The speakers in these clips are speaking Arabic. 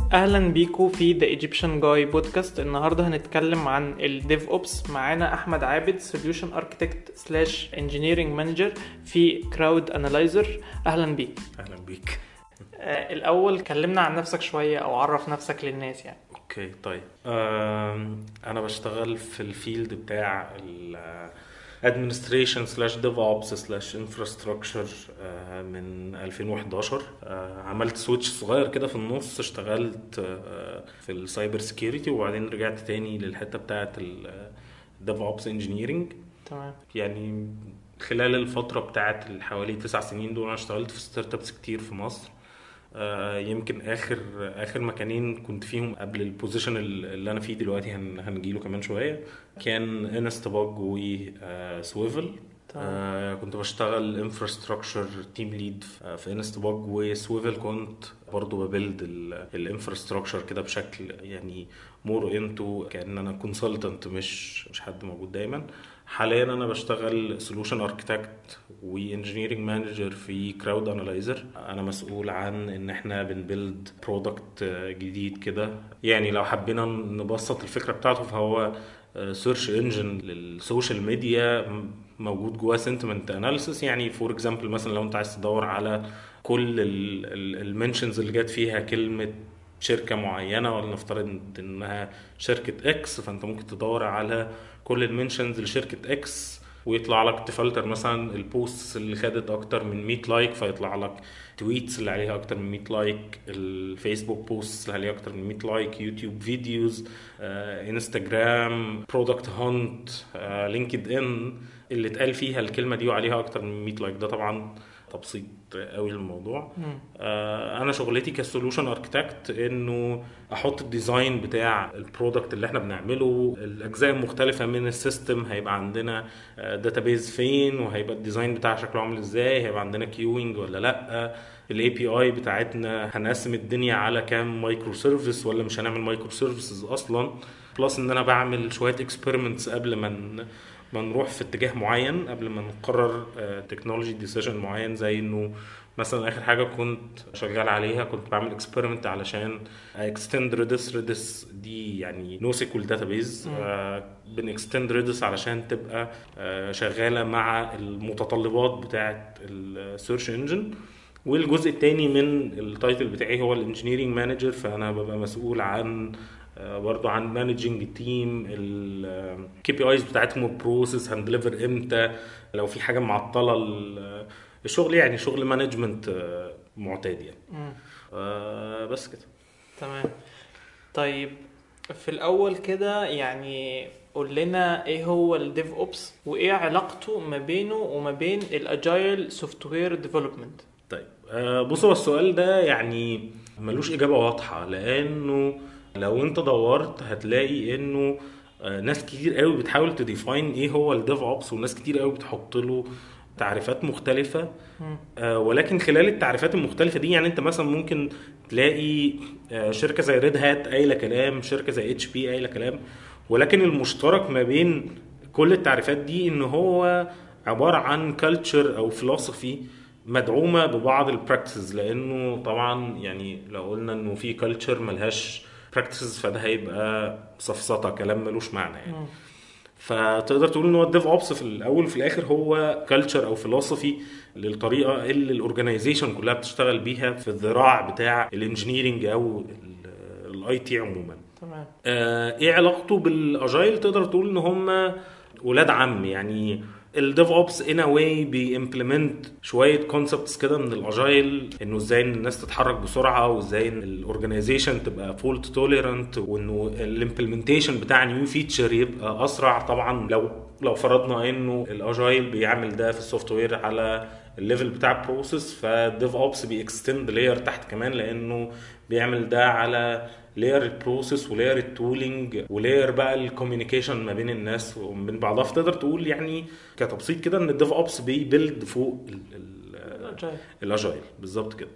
اهلا بيكو في The Egyptian Guy بودكاست. النهارده هنتكلم عن الديف اوبس. معانا احمد عابد سوليوشن اركتكت سلاش انجينيرنج مانجر في كراود انالايزر. اهلا بيك. اهلا بيك. الاول كلمنا عن نفسك شويه او عرف نفسك للناس يعني. اوكي طيب، انا بشتغل في الفيلد بتاع administration slash DevOps slash infrastructure من 2011. عملت سويتش صغير كده في النص، اشتغلت في السايبر سيكيورتي وبعدين رجعت تاني للحتة بتاعت DevOps engineering. تمام. يعني خلال الفترة بتاعت حوالي 9 سنين دول انا اشتغلت في ستارت ابس كتير في مصر. يمكن اخر مكانين كنت فيهم قبل البوزيشن اللي انا فيه دلوقتي هنجيله كمان شويه، كان انستباج وسويفل. كنت بشتغل انفراستراكشر تيم ليد في انستباج وسويفل. كنت برضو ببيلد الانفراستراكشر كده بشكل يعني مور انتو كأن انا كونسلتنت مش حد موجود دايما. حاليا انا بشتغل سولوشن اركتكت وانجينيرنج مانجر في كراود انالايزر. انا مسؤول عن ان احنا بنبيلد برودكت جديد كده. يعني لو حبينا نبسط الفكره بتاعته فهو سيرش انجن للسوشيال ميديا موجود جواه سنتمنت اناليسيس. يعني فور اكزامبل مثلا لو انت عايز تدور على كل المنشنز اللي جت فيها كلمه شركه معينه، ولا نفترض انها شركه اكس، فانت ممكن تدور على كل المنشنز لشركه اكس ويطلع لك تفلتر مثلا البوستس اللي خدت اكتر من 100 لايك فيطلع لك تويتس اللي عليها اكتر من 100 لايك، الفيسبوك بوستس اللي عليها اكتر من 100 لايك، يوتيوب فيديوز، انستجرام، برودكت هانت، لينكد ان اللي اتقال فيها الكلمه دي وعليها اكتر من 100 لايك. ده طبعا تبسيط قوي للموضوع. انا شغلتي كسولوشن اركتكت انه احط الديزاين بتاع البرودكت اللي احنا بنعمله، الاجزاء المختلفه من السيستم. هيبقى عندنا داتابيز فين، وهيبقى الديزاين بتاعه شكله عامل ازاي، هيبقى عندنا كيوينج ولا لا، الاي بي اي بتاعتنا هنقسم الدنيا على كام مايكرو سيرفيس ولا مش هنعمل مايكرو سيرفيسز اصلا. بلس ان انا بعمل شويه اكسبيرمنتس قبل ما نروح في اتجاه معين، قبل ما نقرر تكنولوجي ديسيجن معين. زي انه مثلا اخر حاجه كنت شغال عليها كنت بعمل اكسبيرمنت علشان اكستند ريدس دي يعني نو سيكول داتابيز. بنكستند ريدس علشان تبقى شغاله مع المتطلبات بتاعه السيرش انجن. والجزء الثاني من التايتل بتاعي هو الانجينيرنج مانجر، فانا ببقى مسؤول عن برضو عن مانجينج التيم، الكي بي ايز بتاعتهم، البروسيس هندليفر امتى، لو في حاجه معطله الشغل. يعني شغل مانجمنت معتاد يعني. بس كده. تمام. طيب في الاول كده يعني قول لنا ايه هو الديف اوبس وايه علاقته ما بينه وما بين الاجايل سوفت وير ديفلوبمنت. طيب بصوا السؤال ده يعني ملوش اجابه واضحه، لانه لو انت دورت هتلاقي انه ناس كتير قوي بتحاول تديفاين ايه هو الديف اوبس، وناس كتير قوي بتحط له تعريفات مختلفة. ولكن خلال التعريفات المختلفة دي يعني انت مثلا ممكن تلاقي شركة زي ريد هات قايلة كلام، شركة زي اتش بي قايلة كلام، ولكن المشترك ما بين كل التعريفات دي ان هو عبارة عن كالتشر او فلسفي مدعومة ببعض البراكتسز. لانه طبعا يعني لو قلنا انه في كالتشر ملهاش براكتسز فده هيبقى سفسطة، كلام ملوش معنى يعني. فتقدر تقول ان هو الديف اوبس في الاول وفي الاخر هو كلتشر او فلسفي للطريقه اللي الاورجنايزيشن كلها بتشتغل بيها في الذراع بتاع الانجينيرنج او الاي تي عموما. تمام. ايه علاقته بالاجايل؟ تقدر تقول ان هم ولاد عم يعني. الديف اوبس ان واي بيمبلمنت شويه كونسبتس كده من الاجايل، انه ازاي الناس تتحرك بسرعه، وازاي ان الاورجنايزيشن تبقى فولت توليرانت، وانه الامبلمنتيشن بتاع نيو فيتشر يبقى اسرع. طبعا لو فرضنا انه الاجايل بيعمل ده في السوفت وير على الليفل بتاع البروسيس، فالديف اوبس بيكستند لاير تحت كمان، لانه بيعمل ده على لاير البروسيس ولاير التولينج ولاير بقى الكوميونيكيشن ما بين الناس ومن بعضها. فتقدر تقول يعني كتبسيط كده ان الديف اوبس بيبيلد فوق الاجايل بالظبط كده.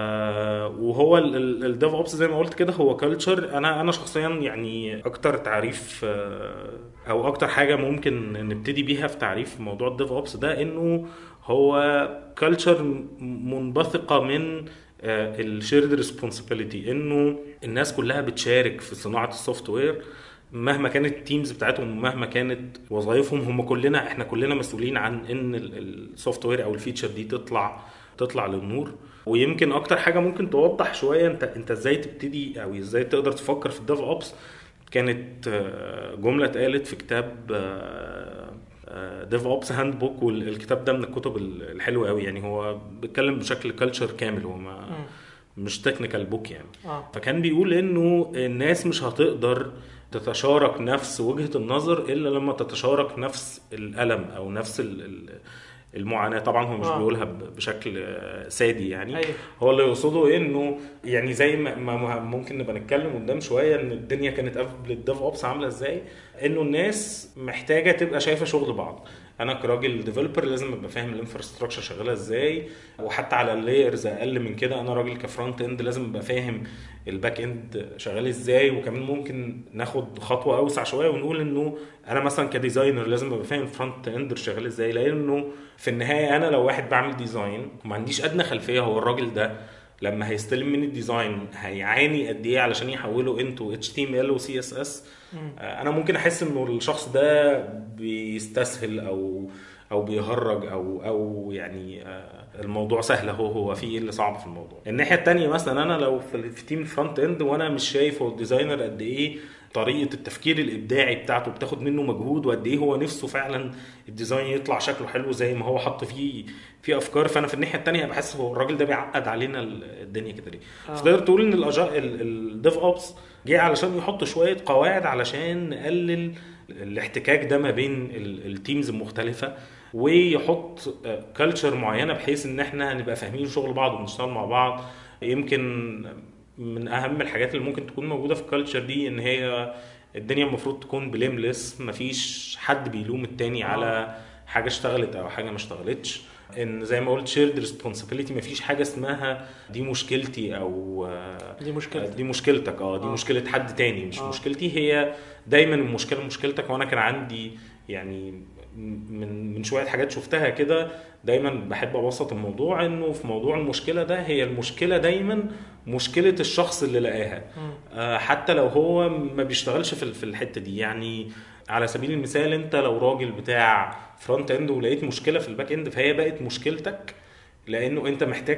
وهو الديف اوبس زي ما قلت كده هو كلتشر. انا شخصيا يعني اكتر تعريف او اكتر حاجه ممكن نبتدي بيها في تعريف موضوع الديف اوبس ده انه هو كلتشر منبثقه من الشيرد ريسبونسبيلتي، انه الناس كلها بتشارك في صناعه السوفت وير مهما كانت التيمز بتاعتهم ومهما كانت وظائفهم. احنا كلنا مسؤولين عن ان السوفت وير او الفيتشر دي تطلع للنور. ويمكن اكتر حاجه ممكن توضح شويه انت ازاي تبتدي او ازاي تقدر تفكر في الديف اوبس، كانت جمله اتقالت في كتاب ديف اوبس هاند بوك. والكتاب ده من الكتب الحلوه قوي، يعني هو بيتكلم بشكل كلتشر كامل، هو مش تكنيكال بوك يعني. فكان بيقول انه الناس مش هتقدر تتشارك نفس وجهة النظر الا لما تتشارك نفس الألم او نفس المعاناة. طبعا هو مش بيقولها بشكل سادي يعني. هو اللي يقصده انه يعني زي ما ممكن نبقى نتكلم قدام شوية ان الدنيا كانت قبل الديف اوبس عاملة ازاي، انه الناس محتاجة تبقى شايفة شغل بعض. انا كراجل ديفلوبر لازم ابقى فاهم الانفراستراكشر شغاله ازاي، وحتى على اللايرز اقل من كده انا راجل كفرونت اند لازم ابقى فاهم الباك اند شغال ازاي. وكمان ممكن ناخد خطوه اوسع شويه ونقول انه انا مثلا كديزاينر لازم ابقى فاهم الفرونت اند شغال ازاي، لانه في النهايه انا لو واحد بعمل ديزاين وما عنديش ادنى خلفيه هو الراجل ده لما هيستلم من الديزاين هيعاني قد ايه علشان يحوله انتو HTML و CSS. انا ممكن احس انه الشخص ده بيستسهل او بيهرج او يعني الموضوع سهل، هو في ايه اللي صعب في الموضوع. الناحيه التانية مثلا انا لو في تيم فرونت اند وانا مش شايف هو الديزاينر قد ايه طريقه التفكير الابداعي بتاعته بتاخد منه مجهود، وقد ايه هو نفسه فعلا الديزاين يطلع شكله حلو زي ما هو حط فيه في افكار، فانا في الناحيه التانية بحس هو الراجل ده بيعقد علينا الدنيا كده ليه. فتقدر تقول ان الديف اوبس جه علشان يحط شويه قواعد علشان نقلل الاحتكاك ده ما بين التيمز المختلفه، ويحط كالتشر معينه بحيث ان احنا نبقى فاهمين شغل بعض ونشتغل مع بعض. يمكن من اهم الحاجات اللي ممكن تكون موجوده في الكالتشر دي ان هي الدنيا المفروض تكون بليملس، مفيش حد بيلوم التاني على حاجه اشتغلت او حاجه ما اشتغلتش. ان زي ما قلت شيرد ريسبونسبيلتي، مفيش حاجه اسمها دي مشكلتي او دي مشكلتك. دي مشكله حد تاني مش مشكلتي. هي دايما المشكله مشكلتك. وانا كان عندي يعني من شويه حاجات شفتها كده دايما بحب ابسط الموضوع انه في موضوع المشكله ده هي المشكله دايما مشكله الشخص اللي لقاها، حتى لو هو ما بيشتغلش في الحته دي. يعني على سبيل المثال انت لو راجل بتاع فرونت اند ولقيت مشكله في الباك اند فهي بقت مشكلتك، لانه انت محتاج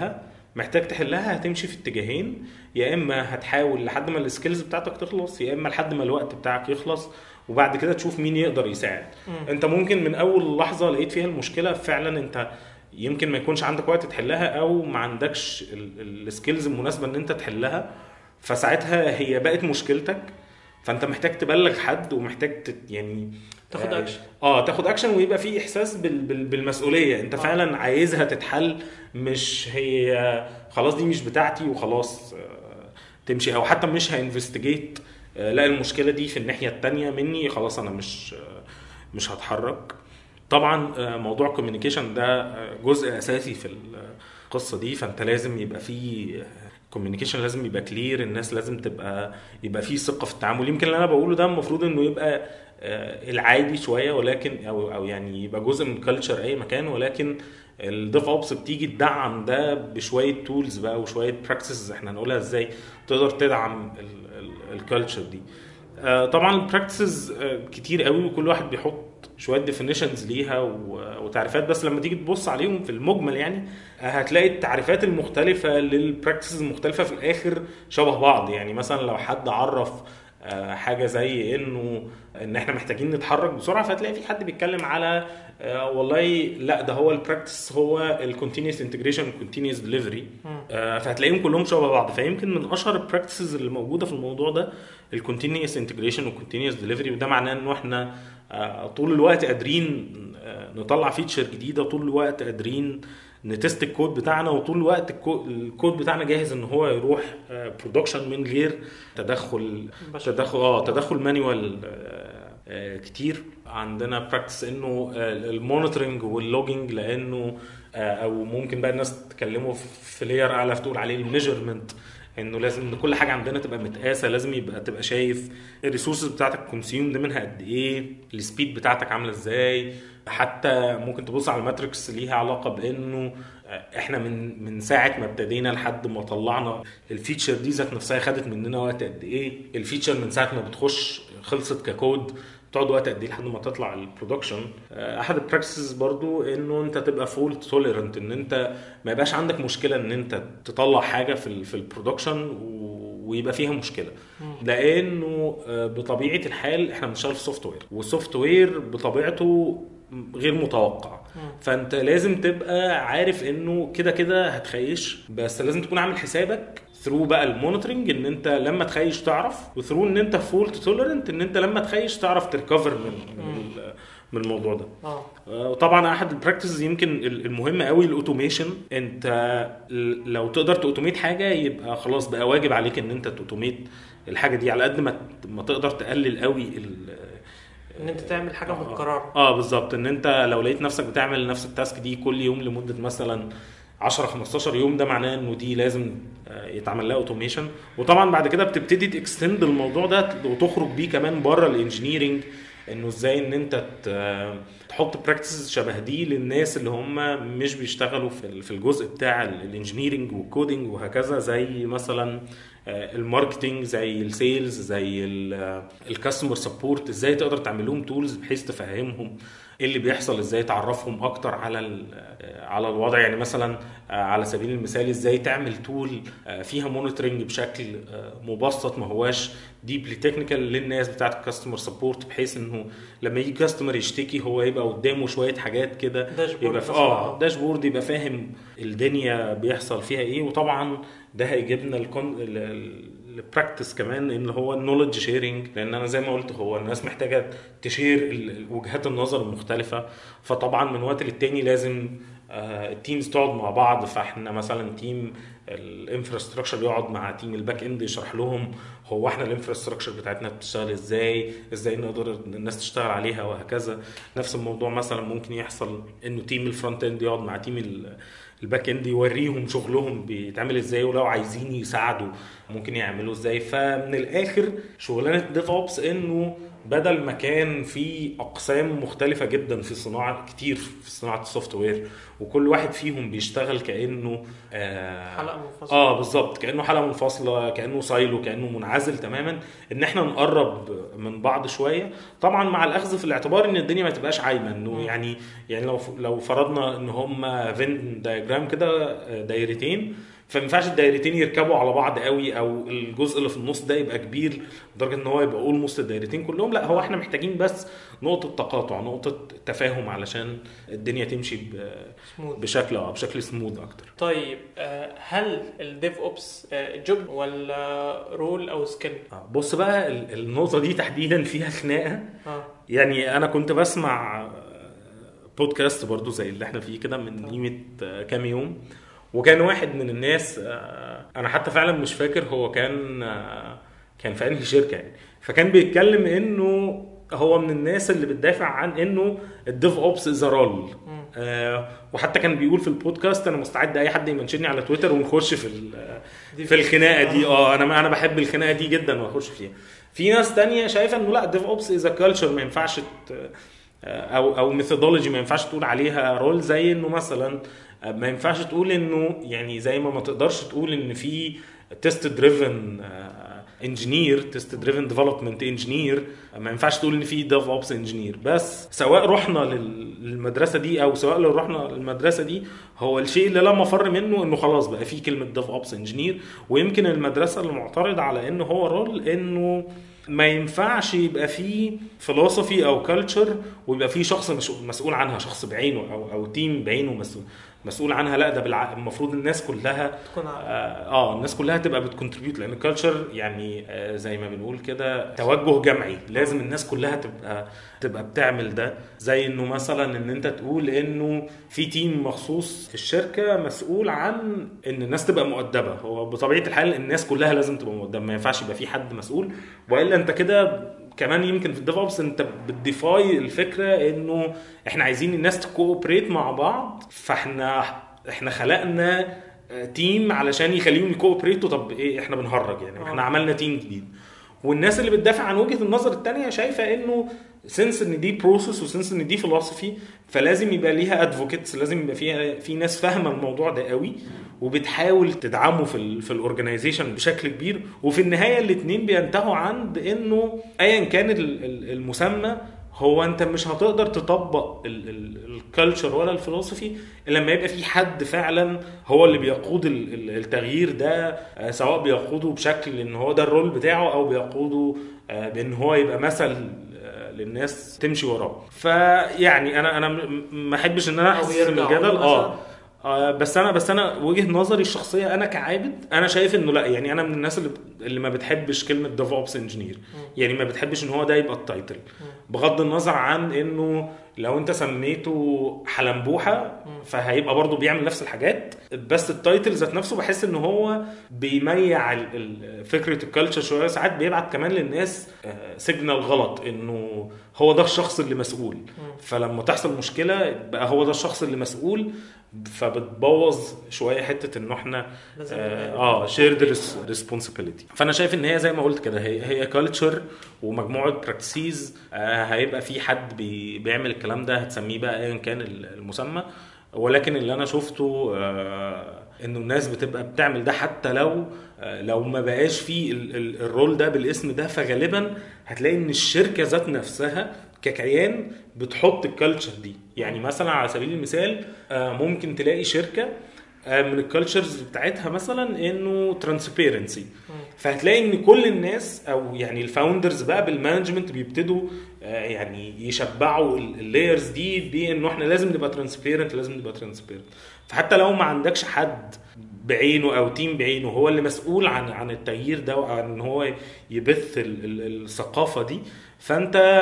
تحلها. هتمشي في اتجاهين، يا اما هتحاول لحد ما السكيلز بتاعتك تخلص، يا اما لحد ما الوقت بتاعك يخلص وبعد كده تشوف مين يقدر يساعد. انت ممكن من اول لحظه لقيت فيها المشكله فعلا انت يمكن ما يكونش عندك وقت تحلها او ما عندكش السكيلز المناسبه ان انت تحلها، فساعتها هي بقت مشكلتك. فانت محتاج تبلغ حد ومحتاج يعني تاخد اكشن. تاخد اكشن ويبقى في احساس بالمسؤوليه. انت فعلا عايزها تتحل، مش هي خلاص دي مش بتاعتي وخلاص تمشي، او حتى مش هانفستيجيت لا المشكله دي في الناحيه التانية مني خلاص انا مش هتحرك. طبعا موضوع كوميونيكيشن ده جزء اساسي في القصه دي. فانت لازم يبقى في كوميونيكيشن، لازم يبقى كلير، الناس لازم يبقى في ثقه في التعامل. يمكن اللي انا بقوله ده المفروض انه يبقى العادي شويه، ولكن او يعني يبقى جزء من كلتشر اي مكان، ولكن الديف اوبس بتيجي تدعم ده بشويه تولز بقى وشويه براكتسز احنا هنقولها ازاي تقدر تدعم الكلتشر دي. طبعا البراكتسز كتير قوي وكل واحد بيحط شويه ديفينيشنز ليها وتعريفات، بس لما تيجي تبص عليهم في المجمل يعني هتلاقي التعريفات المختلفه للبراكتسز المختلفه في الاخر شبه بعض. يعني مثلا لو حد عرف حاجه زي ان احنا محتاجين نتحرك بسرعه، فتلاقي في حد بيتكلم على والله لا ده هو البراكتس هو الكونتينيوس انتجريشن والكونتينيوس ديليفري، فهتلاقيهم كلهم شبه بعض. فيمكن من اشهر البراكتسز اللي موجوده في الموضوع ده الكونتينيوس انتجريشن والكونتينيوس ديليفري. وده معناه انه احنا طول الوقت قادرين نطلع فيتشر جديده، طول الوقت قادرين نتست الكود بتاعنا، وطول الوقت الكود بتاعنا جاهز ان هو يروح برودكشن من غير تدخل مانيوال كتير. عندنا براكتس انه المونيتورنج واللوجينج، لانه او ممكن بقى الناس تكلموا في لير اعلى تقول عليه الميجرمنت، انه لازم كل حاجه عندنا تبقى متقاسه، لازم تبقى شايف الريسورسز بتاعتك كونسيومد منها قد ايه، السبيد بتاعتك عامله ازاي، حتى ممكن تبص على الماتريكس ليها علاقه بانه احنا من ساعه ما ابتدينا لحد ما طلعنا الفيتشر دي ذات نفسها خدت مننا وقت قد ايه. الفيتشر من ساعه ما بتخش خلصت ككود تقعد وقت قد ايه لحد ما تطلع البرودكشن. احد البراكتسز برضو انه انت تبقى فولت توليرنت، ان انت ما يبقاش عندك مشكله ان انت تطلع حاجه في البرودكشن ويبقى فيها مشكله، لانه بطبيعه الحال احنا بنشتغل في سوفت وير، والسوفت وير بطبيعته غير متوقع. فانت لازم تبقى عارف انه كده كده هتخيش، بس لازم تكون عامل حسابك ثرو بقى المونيتورنج ان انت لما تخيش تعرف، وثرو ان انت فولت توليرنت ان انت لما تخيش تعرف تريكفر من الموضوع ده. وطبعا احد البراكتسز يمكن المهم قوي الاوتوميشن. انت لو تقدر تاوتوميت حاجه يبقى خلاص بقى واجب عليك ان انت تاوتوميت الحاجه دي على قد ما تقدر تقلل قوي ان انت تعمل حاجه متكرره. بالظبط. ان انت لو لقيت نفسك بتعمل نفس التاسك دي كل يوم لمده مثلا 10-15 يوم، ده معناه انه دي لازم يتعمل لها اوتوميشن. وطبعا بعد كده بتبتدي تكستند الموضوع ده وتخرج بيه كمان بره الانجينيرنج، انه ازاي ان انت تحط براكتسز شبه دي للناس اللي هم مش بيشتغلوا في الجزء بتاع الانجينيرنج والكودينج وهكذا، زي مثلا الماركتينج، زي السيلز، زي الكاستمر سبورت. ازاي تقدر تعمل لهم تولز بحيث تفهمهم ايه اللي بيحصل، ازاي تعرفهم اكتر على الوضع. يعني مثلا على سبيل المثال ازاي تعمل تول فيها مونيتورنج بشكل مبسط ما هواش ديبلي تكنيكال للناس بتاعه الكاستمر سبورت، بحيث انه لما يجي كاستمر يشتكي هو يبقى قدامه شويه حاجات كده، يبقى داشبورد يبقى فاهم الدنيا بيحصل فيها ايه. وطبعا ده هيجيبنا البراكتس كمان اللي هو النولج شيرنج، لان انا زي ما قلت هو الناس محتاجه تشير وجهات النظر المختلفه. فطبعا من وقت للتاني لازم التيمز تقعد مع بعض. فاحنا مثلا تيم الانفراستراكشر يقعد مع تيم الباك اند يشرح لهم هو احنا الانفراستراكشر بتاعتنا بتشتغل ازاي نقدر الناس تشتغل عليها وهكذا. نفس الموضوع مثلا ممكن يحصل انه تيم الفرونت اند يقعد مع تيم الباك اند يوريهم شغلهم بيتعمل ازاي، ولو عايزين يساعدوا ممكن يعملوا ازاي. فمن الاخر شغلانه ديف اوبس انه بدل ما كان في اقسام مختلفه جدا في صناعه كتير في صناعه السوفت وير، وكل واحد فيهم بيشتغل كانه حلقه منفصله. بالظبط، كانه حلقه منفصله، كانه سايلو، كانه منعزل تماما. ان احنا نقرب من بعض شويه، طبعا مع الاخذ في الاعتبار ان الدنيا ما تبقاش عايمه. انه يعني لو فرضنا ان هم فين دايجرام كده دايرتين، فما ينفعش الدايرتين يركبوا على بعض قوي، او الجزء اللي في النص ده يبقى كبير لدرجه ان هو يبقى اولموست الدايرتين كلهم. لا، هو احنا محتاجين بس نقطه تقاطع، نقطه تفاهم علشان الدنيا تمشي بشكل سموث اكتر. طيب هل الديف اوبس جوب ولا رول او سكيل؟ بص بقى النقطه دي تحديدا فيها خناقه. يعني انا كنت بسمع بودكاست برضو زي اللي احنا فيه كده من قيمه كام يوم، وكان واحد من الناس انا حتى فعلا مش فاكر هو كان في انهي شركه يعني، فكان بيتكلم انه هو من الناس اللي بتدافع عن انه الديف اوبس از رول. وحتى كان بيقول في البودكاست انا مستعد اي حد يمنشني على تويتر ونخش في الخناقه دي. انا بحب الخناقه دي جدا واخش فيها. في ناس تانية شايفه انه لا، الديف اوبس از كلتشر، ما ينفعش او ميثودولوجي، ما ينفعش تقول عليها رول. زي انه مثلا ما ينفعش تقول انه يعني زي ما تقدرش تقول ان في تيست دريفن انجينير، تيست دريفن ديفلوبمنت انجينير، ما ينفعش تقول ان في ديف اوبس انجينير. بس سواء رحنا للمدرسه دي او سواء لو رحنا للمدرسه دي، هو الشيء اللي لا مفر منه انه خلاص بقى في كلمه ديف اوبس انجينير. ويمكن المدرسه اللي معترض على انه هو رول، انه ما ينفعش يبقى فيه فلسفي او كلتشر ويبقى فيه شخص مسؤول عنها، شخص بعينه او تيم بعينه مسؤول عنها. لا، ده المفروض الناس كلها تكون الناس كلها تبقى بتكونتريبيوت، لان الكلتشر يعني زي ما بنقول كده توجه جمعي، لازم الناس كلها تبقى بتعمل ده. زي انه مثلا ان انت تقول انه في تيم مخصوص في الشركه مسؤول عن ان الناس تبقى مؤدبه. هو بطبيعه الحال الناس كلها لازم تبقى مؤدبه، ما ينفعش يبقى في حد مسؤول، والا انت كده كمان يمكن في الديف اوبس انت بتديفاي الفكره انه احنا عايزين الناس تكوبريت مع بعض، فاحنا خلقنا تيم علشان يخليهم يكوبريتوا. طب ايه، احنا بنهرج يعني؟ احنا عملنا تيم جديد. والناس اللي بتدافع عن وجهه النظر الثانيه شايفه انه سنس ان دي بروسس وسنس ان دي فلسفي، فلازم يبقى ليها ادفوكيتس، لازم يبقى فيها في ناس فاهمه الموضوع ده قوي وبتحاول تدعمه في الاورجنايزيشن بشكل كبير. وفي النهايه الاثنين بينتهوا عند انه ايا كان المسمى، هو انت مش هتقدر تطبق الكالتشر ولا الفلسفي الا لما يبقى في حد فعلا هو اللي بيقود التغيير ده، سواء بيقوده بشكل ان هو ده الرول بتاعه او بيقوده بان هو يبقى مثل للناس تمشي وراه. فيعني انا ما احبش ان انا احسن الجدل بس انا وجهة نظري الشخصيه انا كعابد انا شايف انه لا، يعني انا من الناس اللي ما بتحبش كلمه ديف اوبس انجينير، يعني ما بتحبش ان هو ده يبقى التايتل، بغض النظر عن انه لو انت سميته حلنبوحه فهيبقى برضو بيعمل نفس الحاجات، بس التايتل ذات نفسه بحس ان هو بيميع فكره الكالتشر شويه، ساعات بيبعت كمان للناس سيجنال غلط انه هو ده الشخص اللي مسؤول، فلما تحصل مشكله بقى هو ده الشخص اللي مسؤول، فبتبوظ شويه حته انه احنا شيرد ريسبونسابيلتي. فانا شايف ان هي زي ما قلت كده هي كلتشر ومجموعه براكتسيز، هيبقى في حد بيعمل الكلام ده هتسميه بقى ايا كان المسمى، ولكن اللي انا شفته انه الناس بتبقى بتعمل ده حتى لو ما بقاش فيه الرول ده بالاسم ده، فغالبا هتلاقي ان الشركه ذات نفسها ككيان بتحط الكالتشر دي. يعني مثلا على سبيل المثال ممكن تلاقي شركه من الكالتشرز بتاعتها مثلا انه ترانسبيرنسي، فهتلاقي ان كل الناس او يعني الفاوندرز بقى بالمانجمنت بيبتدوا يعني يشبعوا اللايرز دي بانه احنا لازم نبقى ترانسبيرنت، لازم نبقى ترانسبيرنت. فحتى لو ما عندكش حد بعينه او تيم بعينه هو اللي مسؤول عن التغيير ده وعن ان هو يبث الثقافه دي، فانت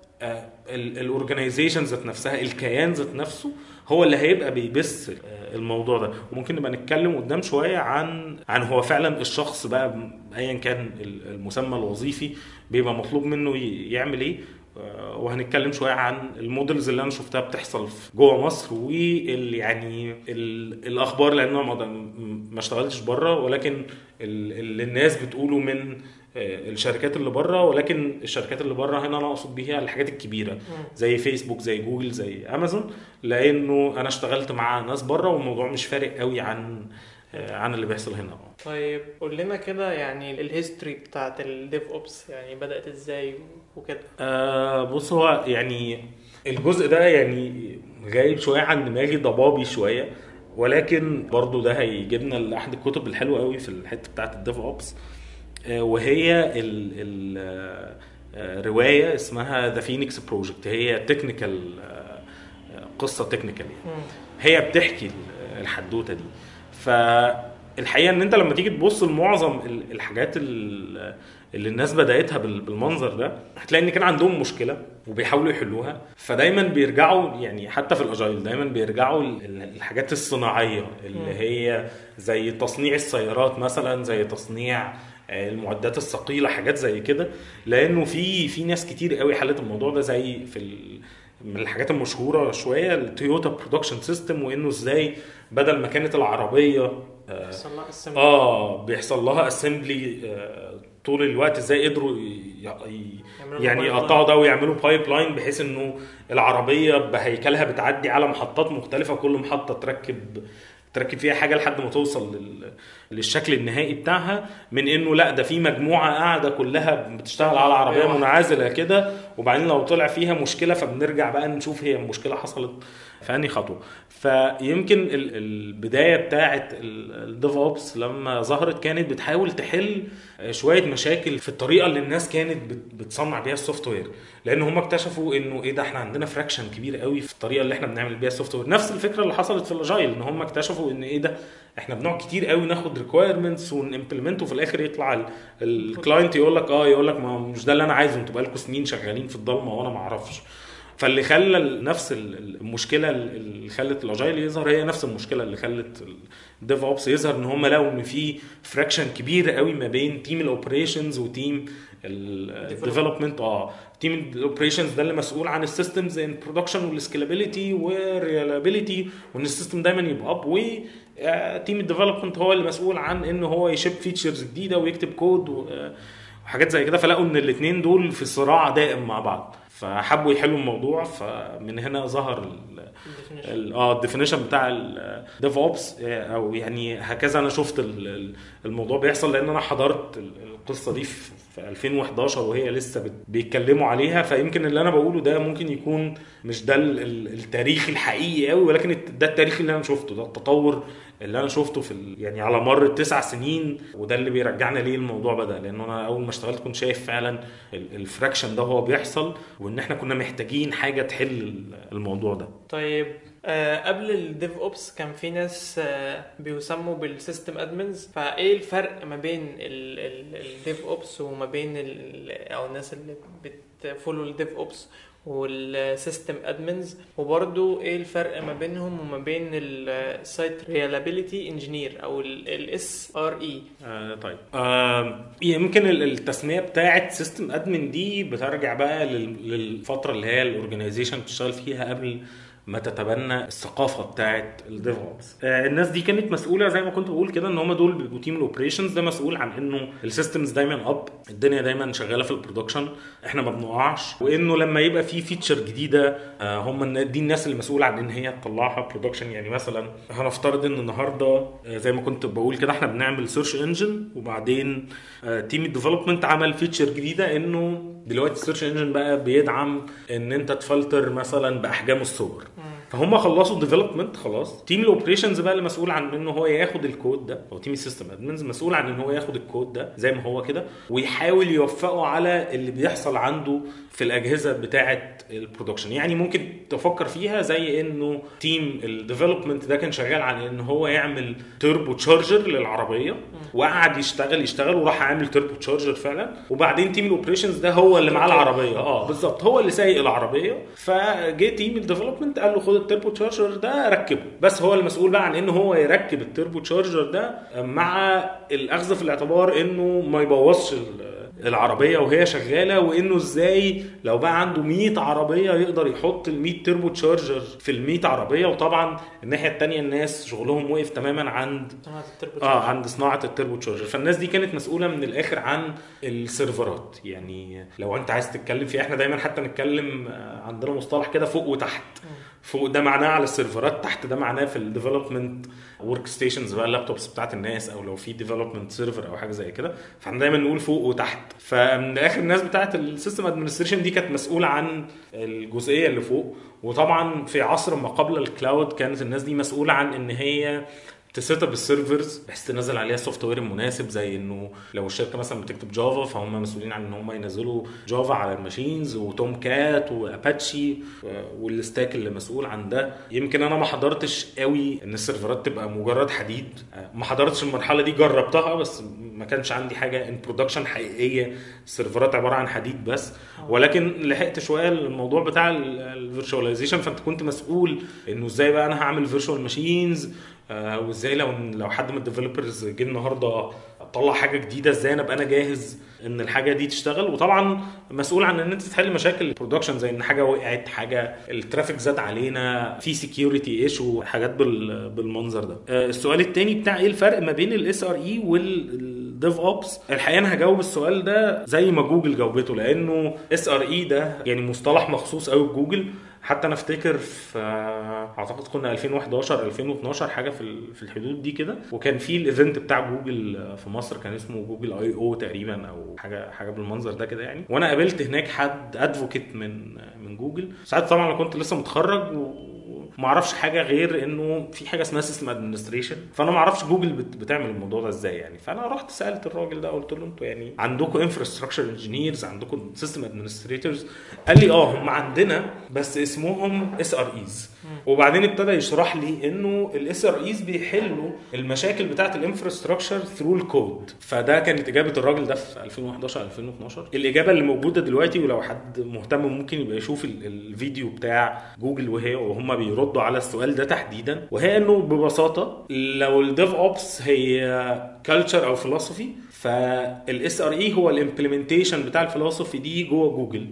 الاورجنايزيشن ذات نفسها، الكيان ذات نفسه هو اللي هيبقى بيبث الموضوع ده. وممكن نبقى نتكلم قدام شويه عن هو فعلا الشخص بقى ايا كان المسمى الوظيفي بيبقى مطلوب منه يعمل ايه، وهنتكلم شويه عن المودلز اللي انا شفتها بتحصل جوه مصر يعني الاخبار، لان انا ما اشتغلتش بره، ولكن اللي الناس بتقوله من الشركات اللي بره. ولكن الشركات اللي بره هنا انا اقصد بيها الحاجات الكبيره زي فيسبوك زي جوجل زي امازون، لانه انا اشتغلت مع ناس بره والموضوع مش فارق قوي عن اللي بيحصل هنا. طيب قول لنا كده يعني الهيستوري بتاعت الديف اوبس، يعني بدأت ازاي وكده؟ بص، هو يعني الجزء ده يعني غايب شويه عن دماغي، ضبابي شويه، ولكن برضو ده هيجيبنا لاحد الكتب الحلوه قوي في الحته بتاعت الديف اوبس، وهي روايه اسمها ذا فينيكس بروجكت. هي تكنيكال، قصه تكنيكال يعني. هي بتحكي الحدوته دي. فالحقيقه ان انت لما تيجي تبص لمعظم الحاجات اللي الناس بدأتها بالمنظر ده، هتلاقي ان كان عندهم مشكله وبيحاولوا يحلوها، فدايما بيرجعوا يعني حتى في الاجايل دايما بيرجعوا الحاجات الصناعيه اللي هي زي تصنيع السيارات مثلا، زي تصنيع المعدات الثقيله، حاجات زي كده، لانه في ناس كتير قوي حلت الموضوع ده، زي من الحاجات المشهوره شويه التويوتا برودكشن سيستم، وانه ازاي بدل ما كانت العربيه بيحصل لها اسمبلي طول الوقت، ازاي قدروا يعني يقطعوا ده ويعملوا بايب لاين بحيث انه العربيه بهيكلها بتعدي على محطات مختلفه، كل محطه تركب فيها حاجه لحد ما توصل للشكل النهائي بتاعها، من انه لا ده في مجموعه قاعده كلها بتشتغل على عربيه منعزله كده، وبعدين لو طلع فيها مشكله فبنرجع بقى نشوف هي المشكله حصلت في انهي خطوه. فيمكن البدايه بتاعه الديف اوبس لما ظهرت كانت بتحاول تحل شويه مشاكل في الطريقه اللي الناس كانت بتصنع بيها السوفت وير، لان هم اكتشفوا انه ايه ده، احنا عندنا فراكشن كبير قوي في الطريقه اللي احنا بنعمل بيها السوفت وير. نفس الفكره اللي حصلت في الاجايل، ان هم اكتشفوا ان ايه ده، احنا بنقعد كتير قوي ناخد ريكويرمنتس ونimplement، وفي الاخر يطلع الكلاينت يقول لك ما مش ده اللي انا عايزه، انتوا بقالكم سنين شغالين في الضلمه وانا ما اعرفش. فاللي خلى نفس المشكله اللي خلت الاجايل يظهر هي نفس المشكله اللي خلت الديف اوبس يظهر، ان هم لقوا ان في فراكشن كبير قوي ما بين تيم الاوبريشنز وتيم الديفلوبمنت. تيم الاوبريشنز ده اللي مسؤول عن السيستمز ان برودكشن والسكيلابيليتي والريلابيليتي، وان السيستم دايما يبقى اب، وتيم الديفلوبمنت هو اللي مسؤول عن انه هو يشيب فيتشرز جديده ويكتب كود وحاجات زي كده. فلقوا ان الاثنين دول في صراع دائم مع بعض. فحبوا يحلوا الموضوع، فمن هنا ظهر الديفينيشن بتاع الديف اوبس، او يعني هكذا انا شفت الموضوع بيحصل، لان انا حضرت القصه دي في 2011 وهي لسه بيتكلموا عليها. فيمكن اللي انا بقوله ده ممكن يكون مش ده التاريخ الحقيقي قوي، ولكن ده التاريخ اللي انا شفته، ده التطور اللي انا شفته في يعني على مر 9 سنين. وده اللي بيرجعنا ليه الموضوع بدا، لان انا اول ما اشتغلت كنت شايف فعلا الفراكشن ده هو بيحصل، وان احنا كنا محتاجين حاجه تحل الموضوع ده. طيب قبل الديف اوبس كان في ناس بيسموا بالسيستم ادمنز، فايه الفرق ما بين الديف اوبس وما بين او الناس اللي بتفولو الديف اوبس والسيستم ادمنز؟ وبرضو ايه الفرق ما بينهم وما بين السايت ريلابيليتي انجينير او الاس ار اي؟ طيب يمكن التسميه بتاعه سيستم ادمن دي بترجع بقى للفتره اللي هي الاورجانيزيشن بتشتغل فيها قبل ما تتبنى الثقافه بتاعه الديف اوبس. الناس دي كانت مسؤوله زي ما كنت بقول كده، ان هم دول بيبقوا تيم الاوبريشنز، ده مسؤول عن انه السيستمز دايما الدنيا دايما شغاله في البرودكشن، احنا ما بنقعش، وانه لما يبقى في فيتشر جديده هم دي الناس اللي مسؤوله عن ان هي تطلعها برودكشن. يعني مثلا هنفترض ان النهارده زي ما كنت بقول كده احنا بنعمل سيرش انجن، وبعدين تيم الديفلوبمنت عمل فيتشر جديده انه دلوقتي السيرش انجن بقى بيدعم ان انت تفلتر مثلا باحجام الصور. فهم خلصوا الديفلوبمنت خلاص، تيم الاوبريشنز بقى اللي مسؤول عن انه هو ياخد الكود ده، او تيم السيستم ادمنز مسؤول عن ان هو ياخد الكود ده زي ما هو كده ويحاول يوفقه على اللي بيحصل عنده في الاجهزه بتاعه البرودكشن. يعني ممكن تفكر فيها زي انه تيم الديفلوبمنت ده كان شغال على ان هو يعمل توربو تشارجر للعربيه، وقعد يشتغل وراح عامل توربو تشارجر فعلا، وبعدين تيم الاوبريشنز ده هو اللي معاه العربيه بالظبط، هو اللي سايق العربيه، فجه تيم الديفلوبمنت قال له خد التوربو تشارجر ده ركبه، بس هو المسؤول بقى عن انه هو يركب التوربو تشارجر ده، مع الاخذ في الاعتبار انه ما يبوظش العربيه وهي شغاله، وانه ازاي لو بقى عنده 100 عربيه يقدر يحط ال 100 توربو تشارجر في ال 100 عربيه. وطبعا الناحيه الثانيه الناس شغلهم وقف تماما عند عند صناعه التوربو تشارجر. فالناس دي كانت مسؤوله من الاخر عن السيرفرات. يعني لو انت عايز تتكلم في، احنا دايما حتى نتكلم عندنا مصطلح كده فوق وتحت. فوق ده معناه على السيرفرات، تحت ده معناه في الديفلوبمنت ورك ستيشنز بقى، اللابتوبس بتاعت الناس، او لو في ديفلوبمنت سيرفر او حاجه زي كده، فاحنا دايما نقول فوق وتحت. فمن اخر الناس بتاعت السيستم ادمنستريشن دي كانت مسؤوله عن الجزئيه اللي فوق. وطبعا في عصر ما قبل الكلاود كانت الناس دي مسؤوله عن ان هي تسيت اب السيرفرز بحيث تنزل عليها السوفت وير المناسب، زي انه لو الشركه مثلا بتكتب جافا فهم مسؤولين عن ان هم ينزلوا جافا على الماشينز، وتوم كات واباتشي والستاك اللي مسؤول عن ده. يمكن انا ما حضرتش قوي ان السيرفرات تبقى مجرد حديد، ما حضرتش المرحله دي، جربتها بس ما كانش عندي حاجه ان برودكشن حقيقيه السيرفرات عباره عن حديد بس. ولكن لحقت شويه الموضوع بتاع الفيرتشواليزيشن، فانت كنت مسؤول انه ازاي بقى انا هعمل فيرتشوال ماشينز، وازاي لو حد من الديفلوبرز جه النهارده طلع حاجه جديده ازاي انا ابقى انا جاهز ان الحاجه دي تشتغل. وطبعا مسؤول عن ان انت تحل مشاكل البرودكشن، زي ان حاجه وقعت، حاجه الترافيك زاد علينا، في سكيورتي ايشو، حاجات بالمنظر ده. السؤال الثاني بتاع ايه الفرق ما بين الاس ار اي والديف اوبس، الحقيقه انا هجاوب السؤال ده زي ما جوجل جاوبته، لانه اس ار اي ده يعني مصطلح مخصوص قوي بجوجل. حتى انا افتكر في اعتقد كنا 2011 2012 حاجه في الحدود دي كده، وكان في الايفنت بتاع جوجل في مصر كان اسمه جوجل اي او تقريبا، او حاجه بالمنظر ده كده يعني. وانا قابلت هناك حد ادفوكيت من جوجل. ساعات طبعا انا كنت لسه متخرج وما اعرفش حاجه غير انه في حاجه اسمها سيستم ادمنستريشن، فانا ما اعرفش جوجل بتعمل الموضوع ده ازاي يعني. فانا رحت سالت الراجل ده قلت له انتوا يعني عندكم انفراستراكشر انجينيرز، عندكم سيستم ادمنستريتورز؟ قال لي هم عندنا بس اسمهم اس ار ايز. وبعدين ابتدى يشرح لي انه الاس ار ايز بيحلوا المشاكل بتاعه الانفراستراكشر ثرو الكود. فده كانت اجابه الراجل ده في 2011 2012. الاجابه اللي موجوده دلوقتي، ولو حد مهتم ممكن يبقى يشوف الفيديو بتاع جوجل وهم بيردوا على السؤال ده تحديدا، وهي انه ببساطه لو الديف اوبس هي كلتشر او فلسفي، فالاس ار اي هو الامبلمنتيشن بتاع الفلسفي دي جوه جوجل.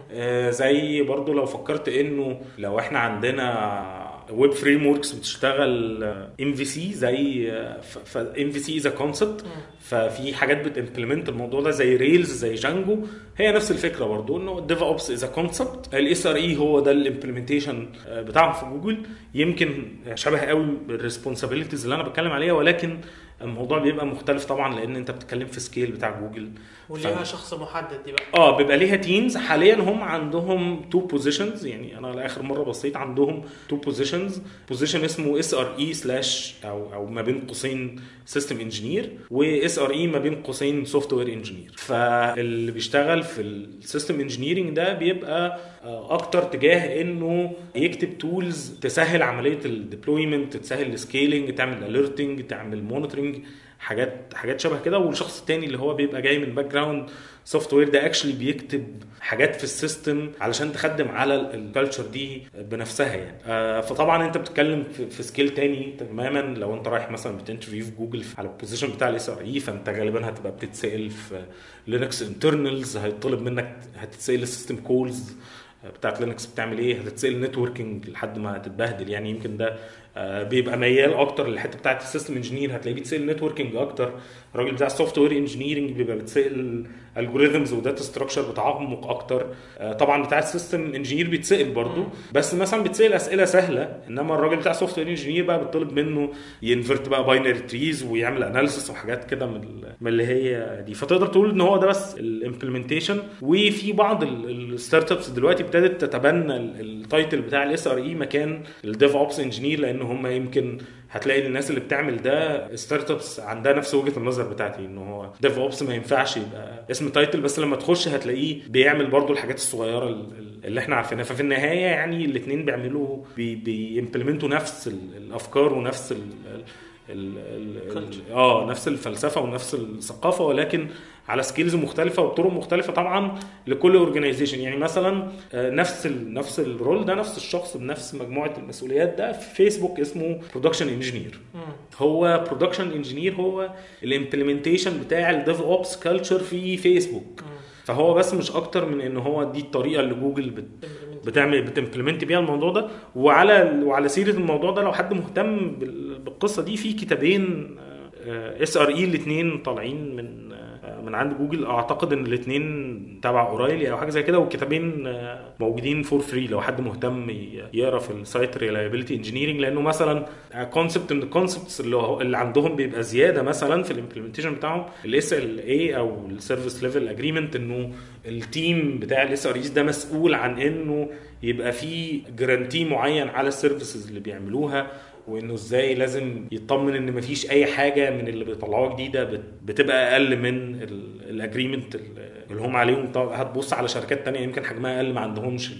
زي برضو لو فكرت انه لو احنا عندنا ويب فريم وركس بتشتغل ام في سي، زي ام في سي از ا كونسبت، ففي حاجات بتمبلمنت الموضوع ده زي ريلز زي جانجو، هي نفس الفكره برضو، انه الديف اوبس از كونسبت، الاس ار اي هو ده الامبلمنتيشن بتاعهم في جوجل. يمكن شبه قوي بالريسبونسابيلتيز اللي انا بتكلم عليها، ولكن الموضوع بيبقى مختلف طبعا لان انت بتتكلم في سكيل بتاع جوجل، وليها شخص محدد دي بقى. بيبقى ليها تيمز. حاليا هم عندهم 2 بوزيشنز، يعني انا لاخر مره بصيت عندهم 2 بوزيشنز، بوزيشن اسمه اس ار اي سلاش او ما بين قوسين سيستم انجينير، واس ار اي ما بين قوسين سوفت وير انجينير. فاللي بيشتغل في السيستم انجينيرنج ده بيبقى اكتر تجاه انه يكتب تولز تسهل عمليه الديبلويمنت، تسهل السكيلينج، تعمل اليرتنج، تعمل مونيتورنج، حاجات شبه كده. والشخص التاني اللي هو بيبقى جاي من باك جراوند سوفت وير ده اكشلي بيكتب حاجات في السيستم علشان تخدم على الكالتشر دي بنفسها يعني. فطبعا انت بتتكلم في سكيل تاني تماما. لو انت رايح مثلا بتنترفيو في جوجل على البوزيشن بتاع الاس ار اي، فانت غالبا هتبقى بتتسال في لينكس انترنالز، هيطلب منك هتتسال السيستم كولز بتاعت لينكس بتعمل ايه، هتتسال نتوركينج لحد ما تتبهدل يعني. يمكن ده بيبقى ميال اكتر للحته بتاعت السيستم انجينير، هتلاقيه بيتسال نتوركينج اكتر. الراجل بتاع السوفت وير انجينيرنج بيبقى بيتسال الجوريثمز وداتا ستراكشر بتعمق اكتر. طبعا بتاع السيستم انجينير بيتسال برضو، بس مثلا بيتسال اسئله سهله، انما الراجل بتاع السوفت وير انجينير بقى بيطلب منه ينفرت بقى باينري تريز ويعمل اناليسيس وحاجات كده من اللي هي دي. فتقدر تقول ان هو ده بس الامبلمنتيشن. وفي بعض الستارت ابس دلوقتي ابتدت تتبنى التايتل بتاع الاس ار اي مكان الديف اوبس انجينير، لان هم يمكن هتلاقي الناس اللي بتعمل ده ستارت ابس عندها نفس وجهه النظر بتاعتي، انه هو ديف اوبس ما ينفعش يبقى اسم تايتل بس، لما تخش هتلاقيه بيعمل برضو الحاجات الصغيره اللي احنا عارفينها. ففي النهايه يعني الاثنين بيعملوا بيمبلمنتوا نفس الافكار ونفس نفس الفلسفه ونفس الثقافه، ولكن على سكيلز مختلفه وطرق مختلفه طبعا لكل اورجانيزيشن. يعني مثلا نفس الرول ده، نفس الشخص بنفس مجموعه المسؤوليات ده في فيسبوك اسمه برودكشن انجينير. هو برودكشن انجينير هو الامبلمنتيشن بتاع الديف اوبس كلتشر في فيسبوك. فهو بس مش اكتر من ان هو دي الطريقه اللي جوجل بتمبلمنت بيها الموضوع ده. وعلى سيره الموضوع ده، لو حد مهتم بالقصه دي، في كتابين اس ار اي الاثنين طالعين من عند جوجل. اعتقد ان الاثنين تبع اورايلي او حاجه زي كده، والكتابين موجودين فور فري لو حد مهتم يقرا في السايت ريلايبيليتي انجينيرنج. لانه مثلا كونسبت من الكونسبتس اللي عندهم بيبقى زياده مثلا في الامبلمنتيشن بتاعهم الاس ال اي او السيرفيس ليفل اجريمنت، انه التيم بتاع الاس ار ايز ده مسؤول عن انه يبقى فيه جرانتي معين على السيرفيسز اللي بيعملوها، وانه ازاي لازم يطمن ان مفيش اي حاجه من اللي بيطلعوها جديده بتبقى اقل من الاجريمنت اللي هم عليهم. هتبص على شركات تانية يمكن حجمها اقل ما عندهمش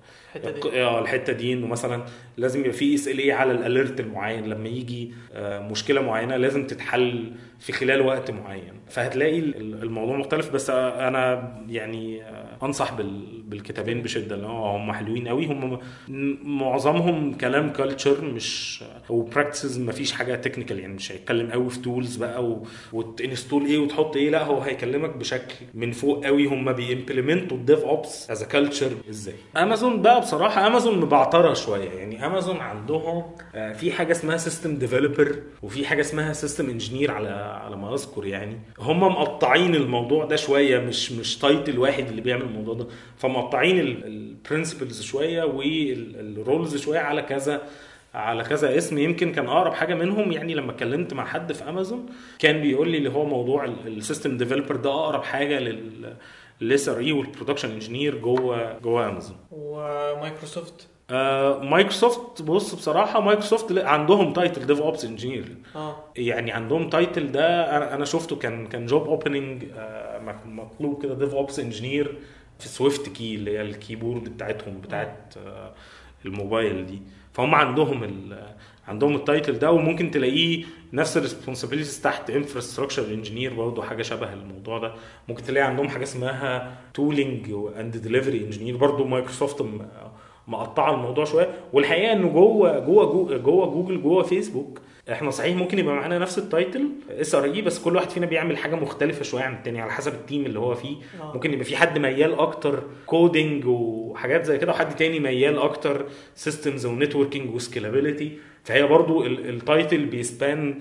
الحته دي، انه مثلا لازم يبقى في اس ال اي على الاليرت المعين، لما يجي مشكله معينه لازم تتحل في خلال وقت معين. فهتلاقي الموضوع مختلف. بس انا يعني انصح بالكتابين بشده، لان هم حلوين قوي. هم معظمهم كلام كلتشر مش وبراكتسز، ما فيش حاجه تكنيكال يعني. مش هيتكلم قوي في تولز بقى وتنستول ايه وتحط ايه، لا هو هيكلمك بشكل من فوق قوي هم بيمبلمنتوا الديف اوبس از كلتشر ازاي. امازون بقى بصراحه امازون مبعتره شويه يعني. امازون عندهم في حاجه اسمها سيستم ديفلوبر وفي حاجه اسمها سيستم انجينير على ما اذكر يعني. هم مقطعين الموضوع ده شويه، مش تايتل واحد اللي بيعمل الموضوع ده. فمقطعين البرنسبلز شويه والرولز شويه على كذا اسم. يمكن كان اقرب حاجه منهم يعني لما اتكلمت مع حد في امازون كان بيقول لي اللي هو موضوع السيستم ديفلوبر ده اقرب حاجه الاس ار اي والبرودكشن انجينير جوه امازون. ومايكروسوفت مايكروسوفت بص بصراحه مايكروسوفت عندهم تايتل ديف اوبس انجينير. يعني عندهم تايتل ده انا شفته كان جوب اوبننج مطلوب كده ديف اوبس انجينير في سويفت كي اللي هي الكيبورد بتاعتهم بتاعت الموبايل دي. فهم عندهم التايتل ده، وممكن تلاقيه نفس الريسبونسابيلتيز تحت انفراستراكشر انجينير برضه حاجه شبه الموضوع ده. ممكن تلاقي عندهم حاجه اسمها تولينج اند ديليفري انجينير برضه. مايكروسوفت مقطعه الموضوع شويه. والحقيقه انه جوه جوجل جوه فيسبوك احنا صحيح ممكن يبقى معانا نفس التايتل اس ار اي، بس كل واحد فينا بيعمل حاجه مختلفه شويه عن التاني على حسب التيم اللي هو فيه. ممكن يبقى في حد ميال اكتر كودينج وحاجات زي كده، وحد تاني ميال اكتر سيستمز ونتوركينج وسكيلابيليتي. فهي برضو التايتل بيسبان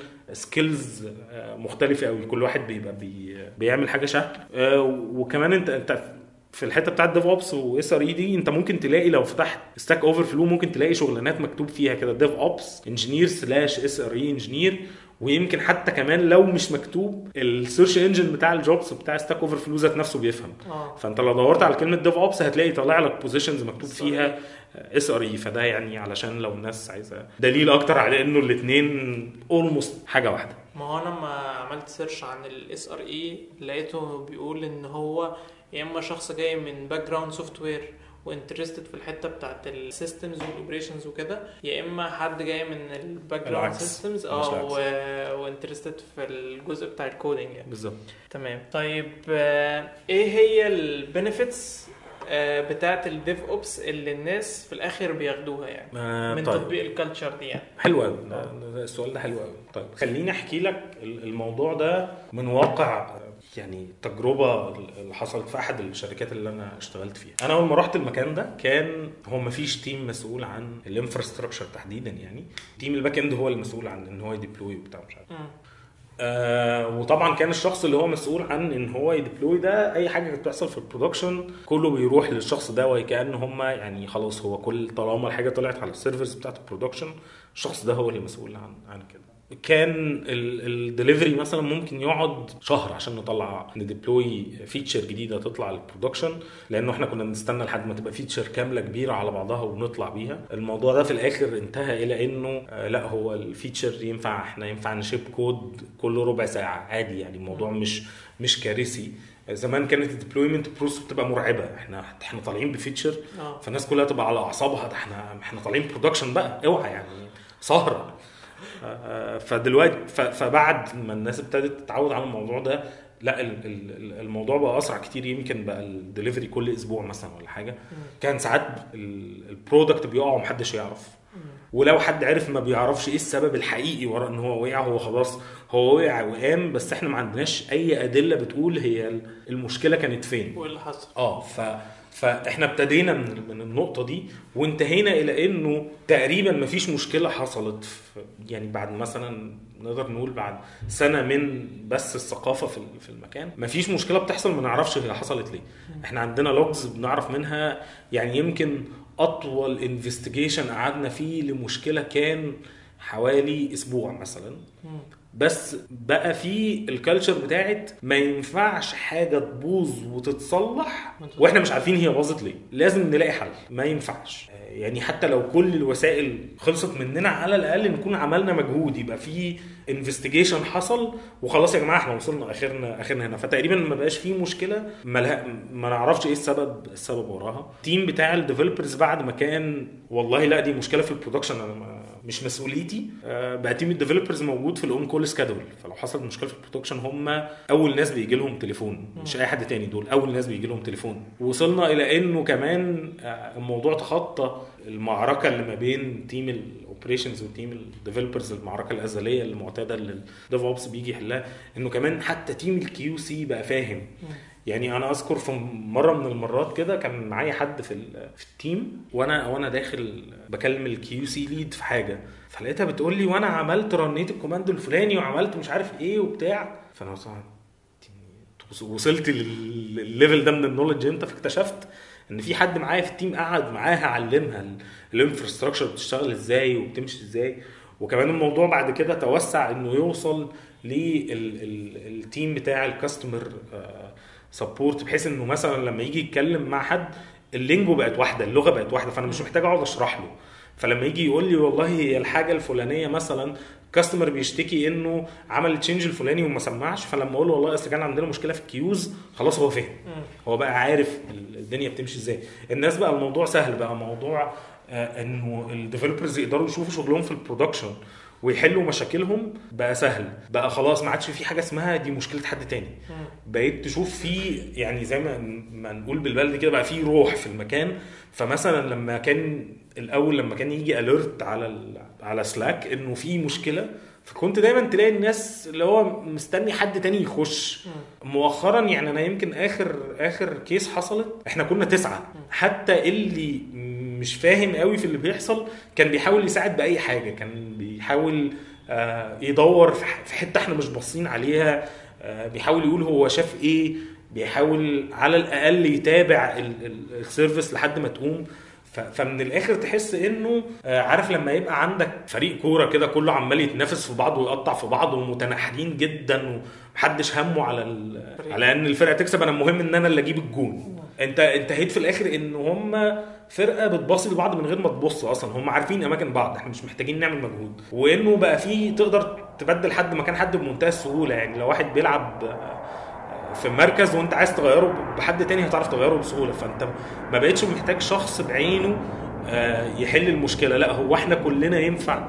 سكيلز مختلفه قوي. كل واحد بيبقى بيعمل حاجه شكل. وكمان انت في الحته بتاعه ديف اوبس واس ار اي دي انت ممكن تلاقي لو فتحت ستاك اوفر فلو ممكن تلاقي شغلانات مكتوب فيها كده ديف اوبس انجينير سلاش اس ار اي انجينير. ويمكن حتى كمان لو مش مكتوب السيرش انجن بتاع الجوبز بتاع ستاك اوفر فلو ذات نفسه بيفهم. فانت لو دورت على كلمه ديف اوبس هتلاقي طالع لك بوزيشنز مكتوب فيها اس ار اي. فده يعني علشان لو الناس عايزه دليل اكتر على انه الاثنين اولموست حاجه واحده. ما هو انا لما عملت سيرش عن الاس ار اي لقيته بيقول ان هو يا اما شخص جاي من باك جراوند سوفت وير وانترستد في الحته بتاعت السيستمز والاوبريشنز وكده، يا اما حد جاي من الباك جراوند سيستمز وانترستد في الجزء بتاع الكودينج يعني. بالظبط. تمام. طيب ايه هي البنفيتس بتاعت الديف اوبس اللي الناس في الاخر بياخدوها يعني من طيب. تطبيق الكالتشر دي يعني. حلو قوي السؤال ده، حلو قوي. طيب خليني احكي لك الموضوع ده من واقع يعني تجربه اللي حصلت في احد الشركات اللي انا اشتغلت فيها. انا اول ما رحت المكان ده كان هو ما فيش تيم مسؤول عن الانفراستراكشر تحديدا، يعني تيم الباك اند هو المسؤول عن ان هو يديبلوي وبتاع مش عارف. وطبعا كان الشخص اللي هو مسؤول عن ان هو يديبلوي ده اي حاجه بتحصل في البرودكشن كله بيروح للشخص ده، وكأن هم يعني خلاص هو كل طالما الحاجه طلعت على السيرفرز بتاعه البرودكشن الشخص ده هو اللي مسؤول عن كده. كان الدليفري مثلا ممكن يقعد شهر عشان نطلع نديبلوي فيتشر جديده تطلع للبرودكشن، لانه احنا كنا بنستنى لحد ما تبقى فيتشر كامله كبيره على بعضها ونطلع بيها. الموضوع ده في الاخر انتهى الى انه لا هو الفيتشر ينفع نشيب كود كل ربع ساعه عادي، يعني الموضوع مش كارثي. زمان كانت الديبلويمنت بروسس بتبقى مرعبه، احنا طالعين بفيتشر فالناس كلها تبقى على اعصابها، ده احنا طالعين برودكشن بقى اوعى يعني سهره. فدلوقتي فبعد ما الناس ابتدت تتعود على الموضوع ده لا الموضوع بقى اسرع كتير. يمكن بقى الدليفري كل اسبوع مثلا ولا حاجه. كان ساعات البرودكت بيقع ومحدش يعرف، ولو حد عرف ما بيعرفش ايه السبب الحقيقي وراء ان هو وقع. هو خلاص هو وقع وقام، بس احنا ما عندناش اي ادله بتقول هي المشكله كانت فين وايه اللي حصل. فاحنا ابتدينا من النقطه دي وانتهينا الى انه تقريبا ما فيش مشكله حصلت يعني بعد مثلا نقدر نقول بعد سنه من بس الثقافه في المكان ما فيش مشكله بتحصل ما نعرفش هي حصلت ليه. احنا عندنا لوجز بنعرف منها، يعني يمكن اطول انفستيجيشن قعدنا فيه لمشكله كان حوالي اسبوع مثلا، بس بقى في الكالتشر بتاعت ما ينفعش حاجه تبوظ وتتصلح واحنا مش عارفين هي باظت ليه، لازم نلاقي حل. ما ينفعش يعني حتى لو كل الوسائل خلصت مننا على الاقل نكون عملنا مجهود، يبقى في انفستيجيشن حصل وخلاص يا جماعه احنا وصلنا اخرنا هنا. فتقريبا ما بقاش فيه مشكله ما نعرفش ايه السبب وراها. التيم بتاع الديفلوبرز بعد ما كان والله لا دي مشكله في البرودكشن انا مش مسؤوليتي، بقى تيم الديفلوبرز موجود في الاون كول سكادول. فلو حصلت مشكله في البرودكشن هم اول ناس بيجي لهم تليفون، مش اي حد تاني، دول اول ناس بيجي لهم تليفون. وصلنا الى انه كمان الموضوع تخطى المعركه اللي ما بين تيم الاوبريشنز وتيم الديفلوبرز، المعركه الازليه المعتاده اللي الديف اوبس بيجي يحلها، انه كمان حتى تيم الكيو سي بقى فاهم. يعني انا اذكر في مره من المرات كده كان معايا حد في التيم وانا داخل بكلم الكيو سي ليد في حاجه، فلقيتها بتقول لي وانا عملت رنيت الكوماند الفلاني وعملت مش عارف ايه وبتاع. فانا وصلت للليفل ده من النولج امتى؟ فاكتشفت ان في حد معايا في التيم قعد معاها علمها الانفراستراكشر بتشتغل ازاي وبتمشي ازاي. وكمان الموضوع بعد كده توسع انه يوصل للتيم بتاع الكاستمر سبورت، بحيث انه مثلا لما يجي يتكلم مع حد اللينجو بقت واحده، اللغه بقت واحده، فانا مش محتاج اقعد اشرح له. فلما يجي يقول لي والله هي الحاجه الفلانيه مثلا كاستمر بيشتكي انه عمل تشينج الفلاني وما سمعش، فلما اقول له والله اصل كان عندنا مشكله في الكيوز، خلاص هو فهم، هو بقى عارف الدنيا بتمشي ازاي. الناس بقى الموضوع سهل، بقى موضوع انه الديفلوبرز يقدروا يشوفوا شغلهم في البرودكشن ويحلوا مشاكلهم بقى سهل. بقى خلاص ما عادش في حاجه اسمها دي مشكله حد تاني، بقيت تشوف في يعني زي ما نقول بالبلدي كده بقى في روح في المكان. فمثلا لما كان الاول لما كان يجي اليرت على سلاك انه في مشكله، فكنت دايما تلاقي الناس اللي هو مستني حد تاني يخش. مؤخرا يعني انا يمكن اخر كيس حصلت احنا كنا 9، حتى اللي مش فاهم قوي في اللي بيحصل كان بيحاول يساعد بأي حاجة، كان بيحاول يدور في حتة احنا مش باصين عليها، بيحاول يقول هو شاف ايه بيحاول على الاقل يتابع السيرفيس لحد ما تقوم. فمن الاخر تحس انه عارف لما يبقى عندك فريق كوره كده كله عمال يتنافس في بعض ويقطع في بعض ومتناحرين جدا ومحدش همه على ان الفرقه تكسب، انا المهم ان انا اللي اجيب الجون. انت انتهيت في الاخر ان هم فرقه بتباصي لبعض من غير ما تبص اصلا، هم عارفين اماكن بعض، احنا مش محتاجين نعمل مجهود. وانه بقى في تقدر تبدل حد مكان حد بمنتهى السهوله. يعني لو واحد بيلعب في مركز وانت عايز تغيره بحد تاني هتعرف تغيره بسهوله. فانت ما بقتش محتاج شخص بعينه يحل المشكله، لا هو احنا كلنا ينفع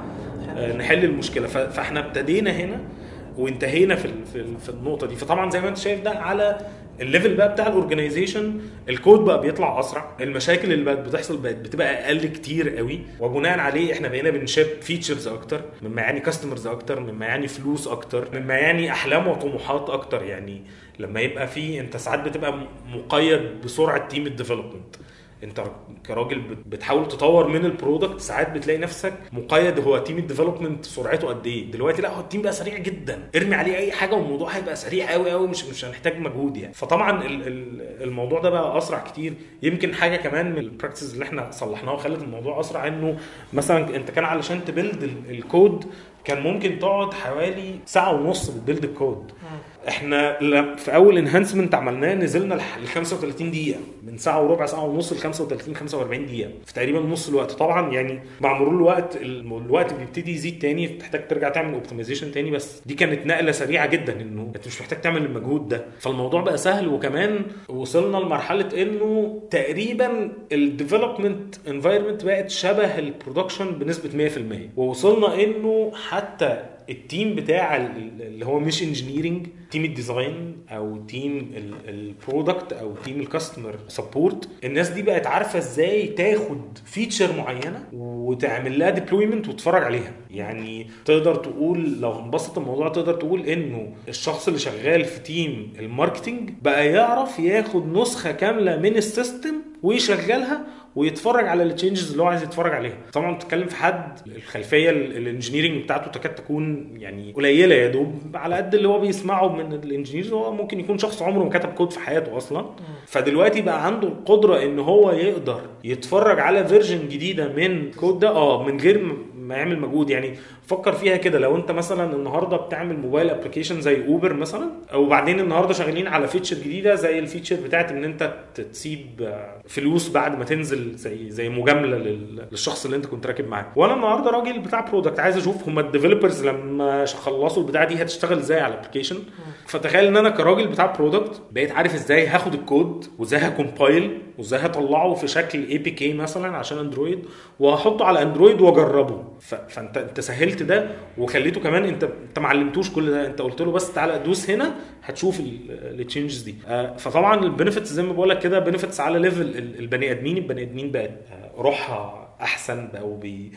نحل المشكله. فاحنا ابتدينا هنا وانتهينا في النقطه دي. فطبعا زي ما انت شايف ده على الليفل بقى بتاع الاورجنايزيشن، الكود بقى بيطلع اسرع، المشاكل اللي بقت بتحصل بقت بتبقى اقل كتير قوي، وبناء عليه احنا بقينا بنشيب فيتشرز اكتر مما يعني كاستمرز اكتر مما يعني فلوس اكتر مما يعني احلام وطموحات اكتر. يعني لما يبقى في انت ساعات بتبقى مقيد بسرعه تيم الديفلوبمنت، انت كراجل بتحاول تطور من البرودكت، ساعات بتلاقي نفسك مقيد هو تيم الديفلوبمنت سرعته قد ايه. دلوقتي لا، هو التيم بقى سريع جدا، ارمي عليه اي حاجه والموضوع هيبقى سريع قوي قوي، مش هنحتاج مجهود يعني. فطبعا الموضوع ده بقى اسرع كتير. يمكن حاجه كمان من البراكتسز اللي احنا صلحناها وخلت الموضوع اسرع، انه مثلا انت كان علشان تبيلد الكود كان ممكن تقعد حوالي ساعه ونص بتبيلد الكود. احنا في اول انهانسمنت عملناه نزلنا ل 35 دقيقه، من ساعه وربع ساعه ونص ل 35 45 دقيقه، في تقريبا نص الوقت. طبعا يعني مع مرور الوقت بيبتدي يزيد تاني، تحتاج ترجع تعمل اوبتمايزيشن تاني، بس دي كانت نقله سريعه جدا انه انت مش محتاج تعمل المجهود ده. فالموضوع بقى سهل. وكمان وصلنا لمرحله انه تقريبا الديفلوبمنت انفايرمنت بقت شبه البرودكشن بنسبه 100%. ووصلنا انه حتى التيم بتاع اللي هو مش انجينيرنج، تيم الديزاين او تيم البرودكت او تيم الكاستمر سبورت، الناس دي بقت عارفه ازاي تاخد فيتشر معينه وتعمل لها ديبلويمنت وتتفرج عليها. يعني تقدر تقول لو هنبسط الموضوع تقدر تقول انه الشخص اللي شغال في تيم الماركتينج بقى يعرف ياخد نسخه كامله من السيستم ويشغلها ويتفرج على التشينجز اللي هو عايز يتفرج عليها. طبعا بتتكلم في حد الخلفيه الانجينيرنج بتاعته تكاد تكون يعني قليله، يا دوب على قد اللي هو بيسمعه من الانجينيرز. هو ممكن يكون شخص عمره ما كتب كود في حياته اصلا، فدلوقتي بقى عنده القدره ان هو يقدر يتفرج على فيرجن جديده من كود ده من غير ما يعمل مجهود. يعني فكر فيها كده، لو انت مثلا النهارده بتعمل موبايل ابلكيشن زي اوبر مثلا، او بعدين النهارده شغالين على فيتشر جديده زي الفيتشر بتاعت ان انت تسيب فلوس بعد ما تنزل زي مجامله للشخص اللي انت كنت راكب معاه. وانا النهارده راجل بتاع برودكت عايز اشوف هم الديفلوبرز لما خلصوا البتاعه دي هتشتغل ازاي على الابلكيشن. فتخيل ان انا كراجل بتاع برودكت بقيت عارف ازاي هاخد الكود وازاي هكمبايل وازاي هطلعه في شكل اي بي كي مثلا عشان اندرويد وهحطه على اندرويد واجربه. فانت سهلت ده وخليته كمان انت ما علمتوش كل ده، انت قلت له بس تعالى دوس هنا هتشوف التشينجز دي. فطبعا البنفيتس زي ما بقول لك كده بنفيتس على ليفل البني ادمين بقت روحها احسن، بقوا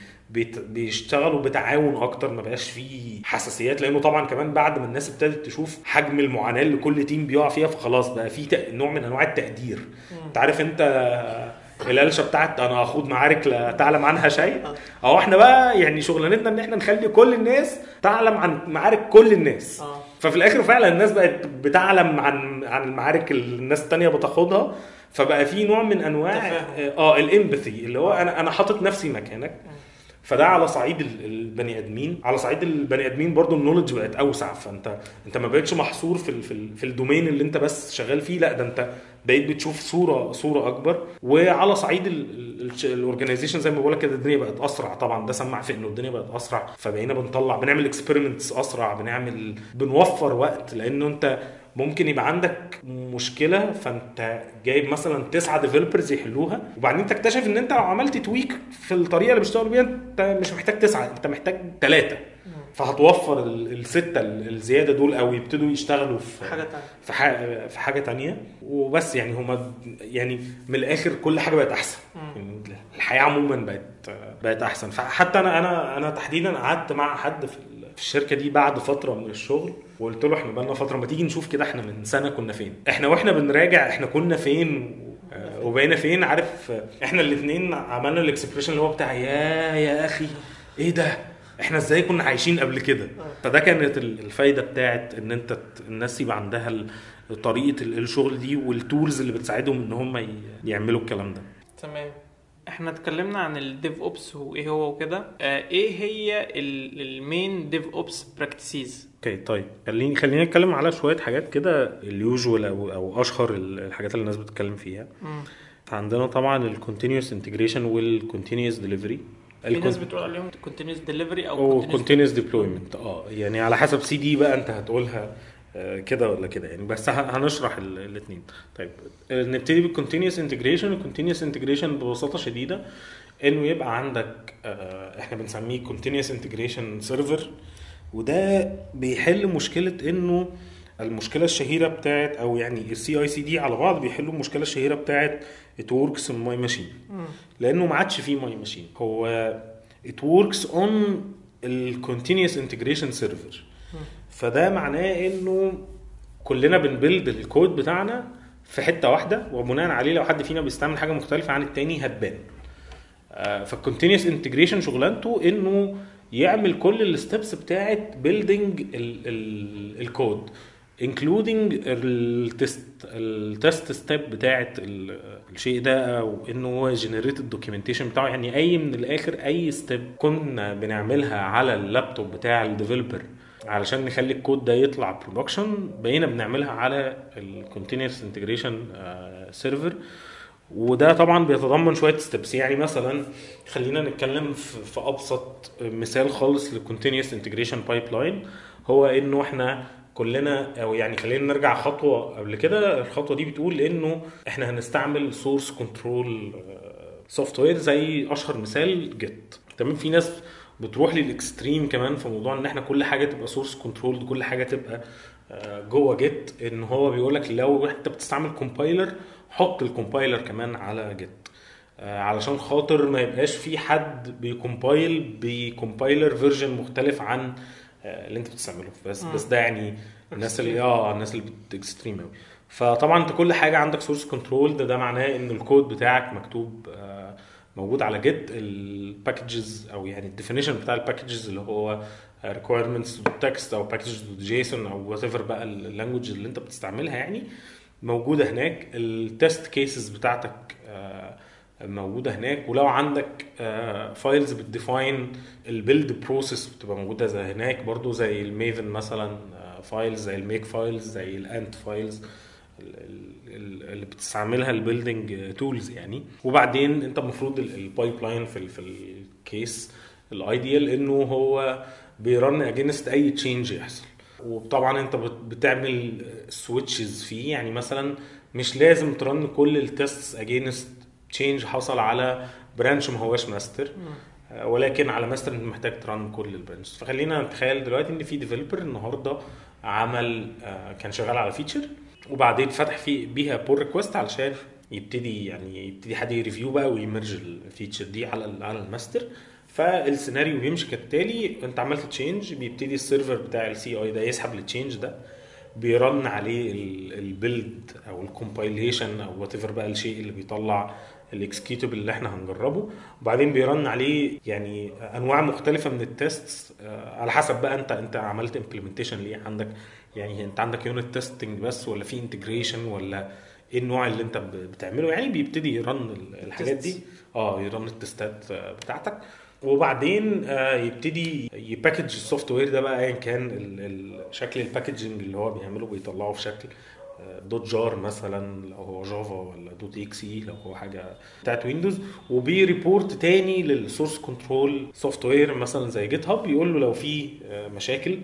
بيشتغلوا بتعاون اكتر، ما بقاش فيه حساسيات. لانه طبعا كمان بعد ما الناس ابتدت تشوف حجم المعاناه اللي كل تيم بيقع فيها فخلاص بقى في نوع من انواع التقدير. انت عارف انت الالشه بتاعت انا اخوض معارك لا تعلم عنها شيء، او احنا بقى يعني شغلانتنا ان احنا نخلي كل الناس تعلم عن معارك كل الناس. ففي الاخر فعلا الناس بقت بتعلم عن المعارك اللي الناس التانية بتاخدها. فبقى في نوع من انواع الامباثي اللي هو انا حاطط نفسي مكانك. فده على صعيد البني ادمين. على صعيد البني ادمين برضو النولج بقت اوسع، فانت ما بقتش محصور في الدومين اللي انت بس شغال فيه، لا ده انت بقيت بتشوف صوره اكبر. وعلى صعيد الاورجانيزيشن زي ما بقول لك كده الدنيا بقت اسرع. طبعا ده سمع في انه الدنيا بقت اسرع، فبقينا بنعمل اكسبيرمنتس اسرع، بنوفر وقت. لانه انت ممكن يبقى عندك مشكله فانت جايب مثلا 9 ديفلوبرز يحلوها، وبعدين تكتشف ان انت لو عملت تويك في الطريقه اللي بيشتغلوا بيها انت مش محتاج 9، انت محتاج 3. فهتوفر الستة الزياده دول او يبتدوا يشتغلوا في حاجه تانية وبس. يعني هما يعني من الاخر كل حاجه بقت احسن. يعني الحياه عموما بقت احسن. فحتى انا تحديدا قعدت مع حد في الشركه دي بعد فتره من الشغل وقلت له احنا بقالنا فتره ما تيجي نشوف كده احنا من سنه كنا فين، واحنا بنراجع احنا كنا فين وبقينا فين. عارف احنا الاثنين عملنا الاكسبريشن اللي هو بتاع يا اخي ايه ده احنا ازاي كنا عايشين قبل كده. فده كانت الفايده بتاعت ان انت الناس يبقى عندها طريقه الشغل دي والتولز اللي بتساعدهم ان هم يعملوا الكلام ده. تمام. احنا اتكلمنا عن الديف اوبس وايه هو وكده. ايه هي المين ديف اوبس براكتسيز؟ اوكي طيب خلينا نتكلم على شويه حاجات كده اليوجوال او اشهر الحاجات اللي الناس بتتكلم فيها. عندنا طبعا الكونتينوس انتجريشن والكونتينوس ديليفري. في ناس بتقول عليهم continuous delivery او continuous deployment. يعني على حسب سي دي بقى انت هتقولها كده ولا كده يعني، بس هنشرح الاثنين. طيب نبتدي بالكونتينوس انتجريشن. الكونتينوس انتجريشن ببساطه شديده انه يبقى عندك احنا بنسميه continuous integration server، وده بيحل مشكله انه المشكله الشهيره بتاعت او يعني السي اي سي دي على بعض بيحلوا المشكله الشهيره بتاعت it works on my machine، لانه ما عادش فيه my machine. هو it works on ال continuous integration server. فده معناه انه كلنا بنبلد الكود بتاعنا في حته واحده، وبناء عليه لو حد فينا بيستعمل حاجه مختلفه عن التاني هتبان. فالكونتينوس انتجريشن شغلانته انه يعمل كل الستبس بتاعت بيلدينج الكود including التست ستيب بتاعت الشيء ده، او انه هو جنريت الدوكيومنتيشن بتاعه. يعني اي من الاخر اي ستيب كنا بنعملها على اللابتوب بتاع الديفلوبر علشان نخلي الكود ده يطلع برودكشن بقينا بنعملها على الكونتينوس انتجريشن سيرفر. وده طبعا بيتضمن شويه ستيبس. يعني مثلا خلينا نتكلم في ابسط مثال خالص للكونتينوس انتجريشن بايبلاين، هو انه احنا كلنا، او يعني خلينا نرجع خطوه قبل كده. الخطوه دي بتقول انه احنا هنستعمل سورس كنترول سوفت وير زي اشهر مثال جيت. تمام. في ناس بتروح للاكستريم كمان في موضوع ان احنا كل حاجه تبقى سورس كنترول، كل حاجه تبقى جوه جيت. ان هو بيقول لك لو انت بتستعمل كومبايلر حط الكومبايلر كمان على جيت، علشان خاطر ما يبقاش في حد بيكومبايل بكومبايلر فيرجن مختلف عن اللي انت بتستعمله. بس ده يعني الناس اللي بتكستريم قوي. فطبعا انت كل حاجه عندك سورس كنترول، ده معناه ان الكود بتاعك مكتوب موجود على جيت. الباكجز او يعني الديفينيشن بتاع الباكجز اللي هو requirements text او packages JSON او whatever بقى اللانجوج اللي انت بتستعملها يعني موجوده هناك. التست كيسز بتاعتك موجوده هناك. ولو عندك فايلز بتديفاين البيلد بروسيس بتبقى موجوده زي هناك برضو، زي الميفن مثلا فايلز، زي الميك فايلز، زي الانت فايلز اللي بتستعملها البيلدينج تولز يعني. وبعدين انت المفروض البايب لاين في الكيس الايديال انه هو بيرن اجينست اي تشينج يحصل. وطبعا انت بتعمل سويتشز فيه. يعني مثلا مش لازم ترن كل التستس اجينست تشينج حصل على برانش ما هواش ماستر، ولكن على ماستر انت محتاج ترن كل البرانش. فخلينا نتخيل دلوقتي ان في ديفلوبر النهارده عمل كان شغال على فيتشر، وبعدين فتح فيه بيها بول ريكوست علشان يبتدي حد يريفيو بقى ويمرج الفيتشر دي على الماستر. فالسيناريو بيمشي كالتالي: انت عملت تشينج، بيبتدي السيرفر بتاع السي اي ده يسحب التشينج ده، بيرن عليه البيلد او الكومبايليشن او وات ايفر بقى الشيء اللي بيطلع الاكسكيوتبل اللي احنا هنجربه. وبعدين بيرن عليه يعني انواع مختلفه من التيست على حسب بقى انت عملت امبلمنتيشن ليه عندك. يعني انت عندك يونت تيستنج بس ولا في انتجريشن ولا ايه النوع اللي انت بتعمله. يعني بيبتدي يرن الحاجات دي، يرن التستات بتاعتك. وبعدين يبتدي يباكج السوفت وير ده بقى ايا كان شكل الباكجنج اللي هو بيعمله، بيطلعه في شكل دوت جار مثلا لو هو جافا، ولا دوت اكس اي لو هو حاجه بتاعت ويندوز. وبيريبورت تاني للسورس كنترول سوفت وير مثلا زي جيت هاب، يقول له لو في مشاكل.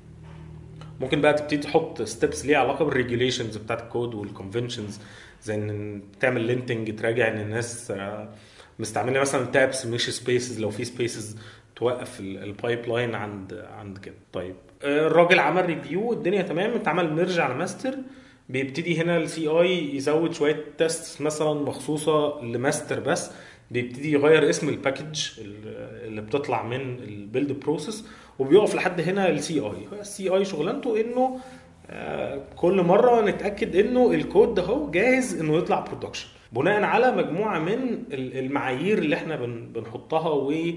ممكن بقى تبتدي تحط ستيبس ليها علاقه بالريجوليشنز بتاعت الكود والكونفنشنز، زي ان تعمل لينتنج، تراجع ان الناس مستعمله مثلا تابس مش سبيسز، لو في سبيسز توقف البايب لاين عند كده. طيب الراجل عمل ريفيو، الدنيا تمام، اتعمل ميرج على ماستر. بيبتدي هنا السي اي يزود شويه تيست مثلا مخصوصه لماستر بس، بيبتدي يغير اسم الباكج اللي بتطلع من البيلد بروسيس، وبيقف لحد هنا السي اي شغلانته انه كل مره نتاكد انه الكود ده هو جاهز انه يطلع برودكشن. بناء على مجموعه من المعايير اللي احنا بنحطها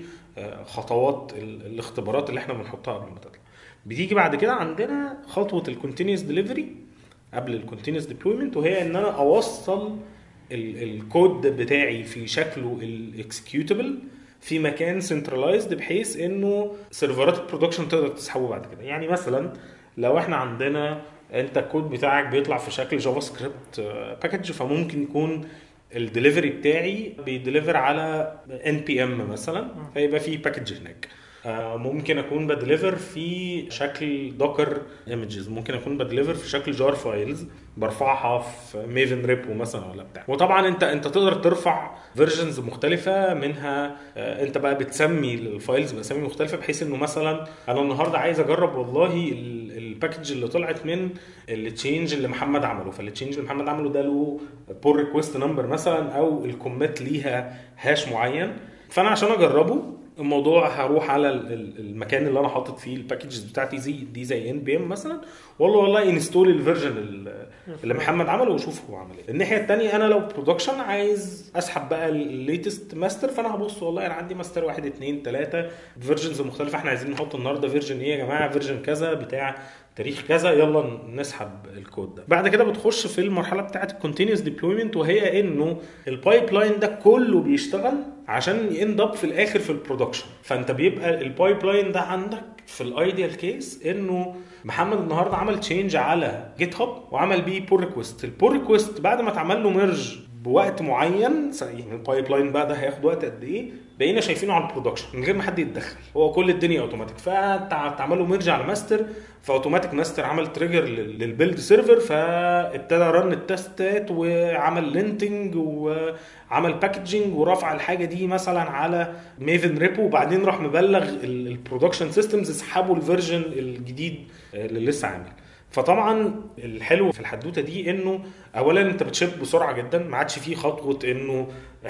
وخطوات الاختبارات اللي احنا بنحطها قبل ما تطلع. بتيجي بعد كده عندنا خطوه الكونتينوس ديليفري قبل الكونتينوس ديبلويمنت، وهي ان انا اوصل الكود بتاعي في شكله الاكسكيوتبل في مكان سنترلايزد بحيث انه سيرفرات البرودكشن تقدر تسحبه بعد كده. يعني مثلا لو احنا عندنا انت الكود بتاعك بيطلع في شكل جافا سكريبت باكج، فممكن يكون الدليفري بتاعي بيدليفر على NPM مثلا، فيبقى في باكج هناك. ممكن اكون بدليفر في شكل دوكر ايمجز، ممكن اكون بدليفر في شكل جار فايلز برفعها في ميفن ريبو مثلا ولا بتاع. وطبعا انت تقدر ترفع فيرجنز مختلفه منها. انت بقى بتسمي الفايلز باسامي مختلفه بحيث انه مثلا انا النهارده عايز اجرب والله الباكج اللي طلعت من التشينج اللي محمد عمله، فالتشينج اللي محمد عمله ده له بول ريكويست نمبر مثلا او الكوميت ليها هاش معين. فانا عشان اجربه الموضوع هروح على المكان اللي انا حاطط فيه الباكجز بتاعتي زي NPM مثلا، والله انستول الفيرجن اللي محمد عمله وشوف هو عمل ايه. الناحيه الثانيه انا لو برودكشن عايز اسحب بقى الليتست ماستر، فانا هبص والله انا عندي ماستر 1 2 3 فيرجنز مختلفه، احنا عايزين نحط النهارده فيرجن ايه يا جماعه، فيرجن كذا بتاع تاريخ كذا، يلا نسحب الكود ده. بعد كده بتخش في المرحله بتاعه الكونتينوس ديبلويمنت، وهي انه البايب لاين ده كله بيشتغل عشان يند اب في الاخر في البرودكشن. فانت بيبقى البايب لاين ده عندك في الايديال كيس انه محمد النهارده عمل تشينج على جيت هاب وعمل بيه بول ريكويست. البول ريكويست بعد ما اتعمل له ميرج بوقت معين، يعني البايب لاين بقى ده هياخد وقت قد ايه، بقينا شايفينه على البرودكشن من غير ما حد يتدخل، هو كل الدنيا اوتوماتيك. فتعمل له ميرج على ماستر، فاوتوماتيك ماستر عمل تريجر للبيلد سيرفر، فابتدى رن التستات وعمل لينتنج وعمل باكجينج ورفع الحاجه دي مثلا على ميفن ريبو، وبعدين راح مبلغ البرودكشن سيستمز اسحبوا الفيرجن الجديد اللي لسه عامل. فطبعا الحلو في الحدوته دي انه اولا انت بتشيب بسرعه جدا، ما عادش فيه خطوه انه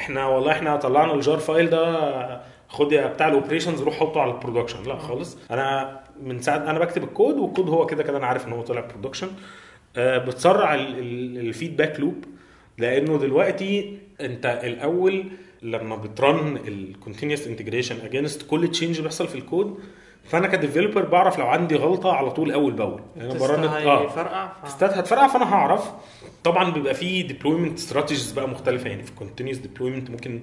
احنا طلعنا الجار فايل ده خد بتاع الاوبريشنز روح حطه على البرودكشن، لا خالص. انا من ساعه انا بكتب الكود والكود هو كده انا عارف ان هو طلع برودكشن. بتسرع الفيدباك لوب، لانه دلوقتي انت الاول لما بترن الكونتينوس انتجريشن اجينست كل تشينج بيحصل في الكود، فانا كديفلوبر بعرف لو عندي غلطه على طول اول باول، يعني انا برن تستات هتفرقع، فانا هعرف. طبعا بيبقى فيه ديبلويمنت استراتيجيز بقى مختلفه، يعني في الكونتينوس ديبلويمنت ممكن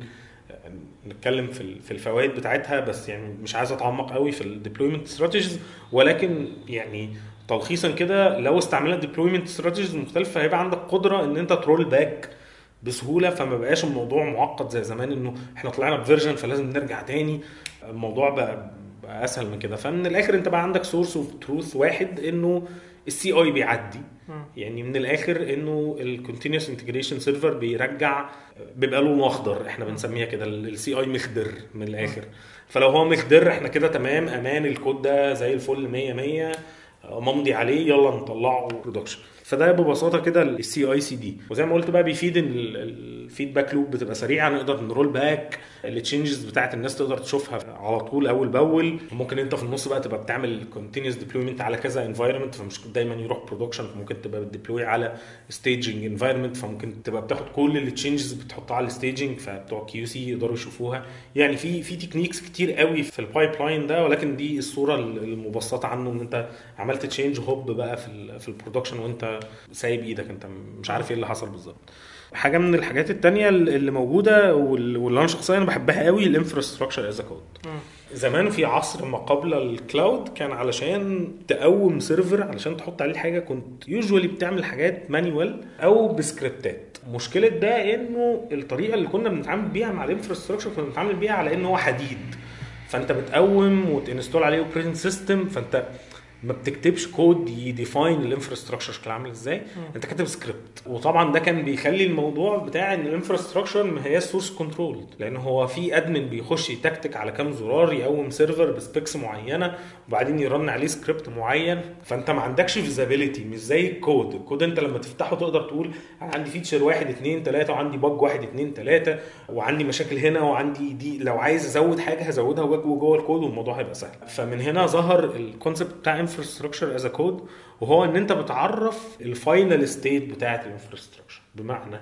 نتكلم في الفوائد بتاعتها، بس يعني مش عايز اتعمق قوي في الديبلويمنت استراتيجيز، ولكن يعني تلخيصا كده لو استعملنا ديبلويمنت استراتيجيز مختلفه هيبقى عندك قدره ان انت ترول باك بسهوله، فما بقاش الموضوع معقد زي زمان انه احنا طلعنا بفيرجن فلازم نرجع تاني. الموضوع بقى اسهل من كده. فمن الاخر انت بقى عندك سورس اوف تروث واحد انه السي اي بيعدي، يعني من الاخر انه الكونتينوس انتجريشن سيرفر بيرجع بيبقى له مخدر، احنا بنسميها كده السي اي مخدر من الاخر. فلو هو مخدر احنا كده تمام امان، الكود ده زي الفل 100 100 ممضي عليه، يلا نطلعه برودكشن. فده ببساطه كده السي اي سي دي. وزي ما قلت بقى بيفيد الفيدباك لوب بتبقى سريعه، نقدر نرول باك التشينجز بتاعت الناس تقدر تشوفها على طول اول باول. ممكن انت في النص بقى تبقى بتعمل كونتينوس ديبلويمنت على كذا انفايرمنت، فمش دايما يروح برودكشن، فممكن تبقى بتديبلوي على ستيجنج انفايرمنت، فممكن تبقى بتاخد كل التشينجز بتحطها على الستيجنج فبتوع كيو سي يقدروا يشوفوها. يعني في تكنيكس كتير قوي في البايب لاين ده، ولكن دي الصوره المبسطه عنه، ان انت عملت تشينج هوب بقى في البرودكشن وانت سايب ايدك، انت مش عارف ايه اللي حصل بالظبط. حاجه من الحاجات التانية اللي موجوده واللي انا شخصيا بحبها قوي الانفراستراكشر از كود. زمان في عصر ما قبل الكلاود كان علشان تقوم سيرفر علشان تحط عليه حاجه كنت يوجوالي بتعمل حاجات مانيوال او بسكريبتات. مشكله ده انه الطريقه اللي كنا بنتعامل بيها مع الانفراستراكشر كنا بنتعامل بيها على انه هو حديد، فانت بتقوم وتنستول عليه اوبريتنج سيستم، فانت ما بتكتبش كود يديفاين الانفراستراكشر شكله عامل ازاي، انت كاتب سكريبت. وطبعا ده كان بيخلي الموضوع بتاع ان الانفراستراكشر ما هي سورس كنترول، لان هو في ادمن بيخش يتكتك على كام زرار يقوم سيرفر بسبيكس معينه وبعدين يرن عليه سكريبت معين، فانت ما عندكش فيزابيليتي. مش زي الكود انت لما تفتحه تقدر تقول انا عندي فيتشر 1 2 3 وعندي باج 1 2 3 وعندي مشاكل هنا وعندي دي، لو عايز ازود حاجه هزودها جوه الكود والموضوع هيبقى سهل. فمن هنا ظهر الكونسبت بتاع infrastructure as a code، وهو ان انت بتعرف الفاينل ستيت بتاعه الانفراستراكشر. بمعنى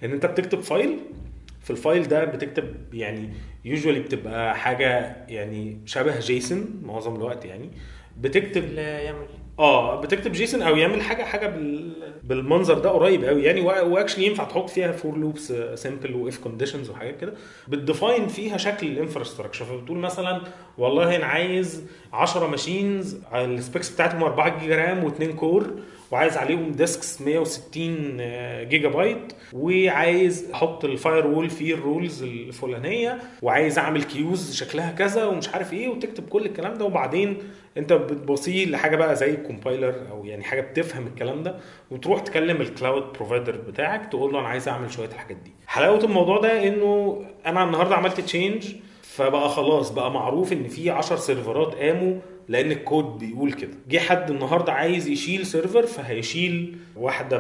ان انت بتكتب فايل، في الفايل ده بتكتب يعني يوجوالي بتبقى حاجه يعني شبه جيسون معظم الوقت، يعني بتكتب يعمل بتكتب جيسون او يعمل حاجه بالمنظر ده قريب قوي يعني. واكشلي ينفع تحط فيها فور لوبس سمبل واف كونديشنز وحاجات كده بتديفاين فيها شكل الانفراستراكشر. فبتقول مثلا والله انا عايز 10 ماشينز السبيكس بتاعتهم 4 جيجا رام و2 كور، وعايز عليهم ديسكس 160 جيجا بايت، وعايز احط الفاير وول فيه الرولز الفلانيه، وعايز اعمل كيوز شكلها كذا ومش عارف ايه، وتكتب كل الكلام ده. وبعدين انت بتبصيه لحاجه بقى زي الكومبايلر او يعني حاجه بتفهم الكلام ده، وتروح تكلم الكلاود بروفايدر بتاعك تقول له انا عايز اعمل شويه الحاجات دي. حلاوه الموضوع ده انه انا النهارده عملت تشينج، فبقى خلاص بقى معروف ان في 10 سيرفرات قاموا لان الكود بيقول كده. جه حد النهارده عايز يشيل سيرفر، فهيشيل واحده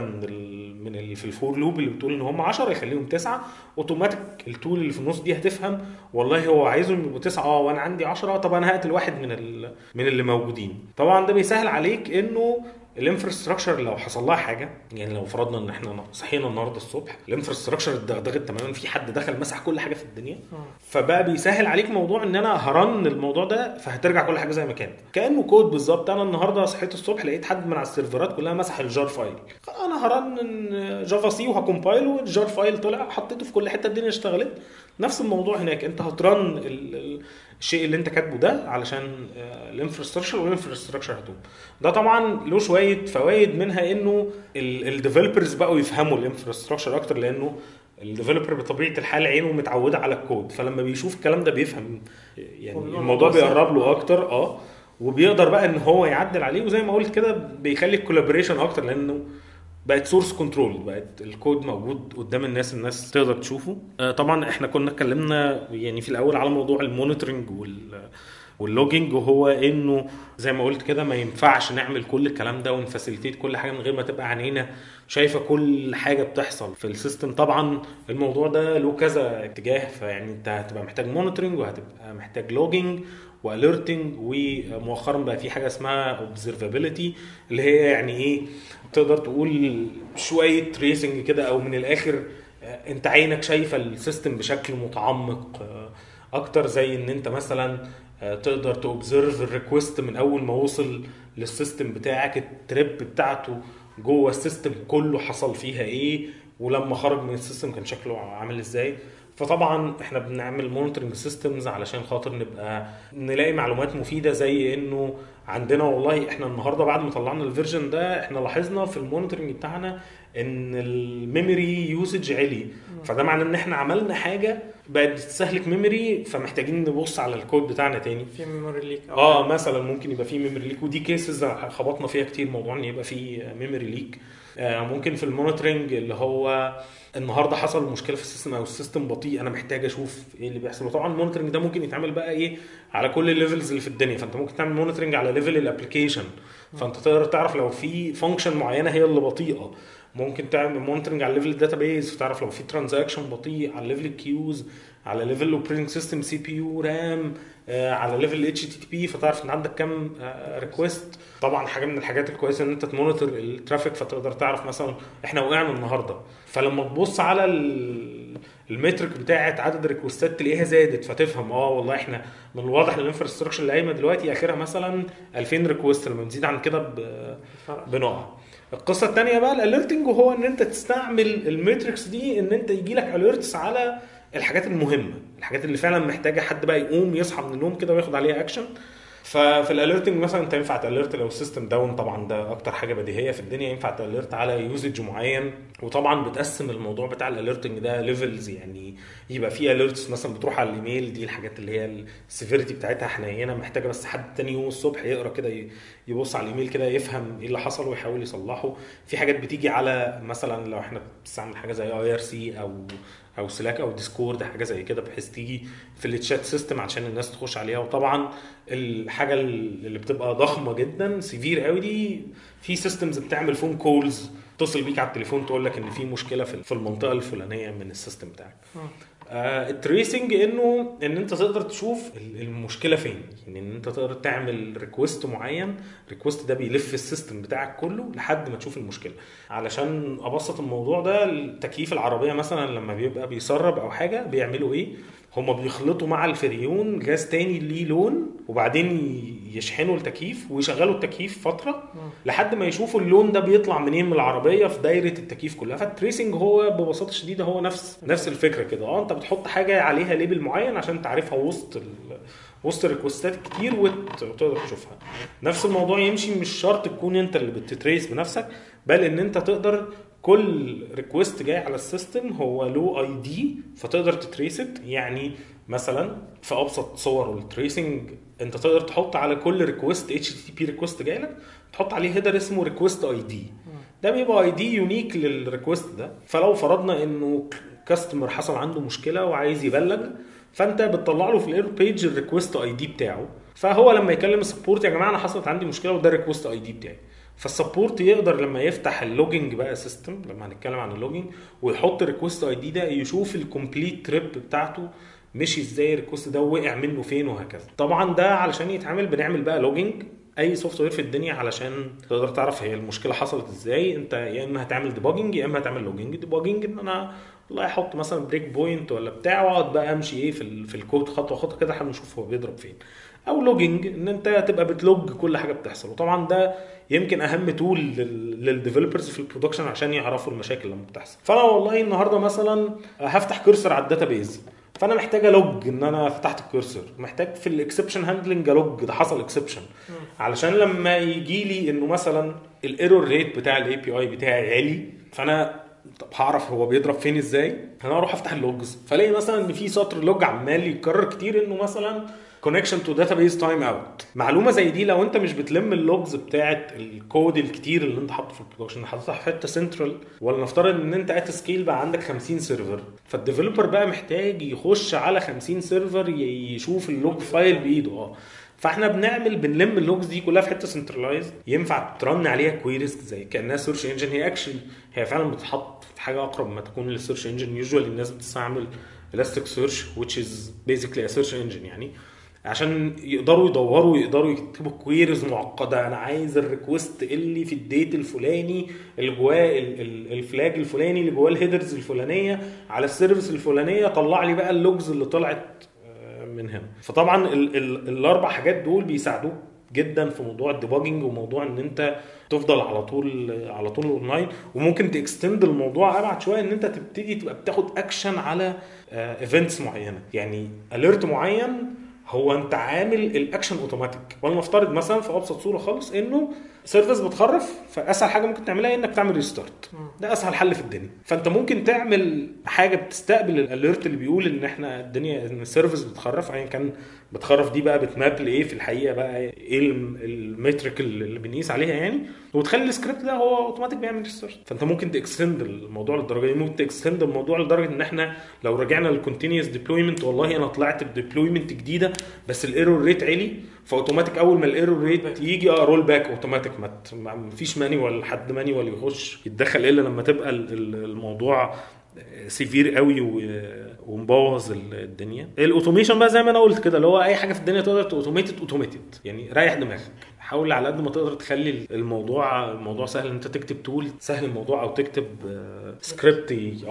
من اللي في الفور لوب اللي بتقول ان هم 10 يخليهم 9 اوتوماتيك. التول اللي في النص دي هتفهم والله هو عايزهم يبقوا 9 وانا عندي 10، طب انا هقتل واحد من اللي موجودين. طبعا ده بيسهل عليك انه الانفراستراكشر لو حصل لها حاجه، يعني لو فرضنا ان احنا صحينا النهارده الصبح الانفراستراكشر اتدغدغت تماما، في حد دخل مسح كل حاجه في الدنيا، فبقى بيسهل عليك موضوع ان انا هرن الموضوع ده، فهترجع كل حاجه زي ما كانت كانه كود بالظبط. انا النهارده صحيت الصبح لقيت حد من على السيرفرات كلها مسح الجار فايل، انا هرن جافا سي وهكمبايل والجار فايل طلع حطيته في كل حته الدنيا اشتغلت. نفس الموضوع هناك، انت هترن الشيء اللي انت كاتبه ده علشان الانفراستراكشر، والانفراستراكشر هتقوم. ده طبعا له شويه فوائد، منها انه الديفلوبرز بقوا يفهموا الانفراستراكشر اكتر، لانه الديفلوبر بطبيعه الحال عينه متعوده على الكود، فلما بيشوف الكلام ده بيفهم يعني الموضوع بيقرب له اكتر وبيقدر بقى ان هو يعدل عليه. وزي ما قلت كده بيخلي الكولابوريشن اكتر، لانه بقت سورس كنترول، بقت الكود موجود قدام الناس تقدر تشوفه. طبعا احنا كنا اتكلمنا يعني في الاول على موضوع المونيتورنج واللوجينج، وهو انه زي ما قلت كده ما ينفعش نعمل كل الكلام ده ونفاسيليتيت كل حاجه من غير ما تبقى عينينا شايفه كل حاجه بتحصل في السيستم. طبعا الموضوع ده له كذا اتجاه، فيعني انت هتبقى محتاج مونيتورنج وهتبقى محتاج لوجينج واليرتنج، ومؤخرا بقى في حاجه اسمها اوبزرفابيلتي اللي هي يعني ايه، تقدر تقول شويه تريسنج كده، او من الاخر انت عينك شايفه السيستم بشكل متعمق اكتر. زي ان انت مثلا تقدر توبزرف الريكوست من اول ما وصل للسيستم بتاعك، التريب بتاعته جوه السيستم كله حصل فيها ايه، ولما خرج من السيستم كان شكله عامل ازاي. فطبعا احنا بنعمل مونيتورنج سيستمز علشان خاطر نبقى نلاقي معلومات مفيده، زي انه عندنا والله احنا النهارده بعد ما طلعنا الفيرجن ده احنا لاحظنا في المونيتورنج بتاعنا ان الميموري يوزج عالي، فده معناه ان احنا عملنا حاجه بقت بتستهلك ميموري، فمحتاجين نبص على الكود بتاعنا تاني في ميموري ليك مثلا ممكن يبقى في ميموري ليك، ودي كيسز خبطنا فيها كتير، موضوع ان يبقى في ميموري ليك. ممكن في المونيتورنج اللي هو النهارده حصل مشكله في السيستم او السيستم بطيء، انا محتاج اشوف ايه اللي بيحصل. وطبعا المونيتورنج ده ممكن يتعمل بقى ايه على كل الليفلز اللي في الدنيا، فانت ممكن تعمل مونيتورنج على ليفل الابلكيشن، فانت تقدر تعرف لو في فانكشن معينه هي اللي بطيئه. ممكن تعمل مونيتورنج على ليفل الداتابيز، فتعرف لو في ترانزاكشن بطيء، على ليفل الكيوز، على ليفل الاوبريتنج سيستم سي بي يو رام، على ليفل الاتش تي تي بي، فتعرف ان عندك كام ريكويست. طبعا حاجه من الحاجات الكويسه ان انت تمونيتور الترافيك، فتقدر تعرف مثلا احنا وقعنا النهارده، فلما تبص على المترك بتاعه عدد الريكوستات تلاقيها زادت، فتفهم والله احنا من الواضح ان الانفراستراكشر اللي قايمه دلوقتي اخرها مثلا 2000 ريكوست، لما بتزيد عن كده بنقع. القصه الثانيه بقى الاليرتنج، وهو ان انت تستعمل الماتريكس دي ان انت يجي لك اليرتس على الحاجات المهمه، الحاجات اللي فعلا محتاجه حد بقى يقوم يصحى من النوم كده وياخد عليها اكشن. ففي الاليرتنج مثلا انت ينفع تاليرت لو السيستم داون، طبعا ده اكتر حاجه بديهيه في الدنيا، ينفع تاليرت على يوزج معين. وطبعا بتقسم الموضوع بتاع الاليرتنج ده ليفلز، يعني يبقى في اليرتس مثلا بتروح على الايميل، دي الحاجات اللي هي السيفيريتي بتاعتها حنينه، محتاجه بس حد تاني يوم الصبح يقرا كده يبص على الايميل كده يفهم ايه اللي حصل ويحاول يصلحه. في حاجات بتيجي على مثلا لو احنا بنستعمل حاجه زي اي ار سي او سلاك او ديسكورد، حاجه زي كده، بحيث تيجي في التشات سيستم عشان الناس تخش عليها. وطبعا الحاجه اللي بتبقى ضخمه جدا سيفير قوي دي، في سيستمز بتعمل فون كولز، تتصل بيك على التليفون تقول لك ان في مشكله في المنطقه الفلانيه من السيستم بتاعك. التريسنج ان انت تقدر تشوف المشكله فين، يعني ان انت تقدر تعمل ريكوست معين. الريكوست ده بيلف السيستم بتاعك كله لحد ما تشوف المشكله. علشان ابسط الموضوع ده، التكييف العربيه مثلا لما بيبقى بيسرب او حاجه بيعملوا ايه؟ هما بيخلطوا مع الفريون غاز تاني ليه لون، وبعدين يشحنوا التكييف ويشغلوا التكييف فتره لحد ما يشوفوا اللون ده بيطلع منين من العربيه في دايره التكييف كلها. فالتريسنج هو ببساطه شديده هو نفس الفكره كده. انت بتحط حاجه عليها ليبل معين عشان تعرفها وسط الريكوستات كتير وتقدر تشوفها. نفس الموضوع يمشي، مش شرط تكون انت اللي بتتريس بنفسك، بل ان انت تقدر كل ريكوست جاي على السيستم هو له اي دي فتقدر تتريست. يعني مثلا في ابسط صور التريسنج انت تقدر تحط على كل ريكوست HTTP ريكوست جاي لك تحط عليه هيدر اسمه ريكوست اي دي. ده بيبقى اي دي يونيك للريكوست ده. فلو فرضنا انه كاستمر حصل عنده مشكله وعايز يبلغ، فانت بتطلع له في الايرور بيج الريكوست اي دي بتاعه. فهو لما يكلم السبورت يا جماعه انا حصلت عندي مشكله وده الريكوست اي دي بتاعي، فالسبورت يقدر لما يفتح اللوجينج بقى سيستم، لما هنتكلم عن اللوجينج، ويحط الريكوست اي دي ده يشوف الكومبليت تريب بتاعته مشي ازاي، الريكوست ده وقع منه فين وهكذا. طبعا ده علشان يتعمل بنعمل بقى لوجينج اي سوفت وير في الدنيا علشان تقدر تعرف هي المشكله حصلت ازاي. انت يا اما هتعمل ديباجنج يا اما هتعمل لوجينج. ديباجنج ان انا والله احط مثلا بريك بوينت ولا بتاع واقعد بقى امشي ايه في الكود خطوه خطوه كده لحد ما نشوف هو بيضرب فين. او لوجينج ان انت تبقى بتلوج كل حاجه بتحصل. وطبعا ده يمكن اهم تول للديفلوبرز في البرودكشن عشان يعرفوا المشاكل لما بتحصل. فانا والله النهارده مثلا هفتح كورسر على الداتابيز، فانا محتاج الوج ان انا فتحت الكورسر، محتاج في الاكسبشن هاندلنج الوج ده حصل اكسبشن، علشان لما يجي لي انه مثلا الايرور ريت بتاع الاي بي اي بتاعي عالي، فانا طب هعرف هو بيضرب فين ازاي؟ انا اروح افتح اللوجز فلاقي مثلا ان في سطر لوج عمال يتكرر كتير انه مثلا connection to database time out. معلومه زي دي لو انت مش بتلم اللوجز بتاعه الكود الكتير اللي انت حاطه في البرودكشن، حاططها في حته سنترال، ولا نفترض ان انت ات سكيل بقى عندك 50 سيرفر، فالديفلوبر بقى محتاج يخش على 50 سيرفر يشوف اللوج فايل بايده. فاحنا بنلم اللوجز دي كلها في حته سنترلايز ينفع ترن عليها كويريز زي كانها سيرش انجن. هي فعلا بتتحط في حاجه اقرب ما تكون للسيرش انجن. يوجوالي الناس بتستعمل elastic search which is basically a search engine، يعني عشان يقدروا يدوروا يقدروا يكتبوا كويريز معقده. انا عايز الريكوست اللي في الديت الفلاني اللي جواه الفلاج الفلاني اللي جواه الهيدرز الفلانيه على السيرفيس الفلانيه، طلع لي بقى اللوجز اللي طلعت من هنا. فطبعا الاربع حاجات دول بيساعدوك جدا في موضوع الديباجنج وموضوع ان انت تفضل على طول اونلاين. وممكن تكستند الموضوع ابعد شويه ان انت تبتدي تبقى بتاخد اكشن على ايفنتس معينه، يعني اليرت معين هو انت عامل الاكشن اوتوماتيك. ولنفترض مثلا في ابسط صوره خالص انه سيرفيس بتخرف، فاسهل حاجه ممكن تعملها انك تعمل ريستارت. ده اسهل حل في الدنيا. فانت ممكن تعمل حاجه بتستقبل الاليرت اللي بيقول ان احنا الدنيا ان السيرفيس بتخرف، ايا كان بتخرف دي بقى بتماب لايه في الحقيقه، بقى ايه المترك اللي بنقيس عليها يعني، وتخلي السكريبت ده هو اوتوماتيك بيعمل ريستارت. فانت ممكن تكستند الموضوع للدرجه دي. ممكن تكستند الموضوع لدرجه ان احنا لو رجعنا للكونتينيوس ديبلويمنت، والله انا طلعت بديبلويمنت جديده بس الايرور ريت عالي، فاوتوماتيك اول ما الايرور ريت يجي رول باك اوتوماتيك. ما فيش مانيوال، حد مانيوال يخش يتدخل الا لما تبقى الموضوع سيفير قوي ومبوظ الدنيا. الاوتوميشن بقى زي ما انا قلت كده، اللي هو اي حاجه في الدنيا تقدر اوتوميتد، يعني ريح دماغك. حاول على قد ما تقدر تخلي الموضوع سهل. انت تكتب تول سهل الموضوع، او تكتب سكريبت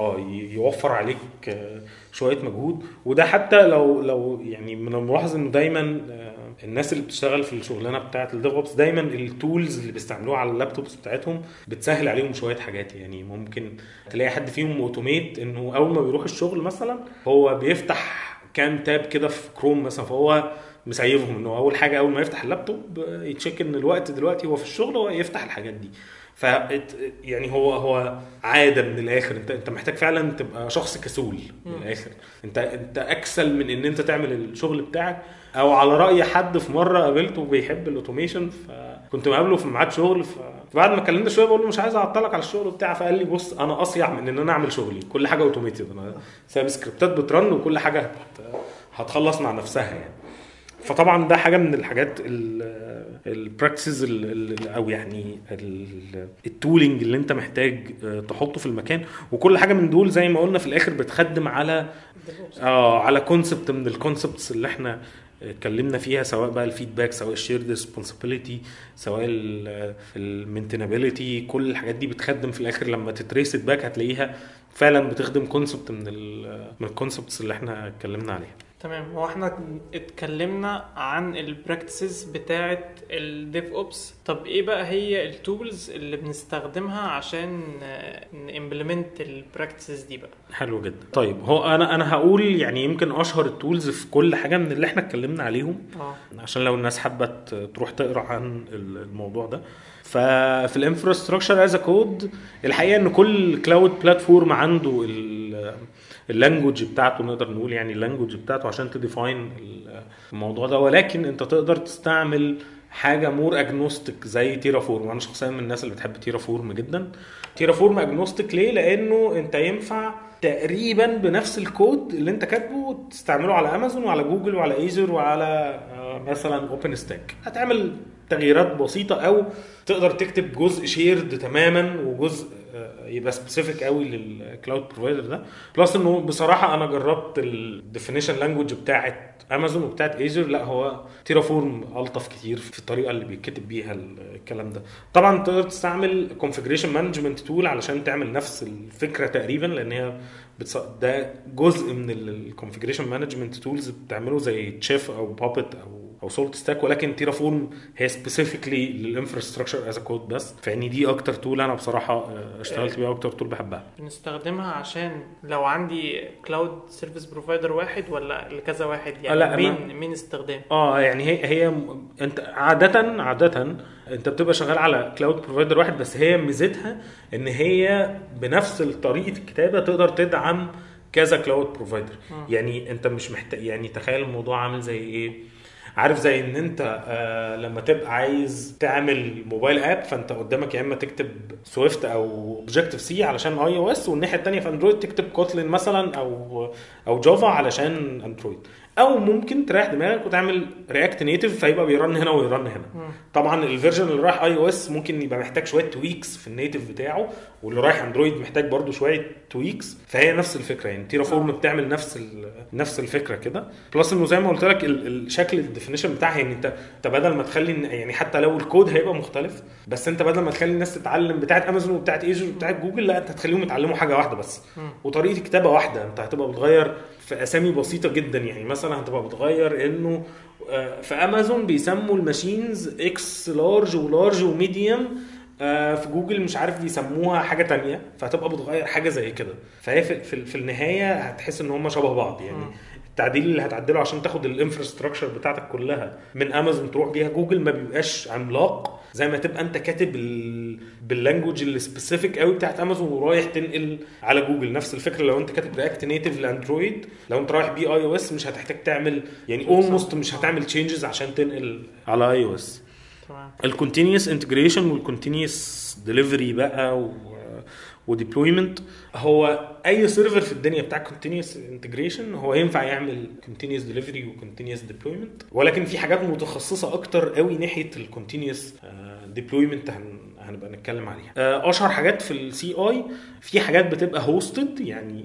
يوفر عليك شويه مجهود. وده حتى لو يعني من الملاحظ انه دايما الناس اللي بتشتغل في الشغلانه بتاعه الديفوبس دايما التولز اللي بيستعملوها على اللابتوبس بتاعتهم بتسهل عليهم شويه حاجات. يعني ممكن تلاقي حد فيهم اوتوميت انه اول ما بيروح الشغل مثلا هو بيفتح كام تاب كده في كروم مثلا، فهو مسيفهم انه اول حاجه اول ما يفتح اللابتوب يتشيك ان الوقت دلوقتي هو في الشغل هو يفتح الحاجات دي. ف يعني هو عاده من الاخر. انت محتاج فعلا تبقى شخص كسول من الاخر. انت اكسل من ان انت تعمل الشغل بتاعك. او على راي حد في مره قابلته بيحب الاوتوميشن، فكنت مقابله في ميعاد شغل، فبعد ما كلمنا شويه بقول له مش عايز اعطلك على الشغل بتاعي، فقال لي بص انا اصيع من ان انا اعمل شغلي، كل حاجه اوتوميتد، انا سايب سكريبتات بترن وكل حاجه هتخلص مع نفسها يعني. فطبعا ده حاجه من الحاجات البراكتسز او يعني التولينج اللي انت محتاج تحطه في المكان. وكل حاجه من دول زي ما قلنا في الاخر بتخدم على على كونسبت من الكونسبتس اللي احنا اتكلمنا فيها، سواء بقى الفيدباك، سواء الشيرد ريسبونسابيلتي، سواء المينتينابيلتي. كل الحاجات دي بتخدم في الاخر لما تتريس باك هتلاقيها فعلا بتخدم كونسبت من الكونسبتس اللي احنا اتكلمنا عليها. تمام. هو احنا اتكلمنا عن البراكتسز بتاعه الديف اوبس. طب ايه بقى هي التولز اللي بنستخدمها عشان نimplement البراكتسز دي بقى؟ حلو جدا. طيب هو انا هقول يعني يمكن اشهر التولز في كل حاجه من اللي احنا اتكلمنا عليهم عشان لو الناس حابه تروح تقرا عن الموضوع ده. ففي الانفراستراكشر از كود الحقيقه ان كل كلاود بلاتفورم عنده اللانجوج بتاعته، نقدر نقول يعني اللانجوج بتاعته عشان تديفاين الموضوع ده، ولكن انت تقدر تستعمل حاجه مور اجنوستيك زي تيرافورم. انا شخصيا من الناس اللي بتحب تيرافورم جدا. تيرافورم اجنوستيك ليه؟ لانه انت ينفع تقريبا بنفس الكود اللي انت كاتبه تستعمله على امازون وعلى جوجل وعلى ايزر وعلى مثلا اوبن ستاك. هتعمل تغييرات بسيطه او تقدر تكتب جزء شيرد تماما وجزء يبقى سبيسيفيك قوي للكلاود بروفايدر ده. بلس انه بصراحه انا جربت الديفينيشن لانجويج بتاعه امازون وبتاعه ايزر، لا هو تيرافورم الطف كتير في الطريقه اللي بيتكتب بيها الكلام ده. طبعا تقدر تستعمل كونفيجريشن مانجمنت تول علشان تعمل نفس الفكره تقريبا، لان هي ده جزء من الكونفيجريشن مانجمنت تولز بتعمله زي تشيف او بابت او سولت ستاك، ولكن تيرافورم هي سبيسيفيكلي للانفراستراكشر از كود بس. فاني دي اكتر تول انا بصراحه اشتغلت بيها، اكتر تول بحبها. بنستخدمها عشان لو عندي كلاود سيرفيس بروفايدر واحد ولا لكذا واحد يعني مين استخدام؟ يعني هي انت عاده انت بتبقى شغال على كلاود بروفايدر واحد، بس هي ميزتها ان هي بنفس طريقه الكتابه تقدر تدعم كذا كلاود بروفايدر. يعني انت مش محتاج، يعني تخيل الموضوع عامل زي ايه، عارف زي ان انت لما تبقى عايز تعمل موبايل اب فانت قدامك يا اما تكتب سويفت او اوبجكتيف سي علشان اي او اس، والناحيه الثانيه في اندرويد تكتب كوتلين مثلا او جافا علشان اندرويد، او ممكن تريح دماغك وتعمل رياكت نيتيف فيبقى بيرن هنا ويرن هنا. طبعا الفيرجن اللي رايح اي او اس ممكن يبقى محتاج شويه تويكس في النيتيف بتاعه، واللي رايح اندرويد محتاج برضو شويه تويكس. فهي نفس الفكره، يعني تيرافورم بتعمل نفس الفكره كده. بلس انه زي ما قلت لك الشكل الديفينيشن بتاعها، يعني انت بدل ما تخلي يعني حتى لو الكود هيبقى مختلف، بس انت بدل ما تخلي الناس تتعلم بتاعه امازون وبتاعه ايجر وبتاعه جوجل، لا انت هتخليهم يتعلموا حاجه واحده بس وطريقه كتابه واحده. انت هتبقى بتغير في اسامي بسيطه جدا، يعني مثلا هتبقى بتغير انه في امازون بيسموا الماشينز اكس لارج ولارج وميديوم، في جوجل مش عارف بيسموها حاجه تانية، فهتبقى بتغير حاجه زي كده. فهي في النهايه هتحس ان هم شبه بعض. يعني التعديل اللي هتعدله عشان تاخد الانفراستراكشر بتاعتك كلها من امازون تروح بيها جوجل ما بيبقاش عملاق زي ما تبقى انت كاتب باللانجوج السبيسيفيك قوي بتاعت امازون ورايح تنقل على جوجل. نفس الفكره لو انت كاتب رياكت نيتيف لاندرويد، لو انت رايح بي اي او اس مش هتحتاج تعمل يعني اولموست مش هتعمل تشينجز عشان تنقل على اي او اس. الكونتينيوس انتجريشن والكونتينيوس ديليفري بقى وديبلويمنت، هو اي سيرفر في الدنيا بتاع كونتينيوس انتجريشن هو ينفع يعمل كونتينيوس ديليفري وكونتينيوس ديبلويمنت، ولكن في حاجات متخصصه اكتر قوي ناحيه الكونتينيوس ديبلويمنت هنبقى نتكلم عليها. اشهر حاجات في السي اي، في حاجات بتبقى هوستد يعني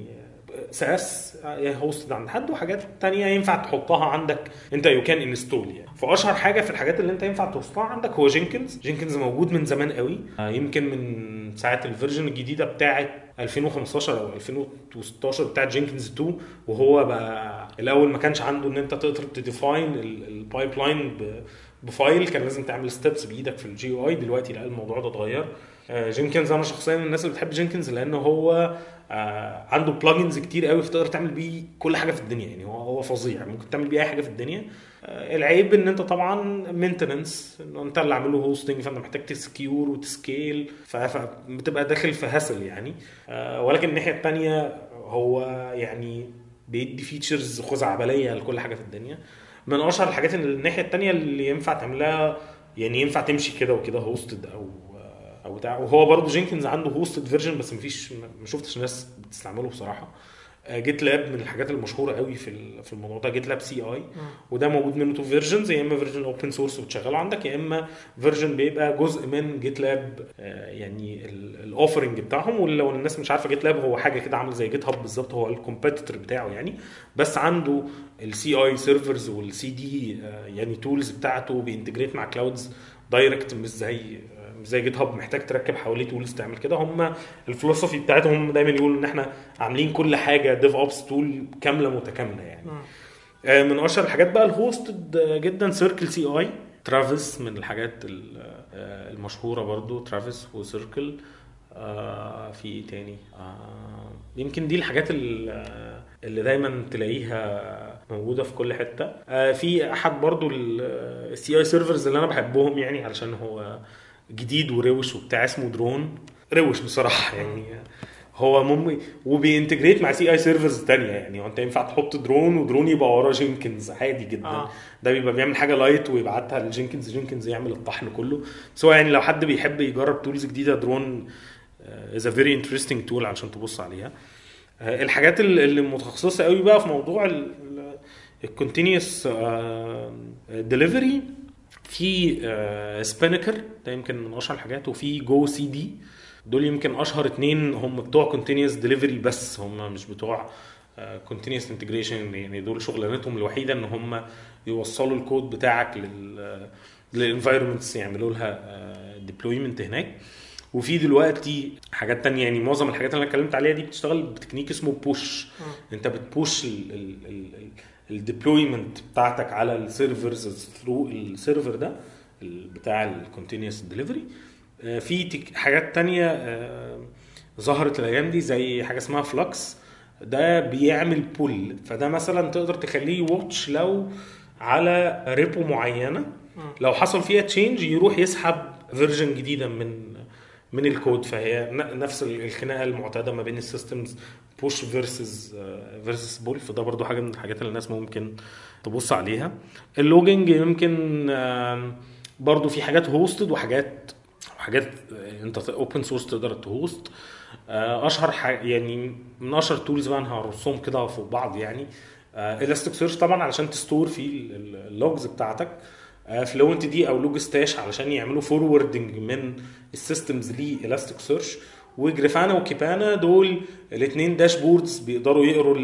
ساس هوستد عند حد، وحاجات تانية ينفع تحطها عندك انت يو كان انستول. يعني فاشهر حاجه في الحاجات اللي انت ينفع تحطها عندك هو جينكنز موجود من زمان قوي، يمكن من ساعه الفيرجن الجديده بتاعه 2015 او 2016 بتاعه جينكنز 2. وهو بقى الاول ما كانش عنده ان انت تقدر تديفاين البايب لاين بفايل، كان لازم تعمل ستيبس بايدك في الجي او اي. دلوقتي لا الموضوع ده اتغير. جينكنز انا شخصيا من الناس اللي بتحب جينكنز لانه هو عنده بلجنز كتير قوي فتقدر تعمل بيه كل حاجه في الدنيا. يعني هو فظيع، ممكن تعمل بيه اي حاجه في الدنيا. العيب ان انت طبعا مينتننس، ان انت اللي عامله هوستنج فانت محتاج تسكيور وتسكيل، فبتبقى داخل في هاسل يعني. ولكن الناحيه الثانيه هو يعني بيدي فيتشرز خزعبليه لكل حاجه في الدنيا. من اشهر الحاجات الناحيه الثانيه اللي ينفع تعملها، يعني ينفع تمشي كده وكده هوستد او بتاع. وهو برضو جينكنز عنده هوستد فيرجن بس ما شفتش ناس بتستعمله بصراحه. جيت لاب من الحاجات المشهوره قوي في الموضوع ده، جيت لاب سي اي. وده موجود منه تو فيرجنز، يا اما فيرجن اوبن سورس وتشغله عندك، يا اما فيرجن بيبقى جزء من جيت لاب يعني الاوفرنج بتاعهم. ولو الناس مش عارفه، جيت لاب هو حاجه كده عامل زي جيت هاب بالظبط، هو الكومبيتيتور بتاعه يعني، بس عنده السي اي سيرفرز والسي دي يعني تولز بتاعته بينتجريت مع كلاودز دايركت، مش زي جيت هاب محتاج تركب حواليه تولز تعمل كده. هم الفلسفي بتاعتهم دايما يقولوا ان احنا عاملين كل حاجه ديف اوبس تول كامله متكامله يعني. من اشهر الحاجات بقى الهوستد جدا سيركل سي اي، ترافيس من الحاجات المشهوره برضو، ترافيس وسيركل. في ايه تاني؟ يمكن دي الحاجات اللي دايما تلاقيها موجوده في كل حته. في احد برضو السي اي سيرفرز اللي انا بحبهم يعني علشان هو جديد وروش وبتاع، اسمه درون. روش بصراحه يعني، هو وبينتجريت مع سي اي سيرفرز تانية يعني. انت ينفع تحط درون ودرون يبقى وراه جينكنز عادي جدا. ده بيبقى بيعمل حاجه لايت ويبعتها لجينكنز، جينكنز يعمل الطحن كله. سواء يعني لو حد بيحب يجرب تولز جديده، درون is a very interesting tool عشان تبص عليها. الحاجات اللي متخصصه قوي بقى في موضوع الكونتينيوس ديليفري، في سبينكر ده يمكن من اشهر الحاجات، وفي جو سي دي. دول يمكن اشهر اتنين هم بتوع كونتينيوس ديليفري، بس هم مش بتوع كونتينيوس انتجريشن يعني. دول شغلانتهم الوحيده ان هم يوصلوا الكود بتاعك للانفايرمنتس، يعملوا لها ديبلويمنت هناك. وفي دلوقتي حاجات تانية يعني. معظم الحاجات اللي انا اتكلمت عليها دي بتشتغل بتكنيك اسمه بوش. انت بتبوش الديبلويمنت بتاعتك على السيرفرز ثرو السيرفر ده بتاع الكونتينيوس ديليفري. في حاجات تانية ظهرت الايام دي زي حاجه اسمها فلكس، ده بيعمل بول. فده مثلا تقدر تخليه واتش لو على ريبو معينه، لو حصل فيها تشينج يروح يسحب فيرجن جديده من الكود. فهي نفس الخناقه المعتاده ما بين السيستمز، بوش فيرسس بول. فده برضو حاجه من الحاجات اللي الناس ممكن تبص عليها. اللوجينج يمكن برضو في حاجات هوستد وحاجات انت اوبن سورس تقدر تهوست. اشهر يعني من اشهر تولز بقى انا هرصهم كده فوق بعض يعني. الاستيك سيرش طبعا علشان تستور فيه اللوجز بتاعتك، فلوينت دي او لوج ستاش علشان يعملوا فوروردنج من السيستمز لالاستيك سيرش. وجريفانا وكيبانا دول الاثنين داشبوردز بيقدروا يقروا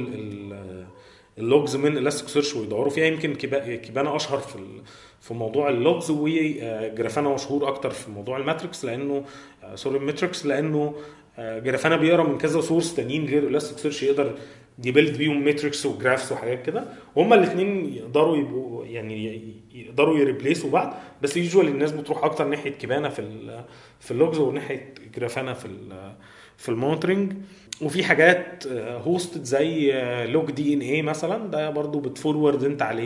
اللوجز من الاستيك سيرش ويدوروا فيها. يمكن كيبانا اشهر في موضوع اللوجز، وجرافانا مشهور اكتر في موضوع الماتريكس لانه الماتريكس لانه جرافانا بيقرا من كذا سورس تانيين غير الاستيك سيرش، يقدر يبيلد بيهم ماتريكس وجرافس وحاجات كده. وهما الاثنين يقدروا يبقوا يعني يقدروا يريبليسوا بعض، بس يوجوالي الناس بتروح اكتر ناحيه كيبانا في اللوجز وناحيه جرافانا في المونترنج. وفي حاجات هوستد زي لوج دي ان اي مثلا، ده برضو بتفورورد انت عليه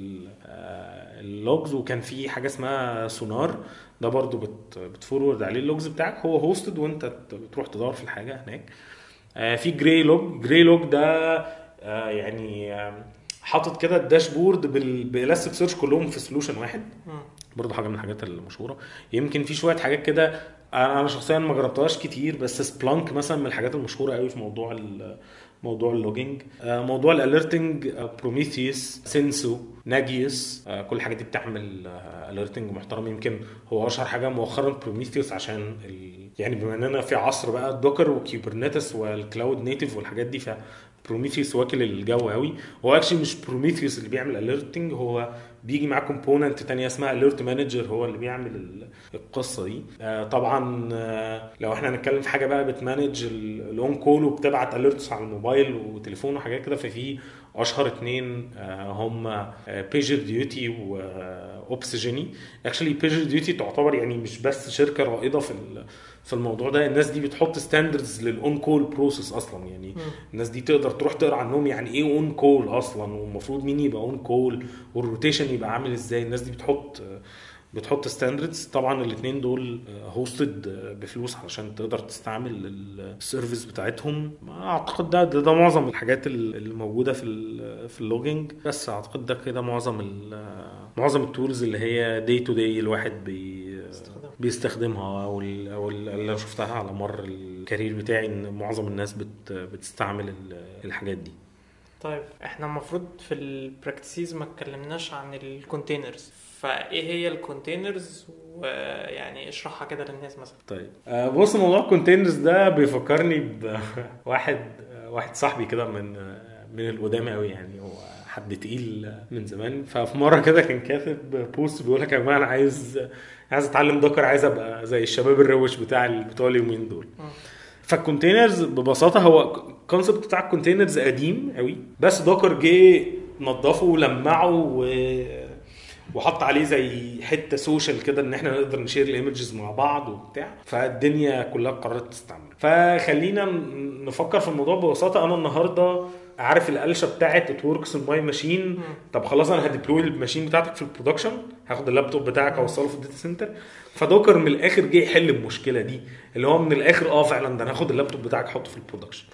اللوجز. وكان في حاجه اسمها سونار، ده برضو بتفورورد عليه اللوجز بتاعك، هو هوستد وانت بتروح تدور في الحاجه هناك. في جراي لوج ده يعني حاطط كده الداشبورد بالاستيك سيرش كلهم في سولوشن واحد، برضو حاجه من الحاجات المشهوره. يمكن في شويه حاجات كده انا شخصيا ما جربتهاش كتير، بس سبلانك مثلا من الحاجات المشهوره قوي في موضوع اللوجينج. موضوع الاليرتنج، بروميثيوس، سينسو، ناجيوس، كل الحاجات دي بتعمل اليرتنج محترم. يمكن هو اشهر حاجه مؤخرا بروميثيوس عشان يعني بما اننا في عصر بقى الدوكر وكيوبرنيتس والكلاود نيتيف والحاجات دي، بروميثيوس واكل الجو قوي. هو اكشلي مش بروميثيوس اللي بيعمل اليرتنج، هو بيجي معاه كومبوننت تانية اسمها اليرت مانجر هو اللي بيعمل القصه دي. طبعا لو احنا هنتكلم في حاجه بقى بتمانج الاون كول وبتبعت اليرتس على الموبايل وتليفون وحاجات كده، ففي اشهر اتنين هم بيجر ديوتي واوبسجيني. اكشلي بيجر ديوتي تعتبر يعني مش بس شركه رائده في الموضوع ده، الناس دي بتحط ستاندردز للاون كول بروسيس اصلا يعني. الناس دي تقدر تروح تقرا عنهم يعني ايه اون كول اصلا، والمفروض مين يبقى اون كول، والروتيشن يبقى عامل ازاي. الناس دي بتحط ستاندردز. طبعا الاثنين دول هوستد بفلوس علشان تقدر تستعمل السيرفيس بتاعتهم. اعتقد ده معظم الحاجات اللي موجوده في اللوجينج. بس اعتقد ده كده معظم التولز اللي هي داي تو داي الواحد بيستخدمها او اللي انا شفتها على مر الكارير بتاعي ان معظم الناس بتستعمل الحاجات دي. طيب احنا المفروض في البراكتسيز ما اتكلمناش عن الكونتينرز، فايه هي الكونتينرز ويعني اشرحها كده للناس مثلا. طيب بص، موضوع الكونتينرز ده بيفكرني بواحد صاحبي كده من القدام قوي، يعني هو حد تقيل من زمان. ففي مره كده كان كاتب بوست بيقول لك يا جماعه انا عايز اتعلم دوكر، عايز ابقى زي الشباب الروش بتوع اليومين دول. فالكونتينرز ببساطه هو الكونسبت بتاع الكونتينرز قديم قوي، بس دوكر جه نظفه ولمعه وحط عليه زي حته سوشيال كده ان احنا نقدر نشير الايمجز مع بعض وبتاع، فالدنيا كلها قررت تستعمل. فخلينا نفكر في الموضوع ببساطه. انا النهارده عارف القلشه بتاعت اتوركس الماي ماشين، طب خلاص انا هديبلوي الماشين بتاعتك في البرودكشن، هاخد اللابتوب بتاعك اوصله في الداتا سنتر. فدوكر من الاخر جه يحل المشكله دي، اللي هو من الاخر فعلا ده انا هاخد اللابتوب بتاعك احطه في البرودكشن.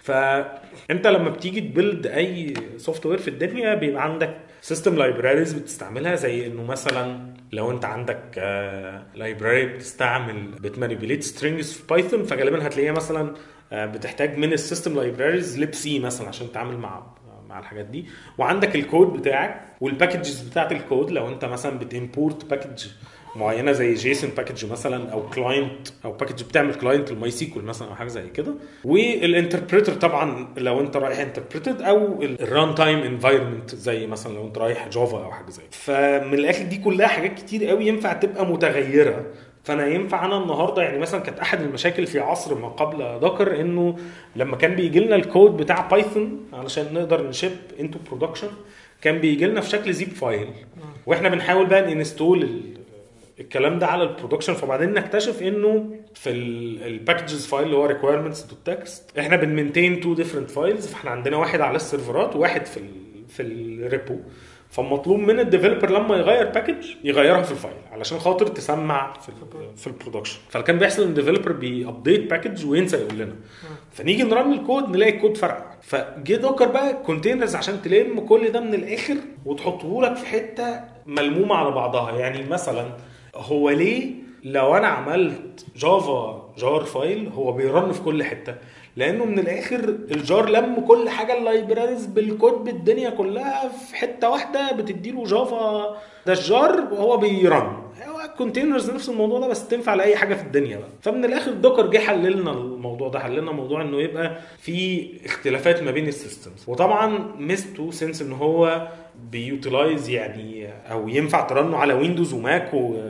فانت لما بتيجي تبيلد اي سوفت وير في الدنيا بيبقى عندك سيستم لايبراريز بتستعملها، زي انه مثلا لو انت عندك لايبراري بتمانيبيوليت سترينجز في بايثون، فغالبا هتلاقيها مثلا بتحتاج من السيستم لايبراريز libc مثلا عشان تتعامل مع الحاجات دي. وعندك الكود بتاعك والباكجز بتاعت الكود، لو انت مثلا بتimporт باكج معينه زي جيسون باكج مثلا او كلاينت او باكج بتعمل كلاينت الماي سيكوال مثلا او حاجه زي كده. والانتربريتر طبعا لو انت رايح انتربريتد، او الران تايم انفايرمنت زي مثلا لو انت رايح جافا او حاجه زي كده. فمن الاخر دي كلها حاجات كتير قوي ينفع تبقى متغيره. فانا ينفع انا النهارده يعني مثلا كانت احد المشاكل في عصر ما قبل دوكر انه لما كان بيجي لنا الكود بتاع بايثون علشان نقدر نشيب انتو برودكشن كان بيجي لنا في شكل زيب فايل، واحنا بنحاول بقى ننستول الكلام ده على البرودكشن. فبعدين نكتشف انه في الباكجز فايل اللي هو requirements.txt احنا بنمنتين تو ديفرنت فايلز، فاحنا عندنا واحد على السيرفرات وواحد في الريبو. فمطلوب من الديفلوبر لما يغير باكج يغيرها في الفايل علشان خاطر تسمع في البرودكشن. فكان بيحصل ان الديفلوبر بيابديت باكج وينسى يقول لنا، فنيجي نرن الكود نلاقي الكود فرق. فجي دوكر بقى كونتينرز عشان تلم كل ده من الاخر وتحطه لك في حته ملمومه على بعضها. يعني مثلا هو ليه لو انا عملت جافا جار فايل هو بيرن في كل حته؟ لانه من الاخر الجار لم كل حاجه اللايبراريز بالكود بالدنيا كلها في حته واحده بتديله جافا ده الجار وهو بيرن. هو الكونتينرز نفس الموضوع ده بس تنفع لاي حاجه في الدنيا بقى. فمن الاخر دوكر جه حللنا الموضوع ده، حللنا موضوع انه يبقى في اختلافات ما بين السيستمز. وطبعا ميزته سنس ان هو بيوتيلايز يعني او ينفع ترنه على ويندوز وماك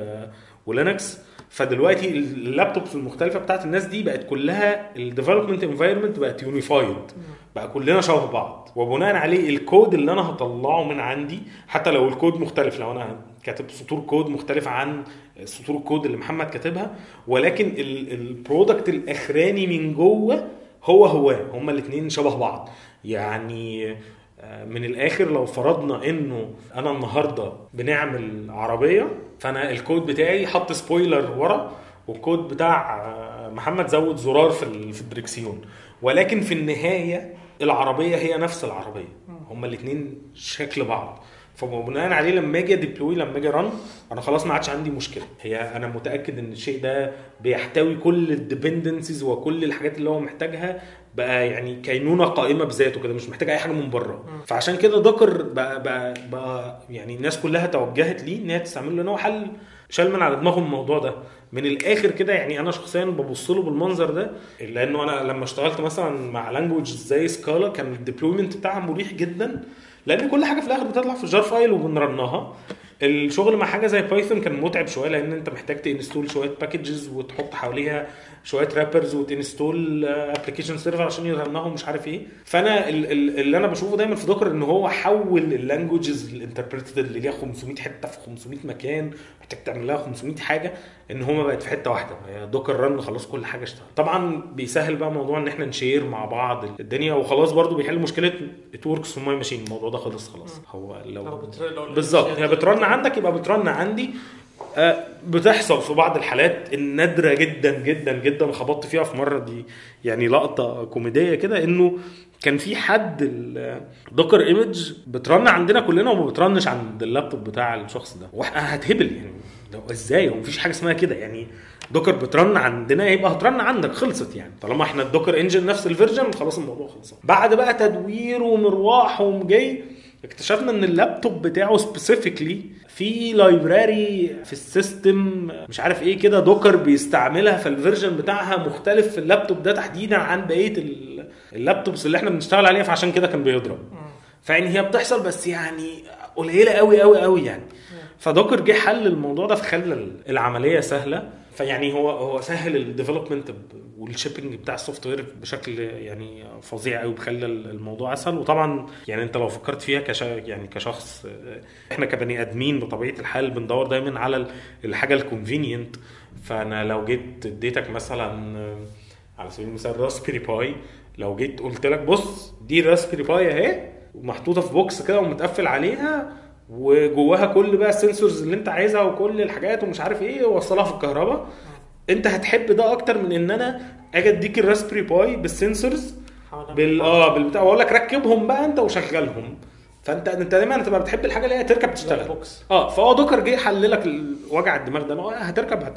ولينكس. فدلوقتي اللابتوبس المختلفه بتاعت الناس دي بقت كلها الديفلوبمنت انفايرمنت بقت يونيفايد، بقى كلنا شبه بعض، وبناء عليه الكود اللي انا هطلعه من عندي حتى لو الكود مختلف، لو انا كاتب سطور كود مختلفه عن سطور الكود اللي محمد كاتبها، ولكن البرودكت الاخراني من جوه هما الاثنين شبه بعض. يعني من الاخر لو فرضنا انه انا النهارده بنعمل عربيه، فانا الكود بتاعي حط سبويلر ورا والكود بتاع محمد زود زرار في الدركسيون، ولكن في النهايه العربيه هي نفس العربيه، هما الاثنين شكل بعض. فبناء عليه لما اجي ديبلوي لما اجي رن انا خلاص ما عادش عندي مشكله. هي انا متاكد ان الشيء ده بيحتوي كل الديبندنسز وكل الحاجات اللي هو محتاجها، بقى يعني كينونه قائمه بذاته كده، مش محتاج اي حاجه من بره. فعشان كده دوكر بقى يعني الناس كلها توجهت ليه ان هي تستعمله، لانه حل شال من على دماغهم الموضوع ده من الاخر كده. يعني انا شخصيا ببص له بالمنظر ده، لانه انا لما اشتغلت مثلا مع لانجويج زي سكالا كان الديبلويمنت بتاعها مريح جدا، لان كل حاجه في الاخر بتطلع في جار فايل وبنرنها. الشغل مع حاجه زي بايثون كان متعب شويه، لان انت محتاج تنستول شويه باكجز وتحط حواليها شويه رابرز وتنستول ابلكيشن سيرفر عشان يرنهم مش عارف ايه. فانا اللي انا بشوفه دايما في دوكر ان هو حول اللانجويجز الانتربريتد اللي ليها 500 حته في 500 مكان محتاج تعمل لها 500 حاجه ان هما بقت في حته واحده. دوكر رن خلاص كل حاجه اشتغل. طبعا بيسهل بقى موضوع ان احنا نشير مع بعض الدنيا، وخلاص برضو بيحل مشكله اتوركس في ماي ماشين. الموضوع ده خلاص هو لو بالظبط هي بترن عندك يبقى بترن عندي. بتحصل في بعض الحالات النادره جدا جدا جدا، خبطت فيها في مره دي يعني لقطه كوميديه كده، انه كان في حد الدوكر ايمج بترن عندنا كلنا وما بترنش عند اللابتوب بتاع الشخص ده، واحنا هتهبل يعني ازاي؟ هو مفيش حاجه اسمها كده يعني. دوكر بترن عندنا يبقى هترن عندك، خلصت يعني. طالما احنا الدوكر انجن نفس الفيرجن خلاص الموضوع خلص. بعد بقى تدوير ومروح ومجي اكتشفنا ان اللابتوب بتاعه سبيسيفيكلي في لايبراري في السيستم مش عارف ايه كده دوكر بيستعملها، فالفيرجن بتاعها مختلف في اللابتوب ده تحديدا عن بقيه اللابتوبس اللي احنا بنشتغل عليها، فعشان كده كان بيضرب. فيعني هي بتحصل بس يعني قليله قوي قوي قوي يعني. فدوكر جه حل الموضوع ده، فخلى العمليه سهله. فيعني هو سهل الديفلوبمنت والشيبنج بتاع السوفت وير بشكل يعني فظيع قوي، بخلى الموضوع اسهل. وطبعا يعني انت لو فكرت فيها يعني كشخص، احنا كبني ادمين بطبيعه الحال بندور دايما على الحاجه الكونفينينت. فانا لو جيت اديتك مثلا على سبيل المثال راسبيري باي، لو جيت قلت لك بص دي راسبيري باي اهي ومحطوطه في بوكس كده ومتقفل عليها وجواها كل بقى السنسورز اللي انت عايزها وكل الحاجات ومش عارف ايه ووصلها في الكهرباء، انت هتحب ده اكتر من ان انا اجي اديك الراسبري باي بالسنسورز بالبتاع واقول لك ركبهم بقى انت وشغلهم. فانت دايما هتبقى بتحب الحاجه اللي هي تركب تشتغل. فهو دوكر جه حل لك وجع الدماغ ده، هتركب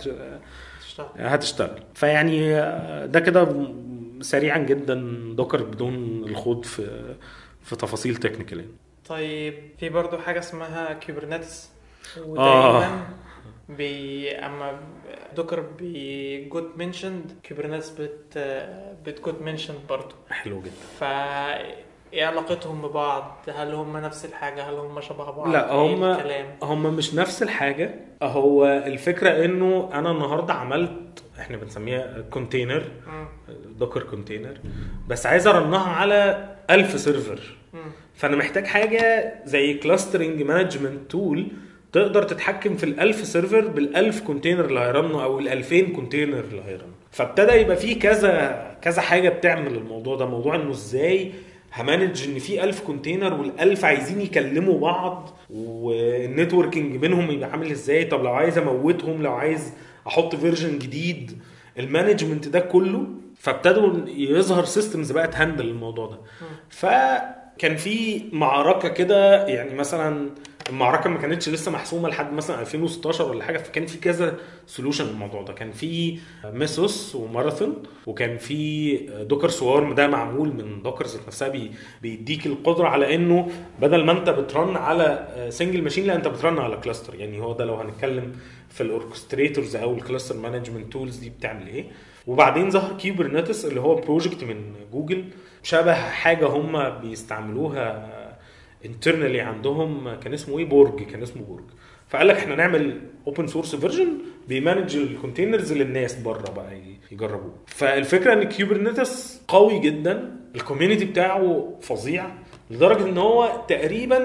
هتشتغل. فيعني ده كده سريعا جدا دوكر بدون الخوض في تفاصيل تكنيكال. طيب في برضو حاجه اسمها كوبرنيتس، ودايما اما دوكر بيجوت منشند كوبرنيتس بتجوت منشند برضو. حلو جدا. ايه علاقتهم ببعض؟ هل هم نفس الحاجه؟ هل هم شبه بعض؟ لا هم مش نفس الحاجه. هو الفكره انه انا النهارده عملت احنا بنسميها كونتينر، دوكر كونتينر، بس عايز ارنها على 1000 سيرفر. فانا محتاج حاجه زي كلاسترنج مانجمنت تول تقدر تتحكم في ال1000 سيرفر بال1000 كونتينر اللي هيرنوا او ال2000 كونتينر اللي هيرنوا. فابتدى يبقى فيه كذا حاجه بتعمل الموضوع ده. موضوع انه ازاي همانج ان في 1000 كونتينر وال1000 عايزين يكلموا بعض والنتوركينج بينهم يبقى عامل ازاي. طب لو عايز اموتهم، لو عايز احط فيرجن جديد، المانجمنت ده كله. فابتدوا يظهر سيستمز بقى تهندل الموضوع ده. فكان في معركه كده يعني، مثلا المعركه ما كانتش لسه محسومه لحد مثلا 2016 ولا حاجه، فكان في كذا سولوشن للموضوع ده. كان في ميسوس وماراثون، وكان في دوكر سوارم ده معمول من دوكرز نفسها بيديك القدره على انه بدل ما انت بترن على سنجل ماشين، لا انت بترن على كلاستر. يعني هو ده لو هنتكلم في الاوركستريتورز او الكلاستر مانجمنت تولز دي بتعمل ايه. وبعدين ظهر كيوبرنيتس اللي هو بروجكت من جوجل، شبه حاجه هم بيستعملوها internally عندهم، كان اسمه ايه، بورج. كان اسمه بورج. فقال لك احنا نعمل اوبن سورس فيرجن بيمانج الكونتينرز للناس بره بقى يجربوه. فالفكره ان كيوبرنيتس قوي جدا، الكوميونتي بتاعه فظيع لدرجه ان هو تقريبا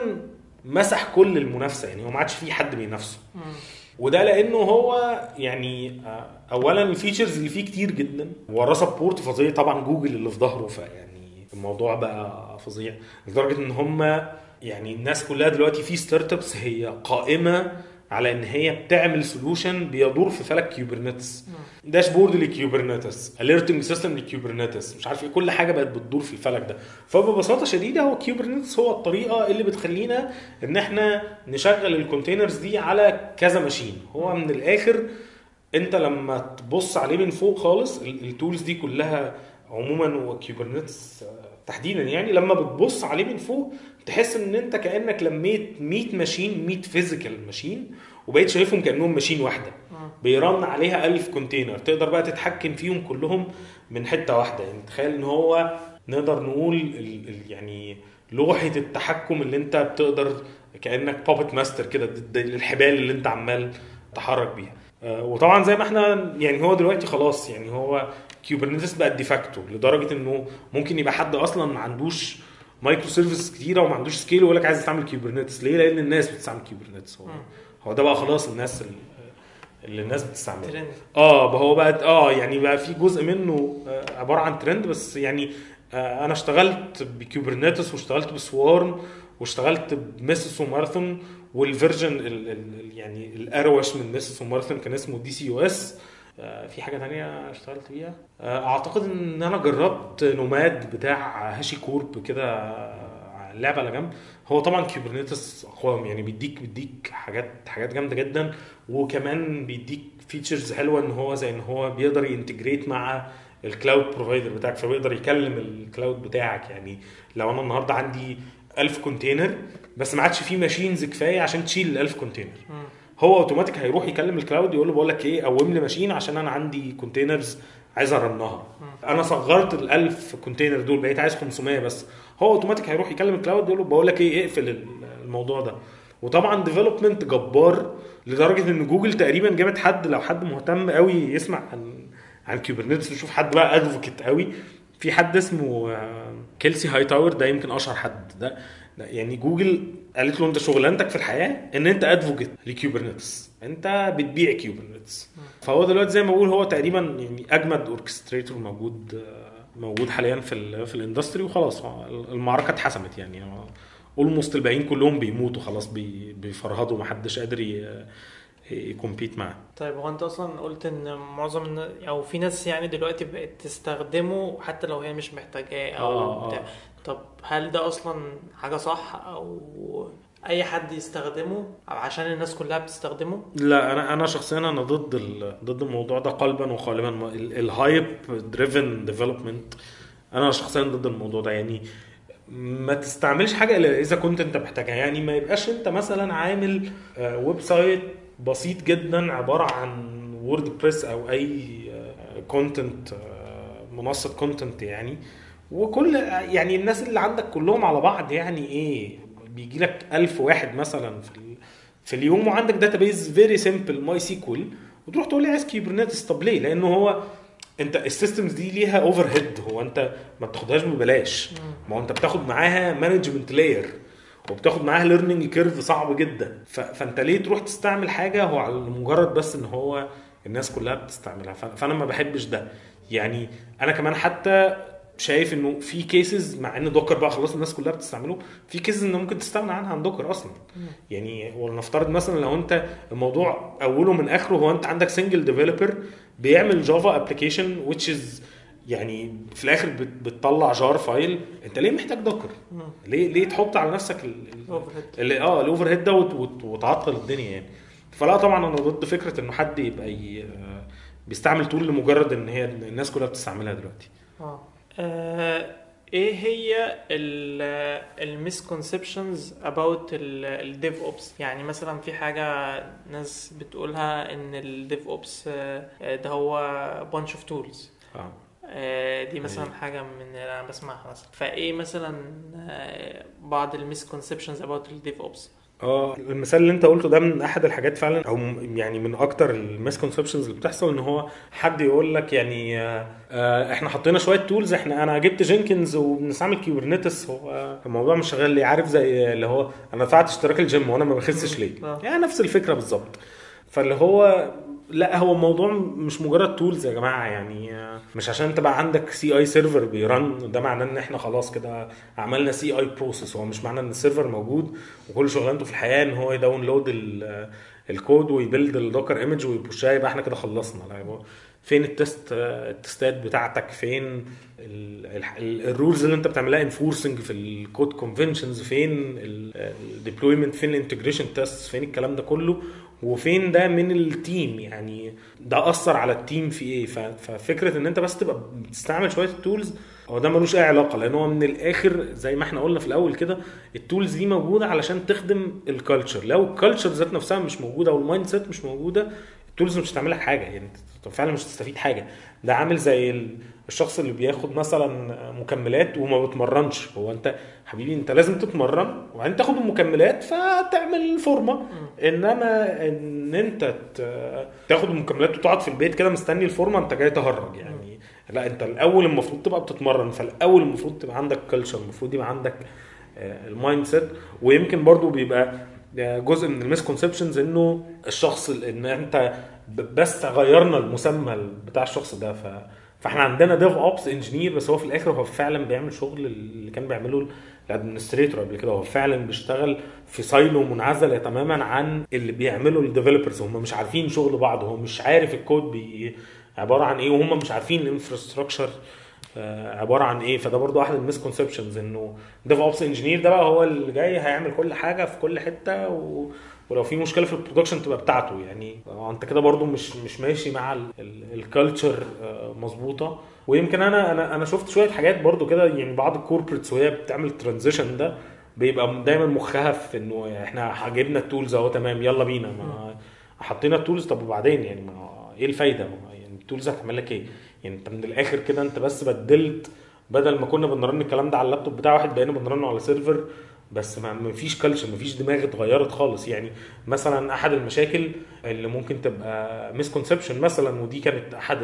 مسح كل المنافسه. يعني هو ما عادش فيه حد بينافسه. وده لانه هو يعني اولا الفيتشرز اللي فيه كتير جدا، وراه سبورت فظيع طبعا جوجل اللي في ظهره. فيعني الموضوع بقى فظيع لدرجه ان هم يعني الناس كلها دلوقتي في ستارت ابس هي قائمه على ان هي بتعمل سولوشن بيدور في فلك كيوبرنيتس، داشبورد لكيوبرنيتس، اليرتنج سيستم لكيوبرنيتس، مش عارف ايه، كل حاجه بقت بتدور في الفلك ده. فببساطه شديده هو كيوبرنيتس هو الطريقه اللي بتخلينا ان احنا نشغل الكونتينرز دي على كذا ماشين. هو من الاخر انت لما تبص عليه من فوق خالص، التولز دي كلها عموما وكيوبرنيتس تحديدا، يعني لما بتبص عليه من فوق تحس ان انت كانك لميت 100 ماشين، 100 فيزيكال ماشين، وبقيت شايفهم كانهم ماشين واحده بيرن عليها 1000 كونتينر. تقدر بقى تتحكم فيهم كلهم من حته واحده. يعني تخيل ان هو نقدر نقول يعني لوحه التحكم اللي انت بتقدر كانك بابت ماستر كده الحبال اللي انت عمال تحرك بيها. وطبعا زي ما احنا يعني هو دلوقتي خلاص يعني هو كيوبرنيتس بقى ديفاكتو، لدرجه انه ممكن يبقى حد اصلا ما عندوش مايكرو سيرفيس كتيره وما عندوش سكيل ويقول لك عايز تعمل كيوبرنيتس. ليه؟ لان الناس بتستعمل كيوبرنيتس. هو ده بقى خلاص الناس اللي الناس بتستعمله. هو بقى يعني بقى في جزء منه عباره عن ترند. بس يعني انا اشتغلت بكيوبرنيتس واشتغلت بسوارم واشتغلت بميسس وماراثون، والفيرجن يعني الاروش من ميسس وماراثون كان اسمه DCOS. في حاجه تانية اشتغلت بيها اعتقد ان انا جربت نوماد بتاع هاشي كورب كده اللعبه على جنب، هو طبعا كيوبرنيتس اقوى، يعني بيديك حاجات جامده جدا، وكمان بيديك فيتشرز حلوه، ان هو زي ان هو بيقدر ينتجريت مع الكلاود بروفايدر بتاعك، فبيقدر يكلم الكلاود بتاعك. يعني لو انا النهارده عندي 1000 كونتينر بس ما عادش فيه ماشينز كفايه عشان تشيل ال 1000 كونتينر، هو اوتوماتيك هيروح يكلم الكلاود يقول له بقول لك ايه، قوم لي ماشين عشان انا عندي كونتينرز عايز ارنها، انا صغرت ال 1000 كونتينر دول بقيت عايز 500 بس، هو اوتوماتيك هيروح يكلم الكلاود يقول له بقول لك ايه، اقفل الموضوع ده. وطبعا ديفلوبمنت جبار لدرجه ان جوجل تقريبا جابت حد، لو حد مهتم قوي يسمع عن كيوبرنيتس يشوف حد بقى ادفوكيت قوي، في حد اسمه كيلسي هاي تاور، ده يمكن اشهر حد ده يعني جوجل قالت له انت شغلانتك في الحياه ان انت ادفوكيت لكيوبرنيتس، انت بتبيع كيوبرنيتس. فهو دلوقتي زي ما بقول هو تقريبا يعني اجمد اوركستريتور موجود حاليا في الاندستري، وخلاص المعركه اتحسمت يعني، اولموست الباقيين كلهم بيموتوا خلاص، بيفرهدوا، محدش قادر يكمبيت معاه. طيب هو انت اصلا قلت ان معظم او في ناس يعني دلوقتي بقت تستخدمه حتى لو هي مش محتاجاه او بتاع. طب هل ده اصلا حاجة صح، او اي حد يستخدمه عشان الناس كلها بتستخدمه؟ لا، انا شخصيا انا ضد الموضوع ده قلبا وقالبا. الهايب دريفن ديفلوبمنت، انا شخصيا ضد الموضوع ده. يعني ما تستعملش حاجه الا اذا كنت انت محتاجها، يعني ما يبقاش انت مثلا عامل ويب سايت بسيط جدا عباره عن ووردبريس او اي كونتنت، منصه كونتنت يعني، وكل يعني الناس اللي عندك كلهم على بعض يعني ايه، بيجي لك 1000 واحد مثلا في اليوم، وعندك داتابيز فيري سيمبل ماي سيكوال، وتروح تقول لي عايز كيبرنيتس. طب ليه؟ لانه هو انت السيستمز دي ليها اوفر هيد، هو انت ما بتاخدهاش ببلاش، ما هو انت بتاخد معاها مانجمنت لاير، وبتاخد معاها ليرنينج كيرف صعب جدا، فانت ليه تروح تستعمل حاجه هو على مجرد بس ان هو الناس كلها بتستعملها؟ فانا ما بحبش ده. يعني انا كمان حتى شايف انه في كيسز، مع ان دوكر بقى خلاص الناس كلها بتستعمله، في كيسز انه ممكن تستغنى عنها عن دوكر اصلا. يعني ولنفترض مثلا لو انت الموضوع اوله من اخره هو انت عندك سنجل ديفلوبر بيعمل جافا ابلكيشن which is يعني في الاخر بتطلع جار فايل، انت ليه محتاج دوكر؟ ليه تحط على نفسك الاوفر هيد ده وتعطل الدنيا يعني؟ فلا طبعا انا ضد فكره انه حد يبقى بيستعمل تول لمجرد ان هي الناس كلها بتستعملها دلوقتي. ايه هي المسكونسبشنز about الديف اوبس؟ يعني مثلا في حاجه ناس بتقولها ان الديف اوبس ده هو bunch of tools. دي مثلا حاجه من اللي انا بسمعها مثلا. فايه مثلا بعض المسكونسبشنز about الديف اوبس؟ المثال اللي انت قلته ده من احد الحاجات فعلا، او يعني من اكتر المسكونسبشنز اللي بتحصل، ان هو حد يقول لك يعني احنا حطينا شويه تولز، انا جبت جينكنز وبنستعمل كيبرنيتس، هو الموضوع مش شغال ليه؟ عارف زي اللي هو انا دفعت اشتراك الجيم وانا ما بخسش ليه؟ يعني نفس الفكره بالظبط. فاللي هو لا، هو الموضوع مش مجرد تولز يا جماعه، يعني مش عشان انت بقى عندك سي اي سيرفر بيرن ده معناه ان احنا خلاص كده عملنا سي اي بروسيس. هو مش معناه ان السيرفر موجود وكل شغلانته في الحياه ان هو يداونلود الكود ويبيلد الدوكر ايمج ويبوشها يبقى احنا كده خلصنا. لا، فين التستات بتاعتك؟ فين الرولز اللي انت بتعملها انفورسنج في الكود كونفنشنز؟ فين الديبلويمنت؟ فين الانتجريشن تيست؟ فين الكلام ده كله؟ وفين ده من التيم؟ يعني ده اثر على التيم في ايه؟ ففكره ان انت بس تبقى بتستعمل شويه التولز هو ده ملوش اي علاقه، لان هو من الاخر زي ما احنا قلنا في الاول كده، التولز دي موجوده علشان تخدم الكالتشر. لو الكالتشر ذات نفسها مش موجوده والمايند سيت مش موجوده، التولز مش هتعمل لك حاجه، يعني انت فعلا مش هتستفيد حاجه. ده عامل زي الشخص اللي بياخد مثلا مكملات وما بتمرنش. هو انت حبيبي انت لازم تتمرن وبعدين تاخد المكملات فتعمل فورمه، انما ان انت تاخد المكملات وتقعد في البيت كده مستني الفورمه، انت جاي تهرج يعني. لا، انت الاول المفروض تبقى بتتمرن، فالاول المفروض تبقى عندك كلتشر، المفروض يبقى عندك المايند سيت. ويمكن برضو بيبقى جزء من المسكونسبشنز انه الشخص ان انت بس غيرنا المسمى بتاع الشخص ده، فاحنا عندنا ديف اوبس انجينير بس هو في الاخر هو فعلا بيعمل شغل اللي كان بيعمله الادمنستريتور قبل كده. هو فعلا بيشتغل في سايلو منعزله تماما عن اللي بيعمله الديفلوبرز. هم مش عارفين شغل بعض، هو مش عارف الكود عباره عن ايه، وهم مش عارفين الانفراستراكشر عباره عن ايه. فده برضو احد المسكونسبشنز، انه ديف اوبس انجينير ده بقى هو اللي جاي هيعمل كل حاجه في كل حته، ولو في مشكله في البرودكشن تبقى بتاعته. يعني انت كده برضو مش ماشي مع الكالتشر مظبوطه. ويمكن انا شفت شويه حاجات برضو كده، يعني بعض الكوربريتس وهي بتعمل الترانزيشن ده بيبقى دايما مخها في انه احنا جبنا التولز اهو تمام يلا بينا، ما حطينا التولز، طب وبعدين يعني ما ايه الفايده؟ يعني التولز هتعمل لك ايه؟ يعني انت من الاخر كده انت بس بدلت، بدل ما كنا بنرن الكلام ده على اللابتوب بتاع واحد بقينا بنرنه على سيرفر بس. ما فيش كلتشر، ما فيش دماغ اتغيرت خالص. يعني مثلا احد المشاكل اللي ممكن تبقى مسكونسبشن مثلا، ودي كانت احد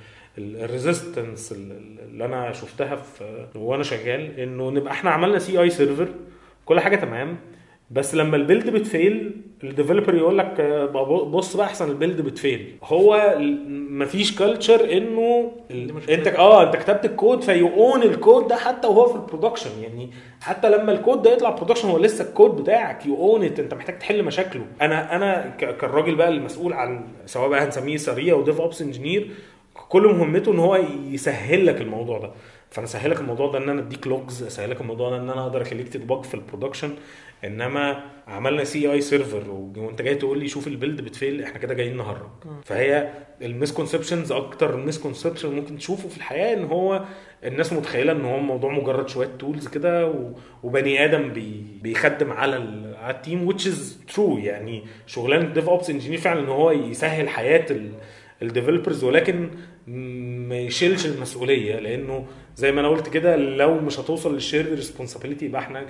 الريزيستنس اللي انا شفتها في وانا شغال، انه نبقى احنا عملنا سي اي سيرفر كل حاجه تمام، بس لما البيلد بتفيل الديفلوبر يقول لك بص بقى احسن البيلد بتفيل. هو مفيش كلتشر انه انت كتبت الكود فيقون الكود ده حتى وهو في البرودكشن. يعني حتى لما الكود ده يطلع برودكشن هو لسه الكود بتاعك يقون انت محتاج تحل مشاكله. انا كالراجل بقى المسؤول عن سواء بقى هنسميه سريع وديف اوبس انجينير، كل مهمته ان هو يسهل لك الموضوع ده. فانا اسهلك الموضوع ده ان انا اديك لوجز، اسهلك الموضوع ده ان انا اقدر اخليك تدبج في البرودكشن. انما عملنا سي اي سيرفر وانت جاي تقول لي شوف البيلد بتفيل، احنا كده جايين نهرج. فهي المسكونسبشنز اكتر مسكونسبشن ممكن تشوفه في الحياه، ان هو الناس متخيله ان هو الموضوع مجرد شويه تولز كده وبني ادم بيخدم على التيم which is true. يعني شغلانه ديف اوبس انجينير فعلا ان هو يسهل حياه الديفلوبرز، ولكن ما يشيلش المسؤوليه، لانه زي ما انا قلت كده لو مش هتوصل للشير ريسبونسابيلتي يبقى احنا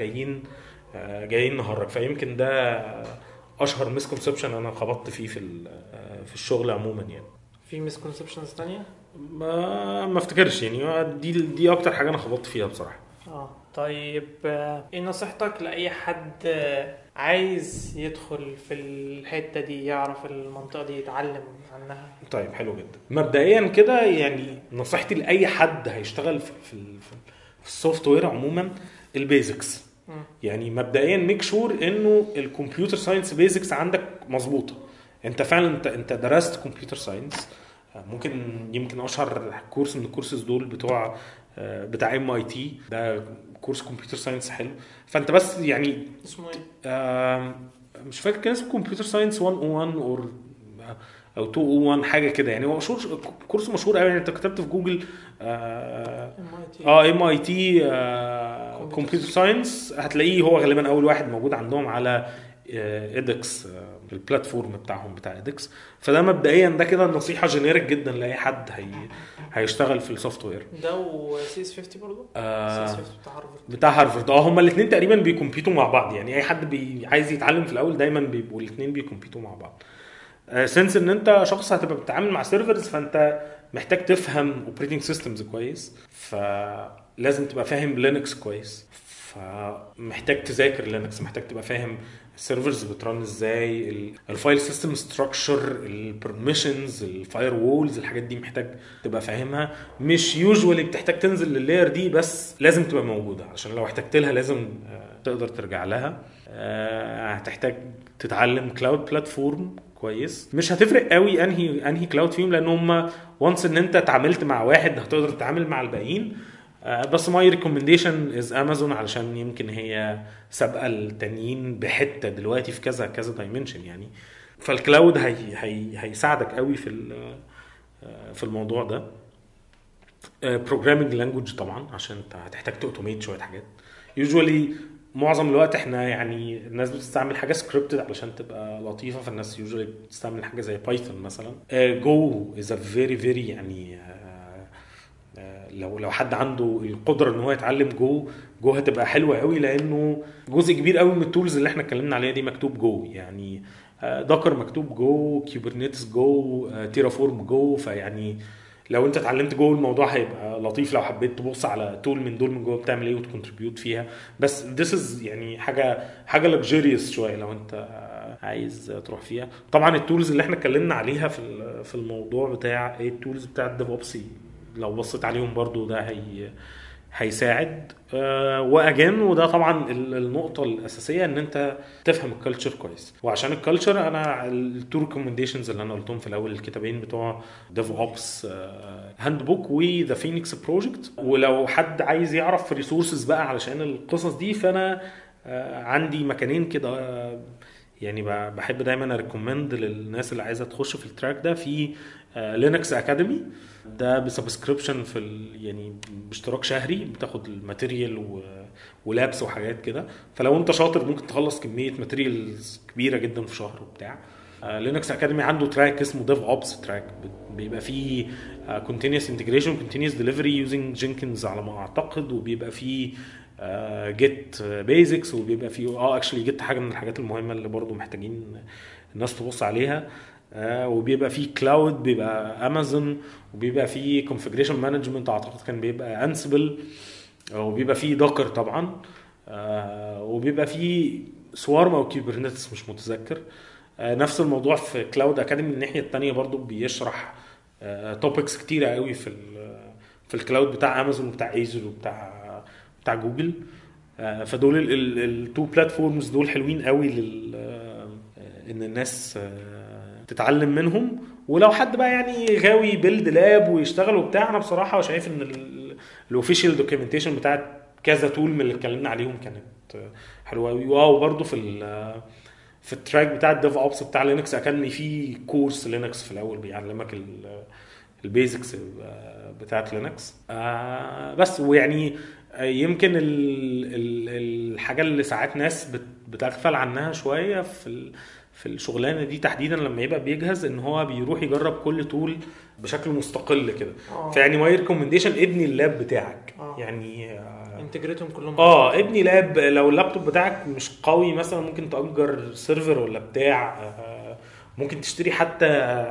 جايين نهرج. فيمكن ده اشهر مسكونسبشن انا خبطت فيه في الشغل عموما. يعني في مسكونسبشنز ثانيه ما افتكرش، يعني دي اكتر حاجه انا خبطت فيها بصراحه. طيب ايه نصيحتك لاي حد عايز يدخل في الحته دي، يعرف المنطقه دي، يتعلم عنها؟ طيب حلو جدا. مبدئيا كده يعني نصيحتي لاي حد هيشتغل في السوفت وير عموما البيزكس. يعني مبدئيا ميك شور انه الكمبيوتر ساينس بيزكس عندك مظبوطه. انت فعلا انت درست كمبيوتر ساينس. يمكن اشهر كورس من الكورسز دول بتاع MIT، ده كورس كمبيوتر ساينس حلو. فانت بس يعني اسمه ايه مش فاكر كان اسمه كمبيوتر ساينس 101 او 201 حاجه كده. يعني هو مشهور، كورس مشهور قوي. يعني انت كتبت في جوجل MIT كمبيوتر ساينس هتلاقيه هو غالبا اول واحد موجود عندهم على إيدكس، البلاتفورم بتاعهم بتاع إيدكس. فده مبدئيا ده كده نصيحه جينيريك جدا لاي حد هيشتغل في السوفت وير. ده وسيس 50 برضه سيس 50 بتاع هارفارد. هما الاثنين تقريبا بيكمبيتوا مع بعض. يعني اي حد عايز يتعلم في الاول دايما بيبقوا الاثنين بيكمبيتوا مع بعض. سنس ان انت شخص هتبقى بتتعامل مع سيرفرز، فانت محتاج تفهم اوبريتنج سيستمز كويس، فلازم تبقى فاهم لينكس كويس، فمحتاج تذاكر لينكس، محتاج تبقى فاهم السيرفرز بترن ازاي، الفايل سيستم ستراكشر، البرميشنز، الفاير وولز، الحاجات دي محتاج تبقى فاهمها. مش يوجوالي بتحتاج تنزل لللاير دي، بس لازم تبقى موجوده عشان لو احتجت لها لازم تقدر ترجع لها. هتحتاج تتعلم كلاود بلاتفورم كويس. مش هتفرق قوي انهي كلاود فيهم، لان هم وانس ان انت اتعاملت مع واحد هتقدر تتعامل مع الباقيين. بس ماي ريكومنديشن از امازون، علشان يمكن هي سابقه التانيين بحته دلوقتي في كذا كذا دايمنشن. يعني فالكلاود هيساعدك قوي في الموضوع ده. بروجرامينج لانجويج طبعا عشان انت هتحتاج توتوميت شويه حاجات. يوجوالي معظم الوقت احنا يعني الناس بتستعمل حاجه سكريبتد علشان تبقى لطيفه، فالناس يوجوالي بتستعمل حاجه زي بايثون مثلا. جو از ا فيري يعني لو حد عنده القدره ان هو يتعلم جو هتبقى حلوه قوي، لانه جزء كبير قوي من التولز اللي احنا اتكلمنا عليها دي مكتوب جو. يعني داكر مكتوب جو، كيوبرنيتس جو، تيرافورم جو. فيعني لو انت اتعلمت جو الموضوع هيبقى لطيف لو حبيت تبص على تول من دول من جوه بتعمل ايه وتكونتريبيوت فيها. بس this is يعني حاجه luxurious شويه لو انت عايز تروح فيها. طبعا التولز اللي احنا اتكلمنا عليها في الموضوع بتاع ايه، التولز بتاع الديف اوبس لو بصيت عليهم برضو ده هيساعد. واجان وده طبعا النقطه الاساسيه ان انت تفهم الكالتشر كويس. وعشان الكالتشر انا التو ريكومنديشنز اللي انا قلتهم في الاول الكتابين بتوع ديف اوبس هاند بوك وذا فينيكس بروجكت. ولو حد عايز يعرف ريسورسز بقى علشان القصص دي فانا عندي مكانين كده يعني بحب دايما اريكومند للناس اللي عايزه تخش في التراك ده. في لينكس اكاديمي ده بسبسكريبشن في يعني باشتراك شهري بتاخد الماتيريال ولابس وحاجات كده. فلو انت شاطر ممكن تخلص كميه ماتيريالز كبيره جدا في شهر وبتاع. لينكس اكاديمي عنده تراك اسمه ديف اوبس تراك بيبقى فيه continuous integration continuous delivery using Jenkins على ما اعتقد. وبيبقى فيه جيت بيزكس وبيبقى فيه اكشلي جيت حاجه من الحاجات المهمه اللي برضو محتاجين الناس تبص عليها. وبيبقى فيه كلاود بيبقى امازون وبيبقى فيه configuration management اعتقد كان بيبقى انسبل وبيبقى فيه دوكر طبعا وبيبقى فيه سوارم او كيبرنيتس مش متذكر. نفس الموضوع في كلاود اكاديمي من الناحيه الثانيه برضو بيشرح توبكس كتيره قوي في الكلاود بتاع امازون وبتاع ايزر وبتاع جوجل. فدول التو بلاتفورمز دول حلوين قوي ان الناس تتعلم منهم. ولو حد بقى يعني غاوي بيلد لاب ويشتغل وبتاع انا بصراحه شايف ان الاوفيشال دوكيومنتيشن بتاعت كذا تول من اللي اتكلمنا عليهم كانت حلوه قوي. وبرده في التراك بتاع الديف اوبس بتاع لينكس اكاديمي في كورس لينكس في الاول بيعلمك البيزكس بتاعت لينكس. بس ويعني يمكن الحاجه اللي ساعات ناس بتغفل عنها شويه في الشغلانه دي تحديدا لما يبقى بيجهز ان هو بيروح يجرب كل تول بشكل مستقل كده. فيعني ماي ريكومنديشن ابني اللاب بتاعك يعني انتجريتهم كلهم ابني لاب. لو اللابتوب بتاعك مش قوي مثلا ممكن تأجر سيرفر ولا بتاع. ممكن تشتري حتى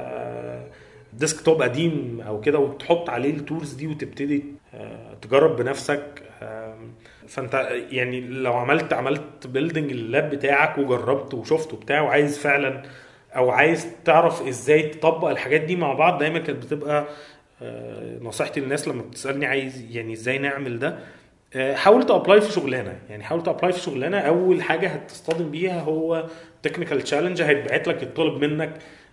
ديسكتوب قديم او كده وتحط عليه التولز دي وتبتدي تجرب بنفسك. فانت يعني لو عملت بيلدينج اللاب بتاعك وجربت وشفته بتاعه وعايز فعلا او عايز تعرف ازاي تطبق الحاجات دي مع بعض دايما كانت بتبقى نصيحتي للناس لما بتسألني عايز يعني ازاي نعمل ده. حاول تابلاي في شغلانه يعني حاول تابلاي في شغلانه. اول حاجه هتصطدم بيها هو تكنيكال تشالنج هيتبعت لك يطلب منك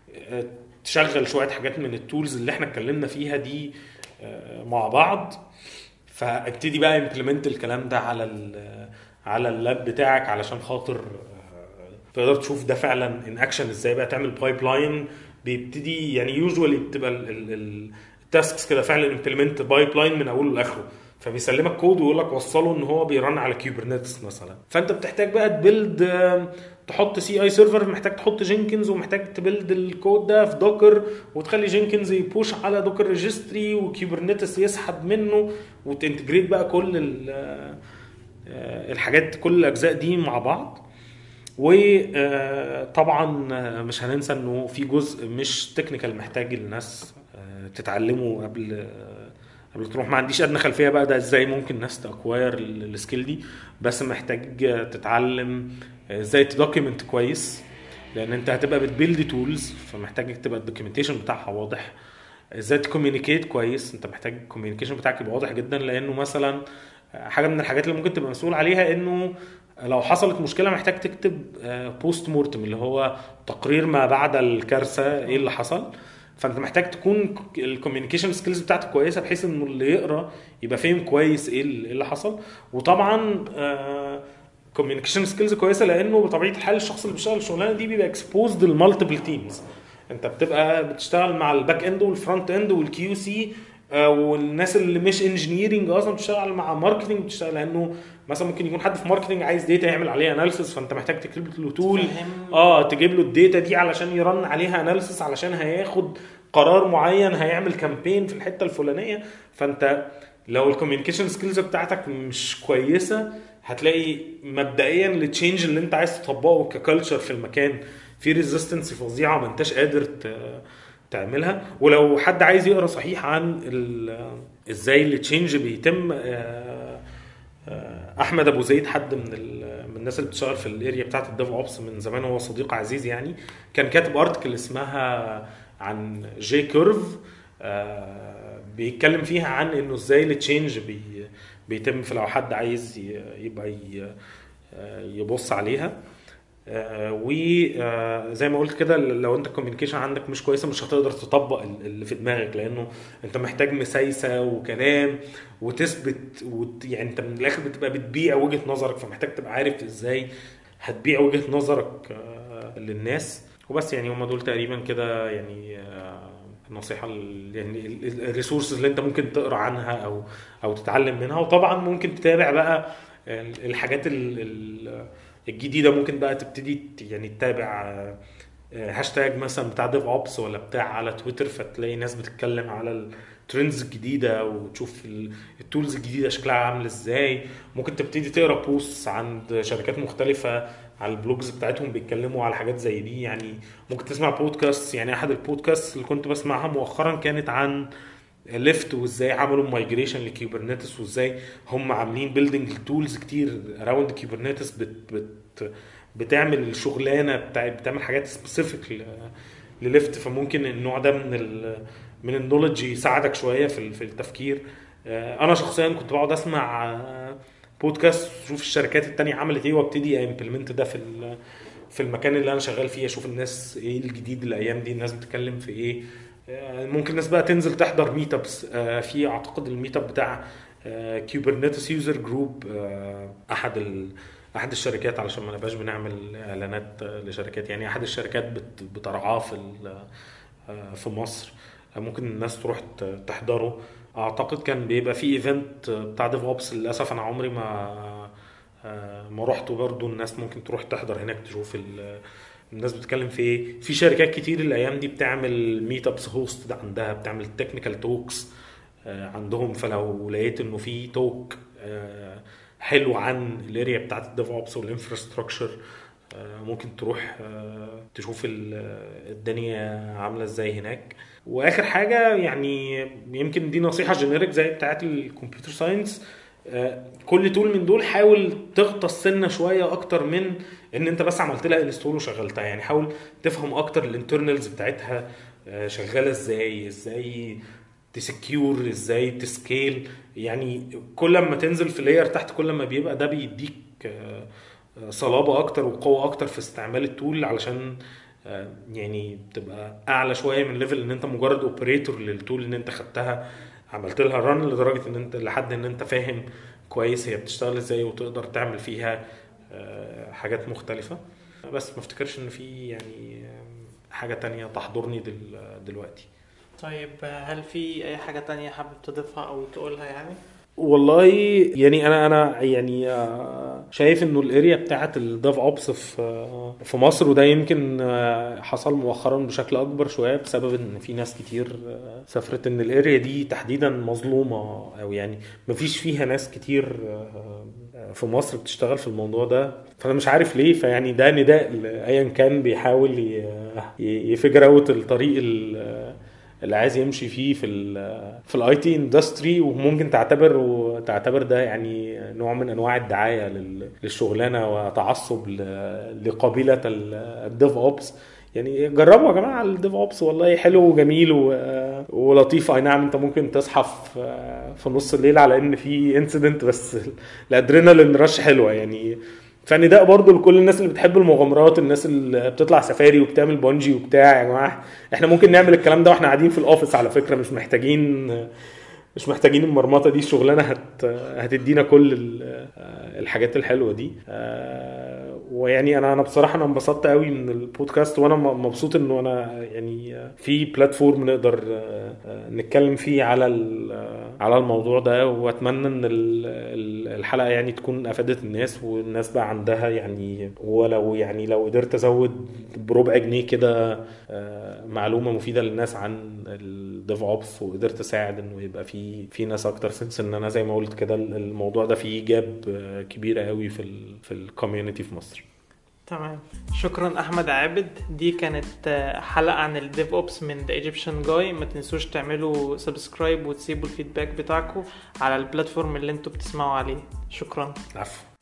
تشغل شويه حاجات من التولز اللي احنا اتكلمنا فيها دي مع بعض. فابتدي بقى امبلمنت الكلام ده على اللاب بتاعك علشان خاطر تقدر تشوف ده فعلا ان اكشن ازاي بقى تعمل بايب لاين. بيبتدي يعني يوجوالي بتبقى التاسكس كده فعلا امبلمنت بايب لاين من اوله لاخره. فبيسلمك كود ويقول لك وصله ان هو بيرن على كوبرنيتس مثلا. فانت بتحتاج بقى تبيلد تحط سي اي سيرفر محتاج تحط جينكنز ومحتاج تبيلد الكود ده في دوكر وتخلي جينكنز يبوش على دوكر ريجستري وكوبرنيتس يسحب منه وتنتجريت بقى كل الحاجات كل الاجزاء دي مع بعض. وطبعا مش هننسى انه في جزء مش تكنيكال محتاج الناس تتعلمه قبل تروح. ما عنديش ادنى خلفيه بقى ده ازاي ممكن الناس تاكواير السكيل دي بس محتاج تتعلم ازاي تدوكيمنت كويس لان انت هتبقى بتبيلد تولز فمحتاج تبقى الدوكيومنتيشن بتاعها واضح. ازاي تكوميونيكيت كويس انت محتاج الكوميونيكيشن بتاعك يبقى واضح جدا لانه مثلا حاجه من الحاجات اللي ممكن تبقى مسؤول عليها انه لو حصلت مشكله محتاج تكتب بوست مورتم اللي هو تقرير ما بعد الكارثه ايه اللي حصل. فانت محتاج تكون الكوميونيكيشن سكيلز بتاعتك كويسه بحيث انه اللي يقرا يبقى فاهم كويس ايه اللي حصل. وطبعا كوميونيكيشن سكيلز كويسه لانه بطبيعه الحال الشخص اللي بيشتغل الشغلانه دي بيبقى اكسبوزد للمالتيبل تيمز. انت بتبقى بتشتغل مع الباك اند والفرونت اند والكيو سي والناس اللي مش انجينيرنج اصلا بتشتغل مع ماركتنج بتشتغل لانه مثلا ممكن يكون حد في ماركتنج عايز داتا يعمل عليها اناليسيس فانت محتاج تكتب له تول تجيب له الداتا دي علشان يرن عليها اناليسيس علشان هياخد قرار معين هيعمل كامبين في الحته الفلانيه. فانت لو الكوميونيكيشن سكيلز بتاعتك مش كويسه هتلاقي مبدئيا التشينج اللي انت عايز تطبقه ككالتشر في المكان في ريزيستنس فظيعه ما انتش قادر تعملها. ولو حد عايز يقرا صحيح عن ازاي التشينج بيتم احمد ابو زيد حد من الناس اللي بتشتغل في الاريا بتاعه الديف اوبس من زمان هو صديق عزيز يعني كان كاتب ارتكل اسمها عن جي كيرف بيتكلم فيها عن انه ازاي التشينج بيتم في لو حد عايز يبقى يبص عليها. وزي ما قلت كده لو انت الكوميونيكيشن عندك مش كويسه مش هتقدر تطبق اللي في دماغك، لانه انت محتاج مسايسه وكلام وتثبت يعني انت من الاخر بتبقى بتبيع وجهه نظرك، فمحتاج تبقى عارف ازاي هتبيع وجهه نظرك للناس. وبس يعني هم دول تقريبا كده يعني النصيحه يعني الريسورسز اللي انت ممكن تقرا عنها او تتعلم منها. وطبعا ممكن تتابع بقى الحاجات الجديده، ممكن بقى تبتدي يعني تتابع هاشتاج مثلا بتاع ديف اوبس ولا بتاع على تويتر، فتلاقي ناس بتتكلم على الترندز الجديده وتشوف التولز الجديده شكلها عامل ازاي. ممكن تبتدي تقرا بوست عند شركات مختلفه على البلوجز بتاعتهم بيتكلموا على حاجات زي دي. يعني ممكن تسمع بودكاست، يعني احد البودكاست اللي كنت بسمعها مؤخرا كانت عن ليفت وازاي عملوا مايجريشن لكيوبرنيتس، وازاي هم عاملين بيلدينج تولز كتير اراوند كيوبرنيتس بتعمل الشغلانه بتعمل حاجات سبيسيفيك لليفت. فممكن النوع ده من النولج يساعدك شويه في التفكير. انا شخصيا كنت بقعد اسمع بودكاست اشوف الشركات التانية عملت ايه وابتدي امبلمنت ده في المكان اللي انا شغال فيه، اشوف الناس ايه الجديد الايام دي، الناس بتتكلم في ايه. ممكن الناس بقى تنزل تحضر ميت ابس. في اعتقد الميت اب بتاع كيوبرنيتس يوزر جروب، احد الشركات، علشان ما نبقاش بنعمل اعلانات لشركات، يعني احد الشركات بترعاه في مصر. ممكن الناس تروح تحضره. اعتقد كان بيبقى في ايفنت بتاع ديف اوبس، للاسف انا عمري ما رحته برضو. الناس ممكن تروح تحضر هناك تشوف الناس بتتكلم في ايه. في شركات كتير الايام دي بتعمل ميت ابس هوست عندها، بتعمل تكنيكال توكس عندهم. فلو لقيت انه في توك حلو عن الاريا بتاعت الديف اوبس والانفراستراكشر، ممكن تروح تشوف الدنيا عامله ازاي هناك. واخر حاجه يعني يمكن دي نصيحه جينيريك زي بتاعت الكمبيوتر ساينس، كل تول من دول حاول تغطس سنه شويه اكتر من ان انت بس عملت لها انستول وشغلتها. يعني حاول تفهم اكتر الانترنالز بتاعتها شغاله ازاي تسكيور، ازاي تسكيل. يعني كل ما تنزل في لاير تحت كل ما بيبقى ده بيديك صلابه اكتر وقوه اكتر في استعمال التول، علشان يعني تبقى اعلى شويه من ليفل ان انت مجرد اوبريتور للتول، ان انت خدتها عملت لها ران لدرجه ان انت لحد ان انت فاهم كويس هي بتشتغل ازاي وتقدر تعمل فيها حاجات مختلفه. بس ما افتكرش ان في يعني حاجه تانية تحضرني دلوقتي. طيب هل في اي حاجة تانية حابب تضيفها او تقولها يعني؟ والله يعني انا يعني شايف انه الاريا بتاعت الديف اوبس في مصر، وده يمكن حصل مؤخرا بشكل اكبر شويه بسبب ان في ناس كتير سافرت، ان الاريا دي تحديدا مظلومه، او يعني مفيش فيها ناس كتير في مصر بتشتغل في الموضوع ده. فانا مش عارف ليه. فيعني ده نداء ايا كان بيحاول يفجر اوت الطريق اللي عايز يمشي فيه في الاي تي اندستري. وممكن تعتبر ده يعني نوع من انواع الدعايه للشغلانه وتعصب لقبيله الديف اوبس. يعني جربوا يا جماعه الديف اوبس، والله حلو وجميل ولطيف. اي نعم انت ممكن تصحى في نص الليل على ان في انسيدنت، بس الادرينالين رش حلوه يعني. فنداء برضو لكل الناس اللي بتحب المغامرات، الناس اللي بتطلع سفاري وبتعمل بونجي وبتاع. يا جماعه احنا ممكن نعمل الكلام ده واحنا قاعدين في الاوفيس على فكره، مش محتاجين المرمطه دي. الشغلانه هتدينا كل الحاجات الحلوه دي. ويعني انا بصراحه انا انبسطت قوي من البودكاست، وانا مبسوط انه انا يعني في بلاتفورم نقدر نتكلم فيه على الموضوع ده. واتمنى ان الحلقه يعني تكون افادت الناس، والناس بقى عندها يعني ولو يعني لو قدرت ازود بربع جنيه كده معلومه مفيده للناس عن الديف اوبس، وقدرت اساعد انه يبقى في ناس اكتر سنس ان انا زي ما قلت كده الموضوع ده فيه جاب كبيره قوي في الكوميونتي في مصر. تمام، شكرا احمد عابد. دي كانت حلقة عن الديف اوبس من The Egyptian Guy. ما تنسوش تعملوا سبسكرايب وتسيبوا الفيدباك بتاعكم على البلاتفورم اللي انتوا بتسمعوا عليه. شكرا. عفو.